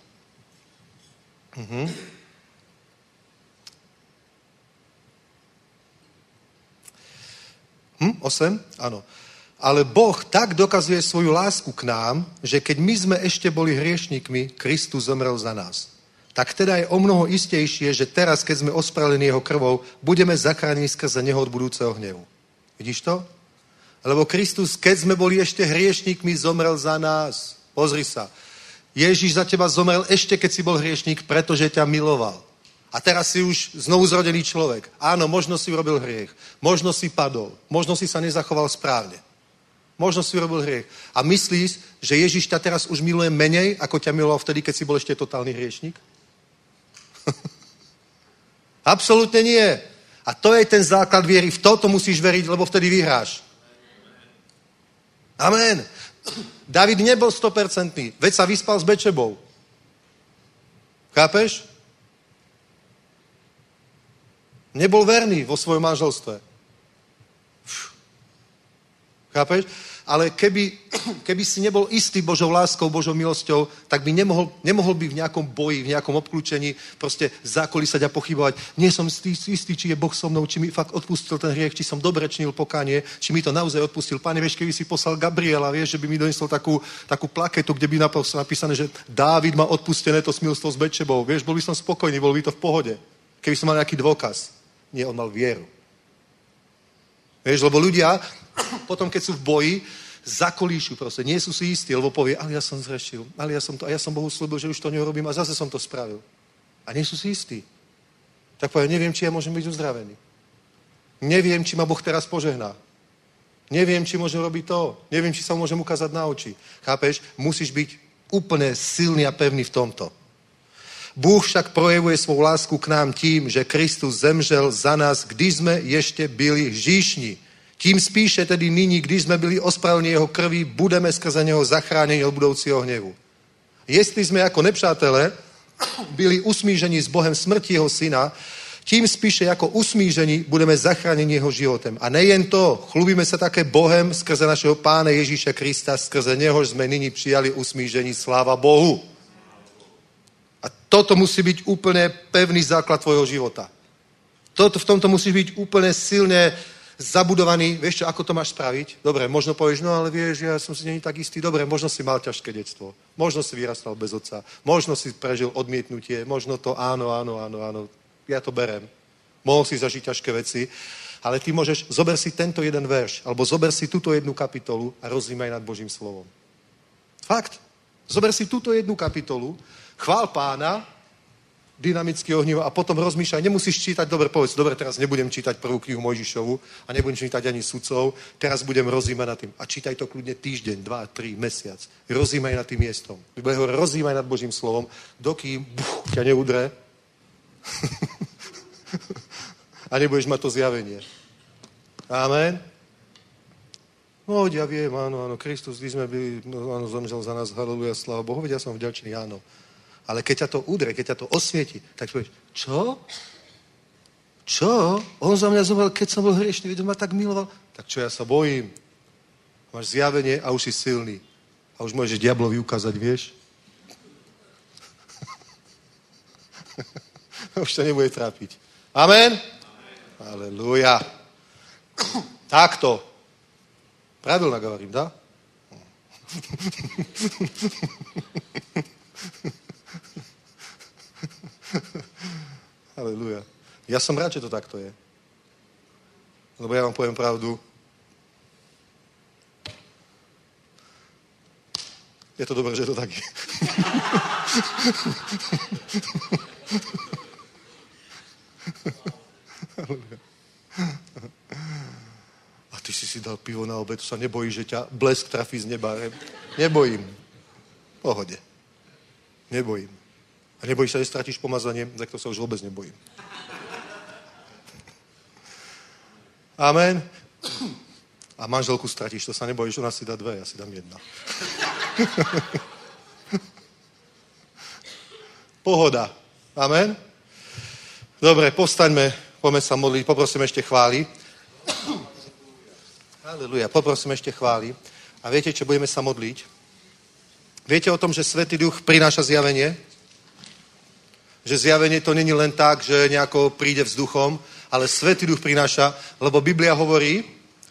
8? Áno. Ale Boh tak dokazuje svoju lásku k nám, že keď my sme ešte boli hriešnikmi, Kristus zomrel za nás. Tak teda je o mnoho istejšie, že teraz, keď sme ospravedlení jeho krvou, budeme zachránení skrze neho od budúceho hnevu. Vidíš to? Lebo Kristus, keď sme boli ešte hriešnikmi, zomrel za nás. Pozri sa. Ježiš za teba zomrel ešte, keď si bol hriešnik, pretože ťa miloval. A teraz si už znovu zrodený človek. Áno, možno si urobil hriech. Možno si padol. Možno si sa nezachoval správne. Možno si urobil hriech. A myslíš, že Ježiš ťa teraz už miluje menej, ako ťa miloval vtedy, keď si bol ešte totálny hriešnik? Absolútne nie. A to je ten základ viery. V toto musíš veriť, lebo vtedy vyhráš. Amen. David nebol 100%. Veď sa vyspal s Bečebou. Chápeš? Nebol verný vo svojom manželstve. Chápeš? Ale keby si nebol istý Božou láskou, Božou milosťou, tak by nemohol by v nejakom boji, v nejakom obklúčení proste zákolísať a pochybovať. Nie som istý, či je Boh so mnou, či mi fakt odpustil ten hriech, či som dobre činil pokánie, či mi to naozaj odpustil. Pane, vieš, keby si poslal Gabriela, vieš, že by mi donesol takú plaketu, kde by napísané, že Dávid má odpustené to smilstvo s Bečebou. Vieš, bol by som spokojný, bol by to v pohode. Keby som mal nejaký dôkaz. Nie, on mal vieru. Vieš, lebo ľudia potom, keď sú v boji, zakolíšu proste. Nie sú si istí, lebo povie, ale ja som zrešil, ale ja som Bohu slúbil, že už to neurobím a zase som to spravil. A nie sú si istí. Tak povie, neviem, či ja môžem byť uzdravený. Neviem, či ma Boh teraz požehná. Neviem, či môžem robiť to. Neviem, či sa môžem ukázať na oči. Chápeš? Musíš byť úplne silný a pevný v tomto. Bůh však projevuje svou lásku k nám tím, že Kristus zemřel za nás, když jsme ještě byli hříšní. Tím spíše tedy nyní, když jsme byli ospravedlněni jeho krví, budeme skrze něho zachráněni od budoucího hněvu. Jestli jsme jako nepřátelé byli usmířeni s Bohem smrti jeho syna, tím spíše jako usmíření budeme zachráněni jeho životem. A nejen to, chlubíme se také Bohem skrze našeho Pána Ježíše Krista, skrze něhož jsme nyní přijali usmíření, sláva Bohu. A toto musí byť úplne pevný základ tvojho života. V tomto musíš byť úplne silne zabudovaný. Vieš čo, ako to máš spraviť? Dobre, možno povieš, no ale vieš, ja som si není tak istý. Dobre, možno si mal ťažké detstvo. Možno si vyrastal bez otca. Možno si prežil odmietnutie. Možno to áno. Ja to berem. Mohol si zažiť ťažké veci. Ale ty môžeš, zober si tento jeden verš, alebo zober si túto jednu kapitolu a rozímaj nad Božím slovom. Fakt. Zober si túto jednu kapitolu, chvál Pána, dynamicky ohnivo a potom rozmýšľaj, nemusíš čítať, dobre, povedz, dobre, teraz nebudem čítať prvú knihu Mojžišovu a nebudem čítať ani sudcov, teraz budem rozímať nad tým. A čítaj to kľudne týždeň, 2, 3, mesiac. Rozímaj nad tým miestom. Rozímaj nad Božím slovom, dokým ťa neudre a nebudeš mať to zjavenie. Amen. No, ja viem, áno, Kristus, když sme byli, áno, zomřel za nás, haleluja, sláva Bohu, veď ja som vďačný, áno. Ale keď ťa to udre, keď ťa to osvieti, tak povieš, čo? On za mňa zomrel, keď som bol hriešný, veď ma tak miloval. Tak čo, ja sa bojím. Máš zjavenie a už si silný. A už môžeš diablovi ukázať, vieš? Už to nebude trápiť. Amen? Halelúja. Takto. Правильно говорим, да? Halelúja. Ja som rád, že to takto je. Lebo ja vám poviem pravdu. Je to dobré, že to tak je. Halelúja. A ty si dal pivo na obed, to sa nebojíš, že ťa blesk trafí z neba. Nebojím. V pohode. Nebojím. A nebojíš sa, že stratíš pomazanie, tak to sa už vôbec nebojím. Amen. A manželku stratíš, to sa nebojíš, ona si dá 2, ja si dám 1. Pohoda. Amen. Dobre, povstaňme, poďme sa modliť, poprosím ešte chváli. Halelúja, poprosím ešte chváli. A viete, čo budeme sa modliť? Viete o tom, že Svätý Duch prináša zjavenie? Že zjavenie to není len tak, že nejako príde vzduchom, ale Svätý Duch prináša, lebo Biblia hovorí,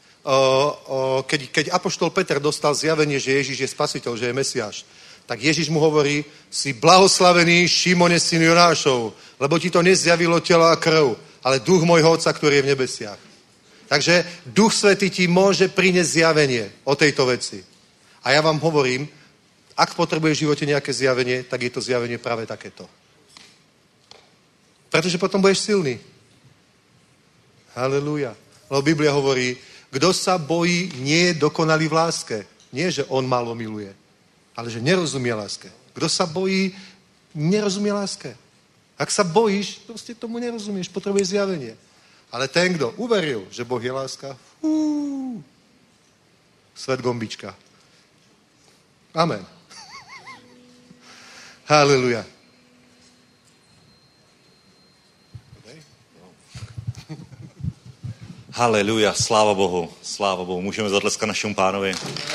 keď apoštol Peter dostal zjavenie, že Ježiš je spasiteľ, že je Mesiáš, tak Ježiš mu hovorí, si blahoslavený Šimone, syn Jonášov, lebo ti to nezjavilo telo a krv, ale duch môjho Otca, ktorý je v nebesiach. Takže Duch Svätý ti môže priniesť zjavenie o tejto veci. A ja vám hovorím, ak potrebuješ v živote nejaké zjavenie, tak je to zjavenie práve takéto. Pretože potom budeš silný. Halelúja. Lebo Biblia hovorí, kto sa bojí, nie je dokonalý v láske. Nie, že on málo miluje, ale že nerozumie láske. Kto sa bojí, nerozumie láske. Ak sa bojíš, proste tomu nerozumieš, potrebuješ zjavenie. Ale ten, kto uveril, že Boh je láska, svet gombička. Amen. Halleluja. Haleluja, sláva Bohu, sláva Bohu. Můžeme zatleskat našemu pánovi.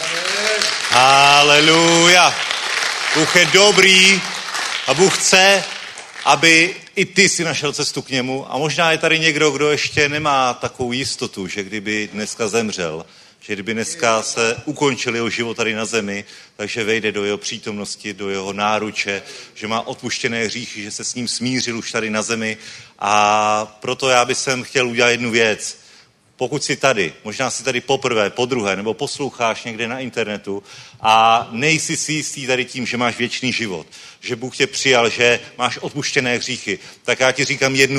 Haleluja. Bůh je dobrý a Bůh chce, aby i ty si našel cestu k němu. A možná je tady někdo, kdo ještě nemá takovou jistotu, že kdyby dneska zemřel, že kdyby dneska se ukončil jeho život tady na zemi, takže vejde do jeho přítomnosti, do jeho náruče, že má odpuštěné hříchy, že se s ním smířil už tady na zemi. A proto já bych chtěl udělat jednu věc. Pokud jsi tady, možná jsi tady poprvé, podruhé, nebo posloucháš někde na internetu a nejsi si jistý tady tím, že máš věčný život, že Bůh tě přijal, že máš odpuštěné hříchy, tak já ti říkám jednu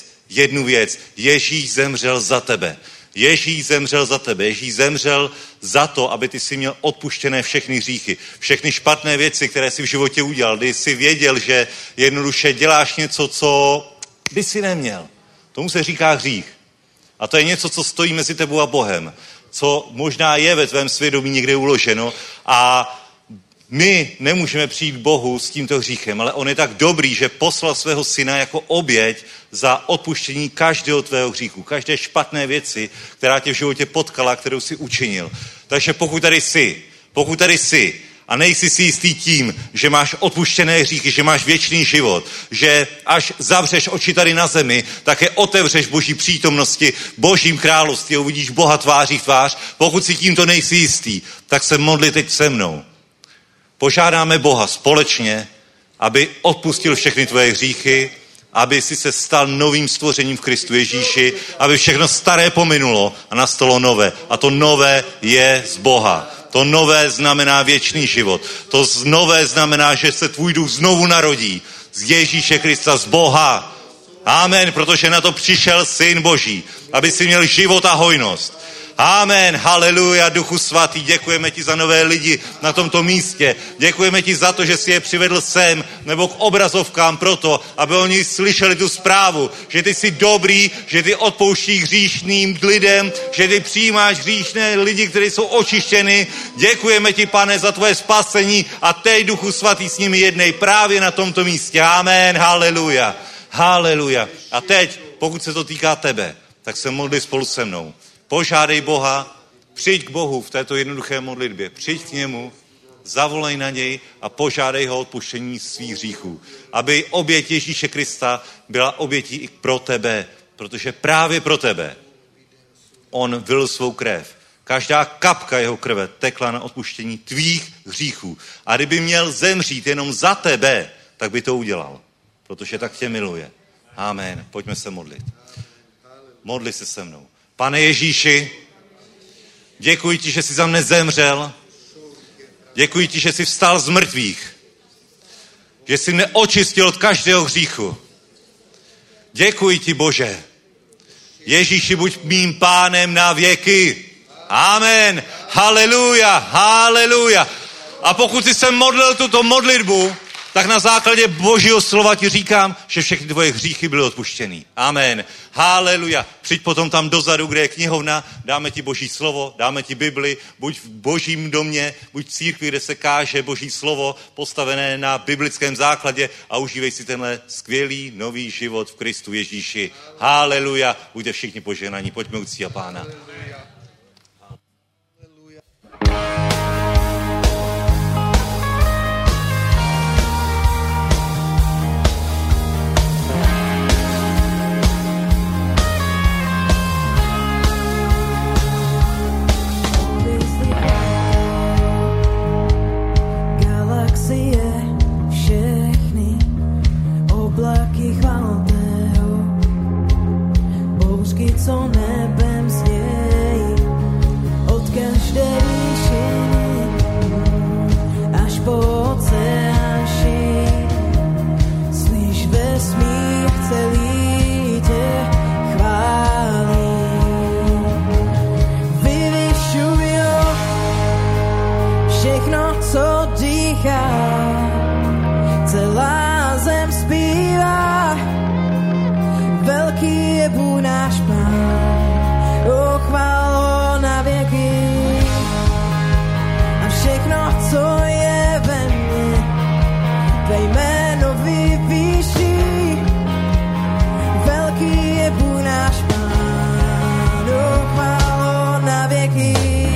věc. Ježíš zemřel za tebe. Ježíš zemřel za tebe. Ježíš zemřel za to, aby ty si měl odpuštěné všechny hříchy. Všechny špatné věci, které jsi v životě udělal, kdy jsi věděl, že jednoduše děláš něco, co by si neměl. Tomu se říká hřích. A to je něco, co stojí mezi tebou a Bohem. Co možná je ve tvém svědomí někde uloženo a my nemůžeme přijít k Bohu s tímto hříchem, ale on je tak dobrý, že poslal svého syna jako oběť za odpuštění každého tvého hříchu, každé špatné věci, která tě v životě potkala, kterou si učinil. Takže pokud tady jsi a nejsi si jistý tím, že máš odpuštěné hříchy, že máš věčný život, že až zavřeš oči tady na zemi, tak je otevřeš Boží přítomnosti, Božím království, uvidíš Boha tváří v tvář. Pokud si tímto nejsi jistý, tak se modli teď se mnou. Požádáme Boha společně, aby odpustil všechny tvoje hříchy, aby si se stal novým stvořením v Kristu Ježíši, aby všechno staré pominulo a nastalo nové. A to nové je z Boha. To nové znamená věčný život. To nové znamená, že se tvůj duch znovu narodí z Ježíše Krista, z Boha. Amen, protože na to přišel Syn Boží, aby si měl život a hojnost. Amen, haleluja, Duchu Svatý, děkujeme ti za nové lidi na tomto místě. Děkujeme ti za to, že jsi je přivedl sem nebo k obrazovkám proto, aby oni slyšeli tu zprávu, že ty jsi dobrý, že ty odpouštíš hříšným lidem, že ty přijímáš hříšné lidi, kteří jsou očištěni. Děkujeme ti, Pane, za tvoje spasení a teď, Duchu Svatý, s nimi jednej právě na tomto místě. Amen, haleluja, haleluja. A teď, pokud se to týká tebe, tak se modli spolu se mnou. Požádej Boha, přijď k Bohu v této jednoduché modlitbě, přijď k němu, zavolej na něj a požádej ho o odpuštění svých hříchů. Aby oběť Ježíše Krista byla obětí i pro tebe, protože právě pro tebe on vylil svou krev. Každá kapka jeho krve tekla na odpuštění tvých hříchů. A kdyby měl zemřít jenom za tebe, tak by to udělal, protože tak tě miluje. Amen. Pojďme se modlit. Modli se se mnou. Pane Ježíši, děkuji ti, že jsi za mne zemřel. Děkuji ti, že jsi vstal z mrtvých. Že jsi mne očistil od každého hříchu. Děkuji ti, Bože. Ježíši, buď mým pánem na věky. Amen. Haleluja, haleluja. A pokud jsi se modlil tuto modlitbu, tak na základě Božího slova ti říkám, že všechny tvoje hříchy byly odpuštěny. Amen. Haleluja. Přijď potom tam dozadu, kde je knihovna, dáme ti Boží slovo, dáme ti Bibli, buď v Božím domě, buď v církvi, kde se káže Boží slovo, postavené na biblickém základě a užívej si tenhle skvělý nový život v Kristu Ježíši. Haleluja. Buďte všichni požehnaní. Pojďme uctít Pána. Haleluja. co nebem znějí, od každé výšiny až po oceán šíří. Slyš vesmír celý tě chválí. Vyvyšuj ho, všechno, co dýchá, celá zem zpívá. Velký je Bůh náš Pán, o chvál ho na věky. A všechno, co je ve mně, tvé jméno vyvýší. Velký je Bůh náš Pán, o chvál ho na věky.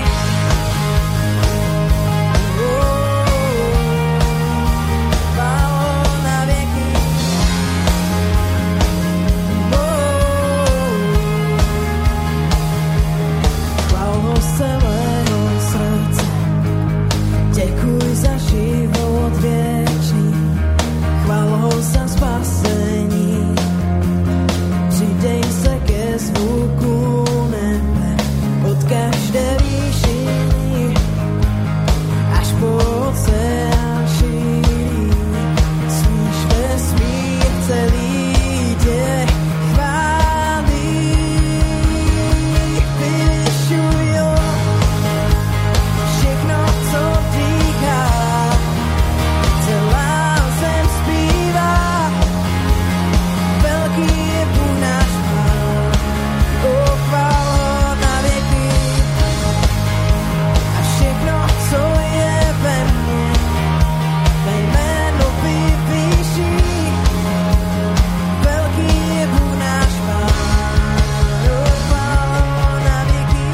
Děkuj za život věčný, chvál ho za spasení. Přidej se ke zvuku nebe, od každé výšiny až po oceán šíří. Slyš vesmír celý tě chválí. Vyvyšuj ho, všechno, co dýchá, celá zem zpívá. Velký je Bůh náš Pán, o chvál ho na věky. A všechno, co je ve mně, tvé jméno vyvýší. Velký je Bůh náš Pán, o chvál ho na věky.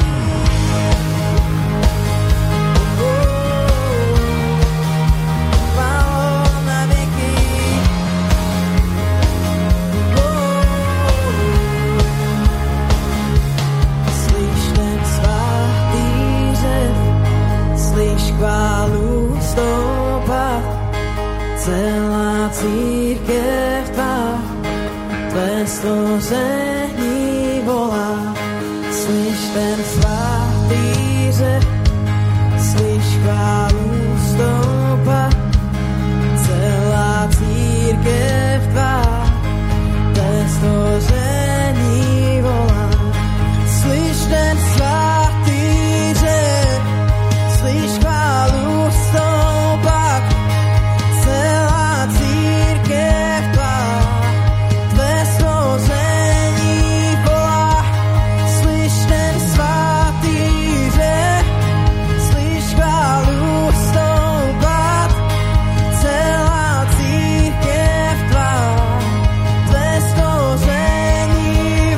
Chválu stoupat, celá církev tvá, tvé stvoření volá. Slyš ten svatý řev, slyš chválu stoupat, celá církev tvá, tvé stvoření volá. Slyš ten svatý řev, slyš chválu stoupat, celá církev tvá, tvé stvoření volá. Slyš ten svatý řev, slyš chválu stoupat, celá církev tvá, tvé stvoření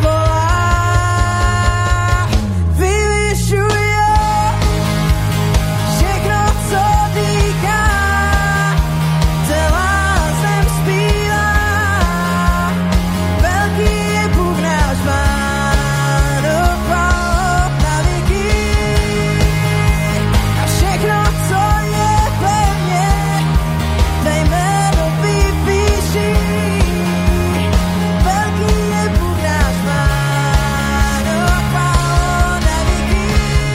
volá. Vyvyšuj ho, všechno, co dýchá, celá zem zpívá. Velký je Bůh náš Pán, o chvál na věky. A všechno, co je ve mně, tvé jméno vyvýší. Velký je Bůh náš Pán, o chvál na věky.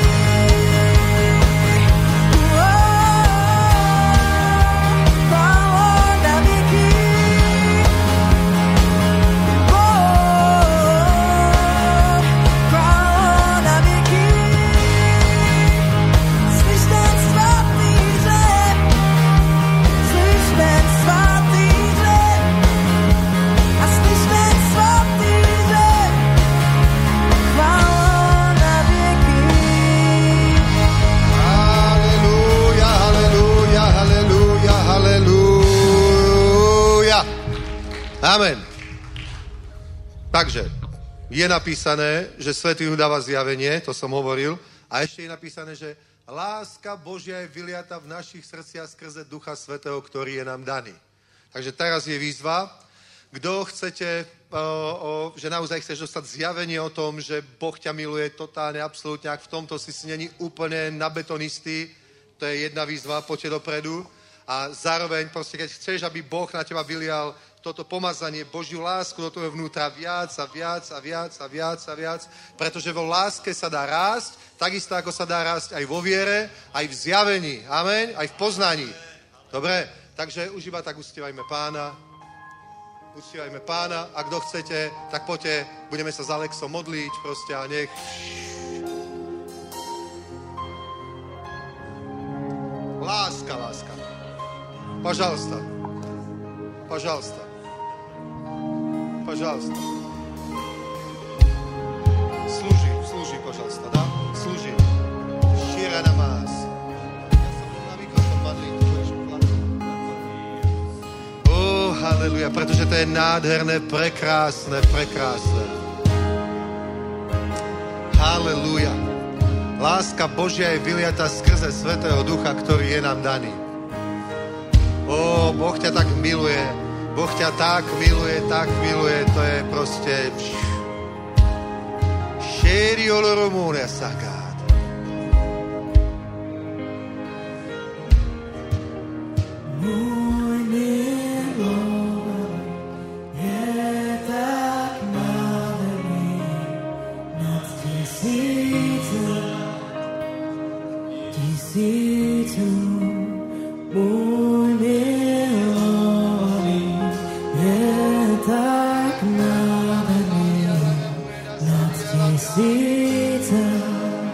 Haleluja, haleluja, haleluja, haleluja. Amen. Takže je napísané, že Svätý Duch dáva zjavenie, to som hovoril, a ešte je napísané, že láska Božia je vyliata v našich srdciach skrze Ducha Svätého, ktorý je nám daný. Takže teraz je výzva, kdo chcete, že naozaj chceš dostať zjavenie o tom, že Boh ťa miluje totálne, absolútne, ak v tomto si není úplne na betonistý, to je jedna výzva, poďte dopredu. A zároveň proste, keď chceš, aby Boh na teba vylial toto pomazanie, Božiu lásku do toho vnútra viac a viac a viac a viac a viac, pretože vo láske sa dá rásť, takisto ako sa dá rásť aj vo viere, aj v zjavení, amen, aj v poznaní. Dobre, takže už iba tak uctievajme Pána. Uctievajme Pána a kto chcete, tak poďte, budeme sa s Alexom modliť proste a nech... Láska, láska. Пожалуйста. Пожалуйста. Пожалуйста. Служи, пожалуйста, да? Служи. Щира намаз. Ja sa budu na mikrofón modliť. Haleluja, pretože to je nádherné, prekrásne, prekrásne. Haleluja. Láska Božia je vyliata skrze Svätého Ducha, ktorý je nám daný. Boh ťa tak miluje. Boh ťa tak miluje, to je proste... Šéri oloromone sakát. Môj milovaný je tak nádherný nad tisícom. Môj milovaný je tak nádherný nad tisícom.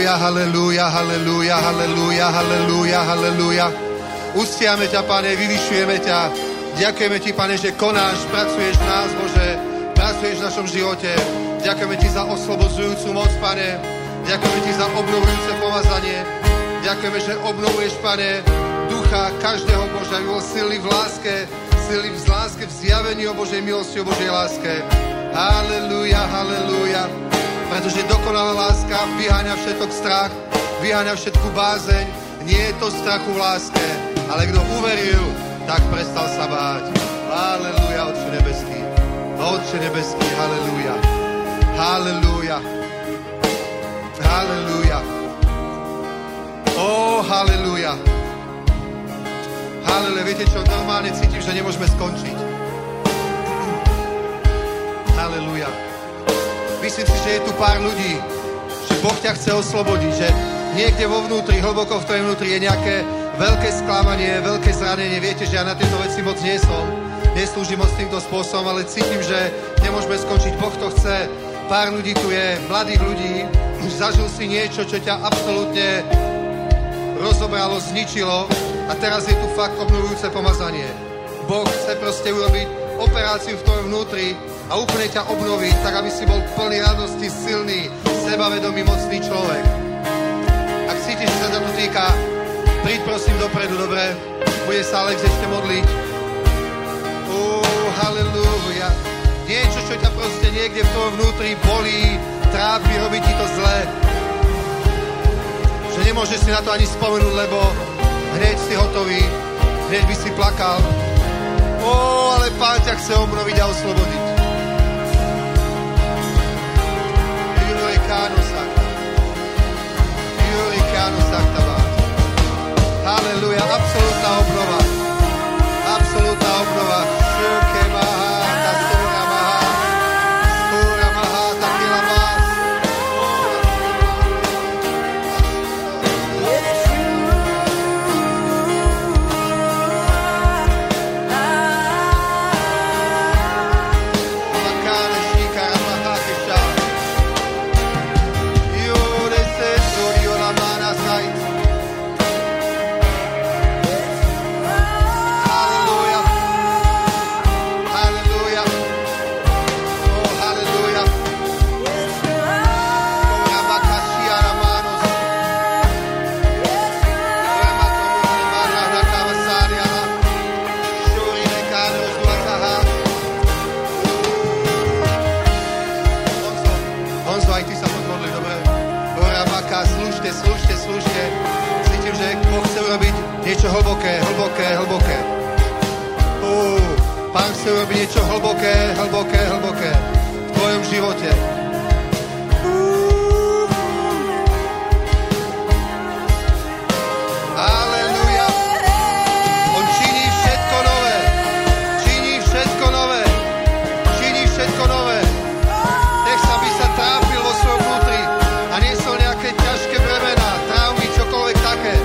Halelúja, halelúja, halelúja, halelúja, halelúja, halelúja. Uctiame ťa, Pane, vyvyšujeme ťa. Ďakujeme ti, Pane, že konáš, pracuješ v nás, Bože, pracuješ v našom živote. Ďakujeme ti za oslobodzujúcu moc, Pane. Ďakujeme ti za obnovujúce pomazanie. Ďakujeme, že obnovuješ, Pane, ducha každého Boža, aby bol silný v láske, v zjavení o Božej milosti, o Božej láske. Halelúja, halelúja. Pretože dokonalá láska vyháňa všetok strach, vyháňa všetku bázeň. Nie je to strachu v láske, ale kto uveril, tak prestal sa báť. Halelúja, Otče nebeský. Otče nebeský, halelúja. Halelúja. Halelúja. Halelúja. Halelúja. Viete čo, normálne cítim, že nemôžeme skončiť. Halelúja. Myslím si, že je tu pár ľudí, že Boh ťa chce oslobodiť, že niekde vo vnútri, hlboko v tvojom vnútri je nejaké veľké sklamanie, veľké zranenie. Viete, že ja na tieto veci moc nie som. Neslúžim moc týmto spôsobom, ale cítim, že nemôžeme skončiť. Boh to chce. Pár ľudí tu je, mladých ľudí. Zažil si niečo, čo ťa absolútne rozobralo, zničilo a teraz je tu fakt obnovujúce pomazanie. Boh chce proste urobiť operáciu v tvojom vnútri a úplne ťa obnoviť, tak aby si bol plný radosti, silný, sebavedomý, mocný človek. Ak cítiš, že sa to týka, príď prosím dopredu, dobre? Bude sa Alex ešte modliť. Halelúja. Niečo, čo ťa proste niekde v tvojom vnútri bolí, trápi, robí ti to zle. Že nemôžeš si na to ani spomenúť, lebo hneď si hotový, hneď by si plakal. Ale Pán ťa chce obnoviť a oslobodiť. Halelúja, absolútna obnova. Absolútna obnova. Šuke maha, kastura maha, skúra maha, takila más. Makáne šíkara maha keša. Jure se zúrio la mána sajt. Slúžte. Cítim, že Boh chce urobiť niečo hlboké. Pán chce urobiť niečo hlboké v tvojom živote. Aleluja. On činí všetko nové. Nech sa by sa trápil vo svojom vnútri a niesol nejaké ťažké bremená, traumy, čokoľvek také.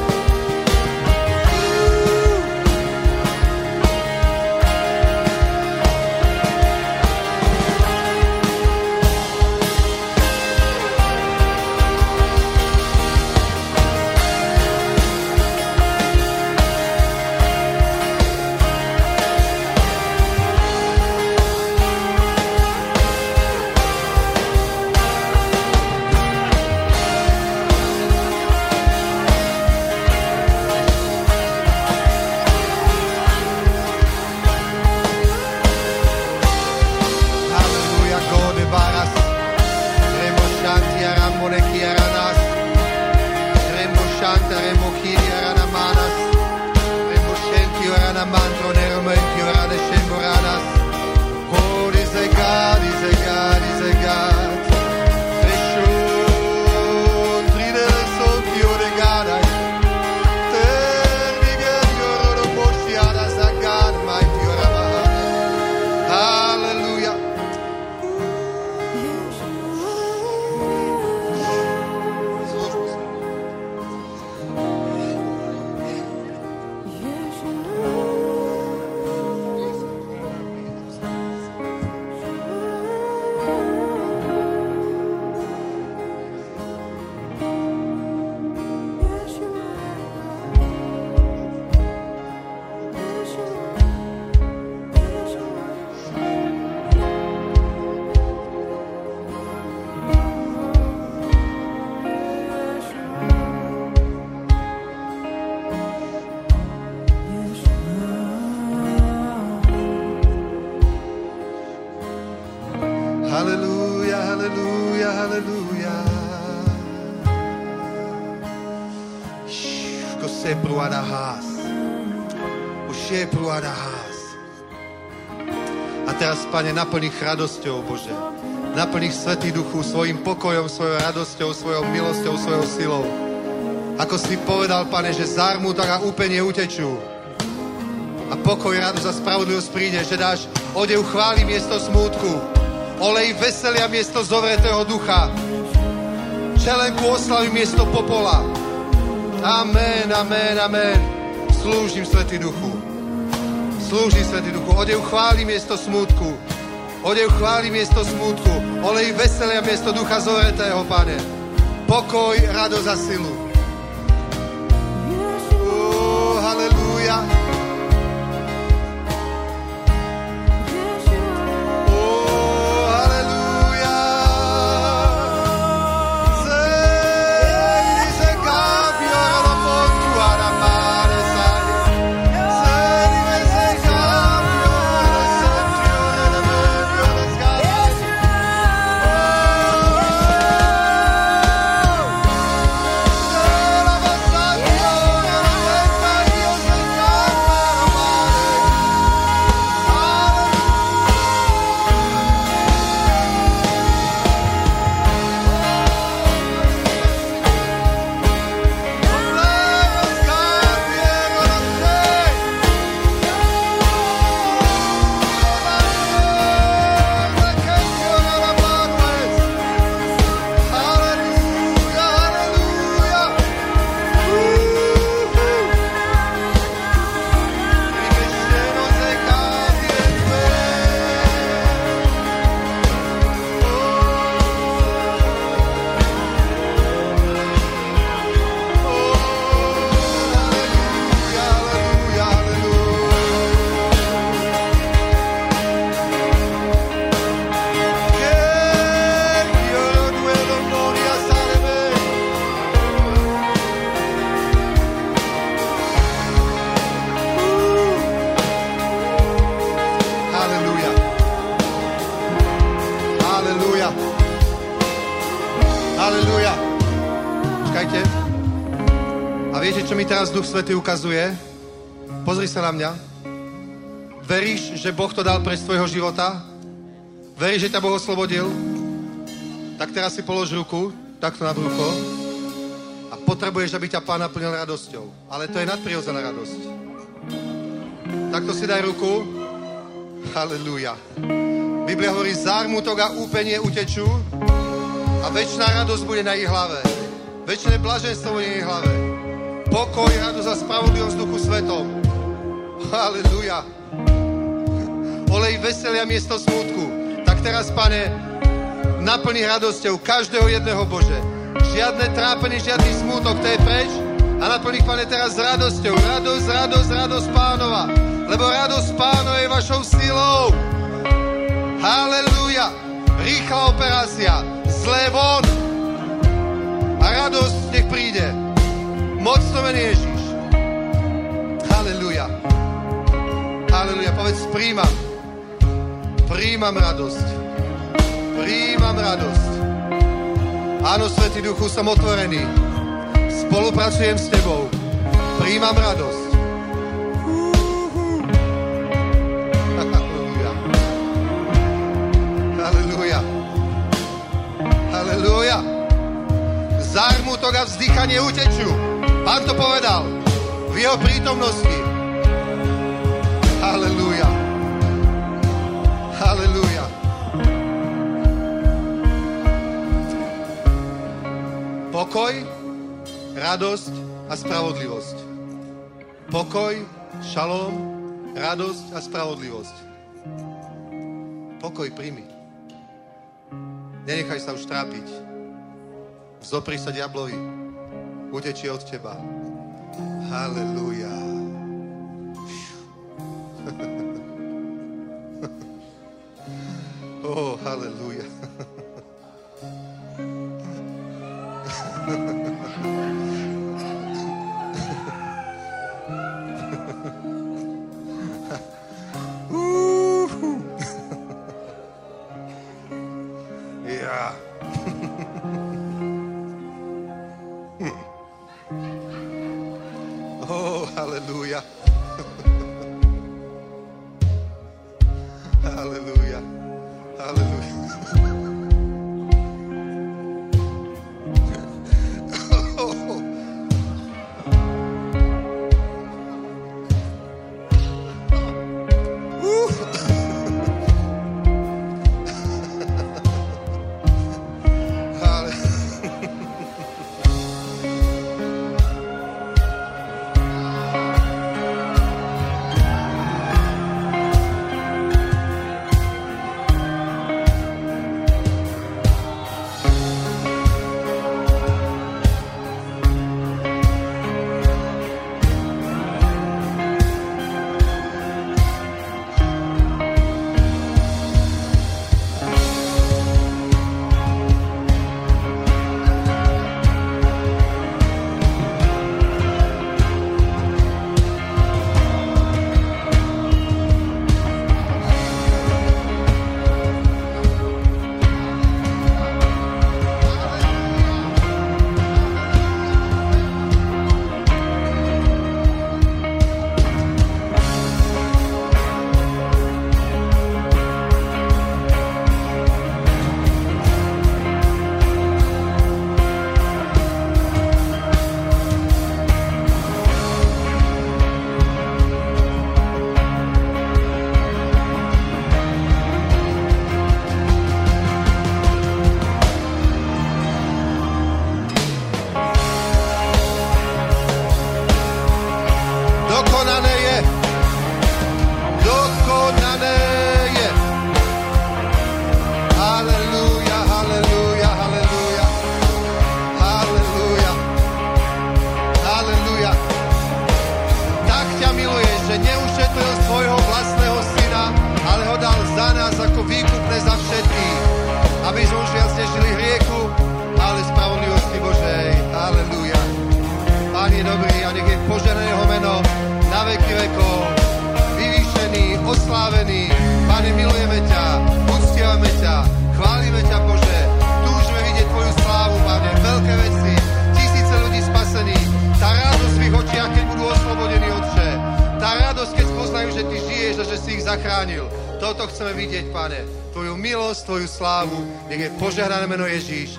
sepruada hás. Už je pruada hás. A teraz, Pane, naplň ich radosťou, Bože. Naplň ich, Svätý Duchu, svojim pokojom, svojou radosťou, svojou milosťou, svojou silou. Ako si povedal, Pane, že zármutok a úpenie utečú. A pokoj, radosť a spravodlivosť príde, že dáš odev chvály miesto smútku, olej veselia miesto zovretého ducha, čelenku oslavy miesto popola. Amen, amen, amen. Slúžim, Svätý Duchu. Slúžim, Svätý Duchu. Odev chvály miesto smútku. Odev chvály miesto smútku. Olej veselia miesto ducha zovretého, Pane. Pokoj, radosť a silu. Halelúja. Duch Svätý ukazuje. Pozri sa na mňa. Veríš, že Boh to dal pre svojho života? Veríš, že ťa Boh oslobodil? Tak teraz si polož ruku, takto na brucho. A potrebuješ, aby ťa Pán naplnil radosťou. Ale to je nadprirodzená radosť. Takto si daj ruku. Halelúja. Biblia hovorí, zármutok a úpenie utečú a večná radosť bude na ich hlave. Večné blaženstvo bude na ich hlave. Pokoj, radosť a spravodlivosť v Duchu Svetom. Halelúja. Olej veselia miesto smútku. Tak teraz, Pane, naplni radosťou každého jedného, Bože. Žiadne trápenie, žiadny smútok, to je preč. A naplni, Pane, teraz radosťou. Radosť, radosť, radosť Pánova. Lebo radosť Pánova je vašou silou. Halelúja. Rýchla operácia. Zlé von. A radosť nech príde. Mocno mene Ježíš. Halelúja. Halelúja. Povedz, príjmam. Príjmam radosť. Príjmam radosť. Áno, Svätý Duchu, som otvorený. Spolupracujem s Tebou. Príjmam radosť. Halelúja. Halelúja. Halelúja. Zármutok a vzdychanie utečú. Pán to povedal v jeho prítomnosti. Halelúja. Halelúja. Pokoj, radosť a spravodlivosť. Pokoj, šalom, radosť a spravodlivosť. Pokoj príjmi. Nenechaj sa už trápiť. Vzopri sa diablovi. Utečí od teba. Halelúja. Oh, halelúja. Ja. Oh, halleluja. Halleluja. Halleluja. Oslávený, Pane, milujeme ťa, uctievame ťa, chválime ťa, Bože, túžime vidieť Tvoju slávu, Pane, veľké veci, tisíce ľudí spasených, tá radosť v ich očiach, keď budú oslobodení, Otče, tá radosť, keď poznajú, že Ty žiješ a že si ich zachránil, toto chceme vidieť, Pane, Tvoju milosť, Tvoju slávu, nech je požehnané meno Ježíš.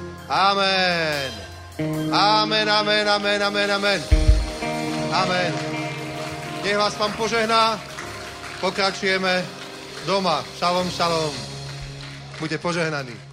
Amen. Amen, amen, amen, amen, amen. Amen. Nech vás Pán požehná. Pokračujeme doma. Šalom, šalom. Buďte požehnaní.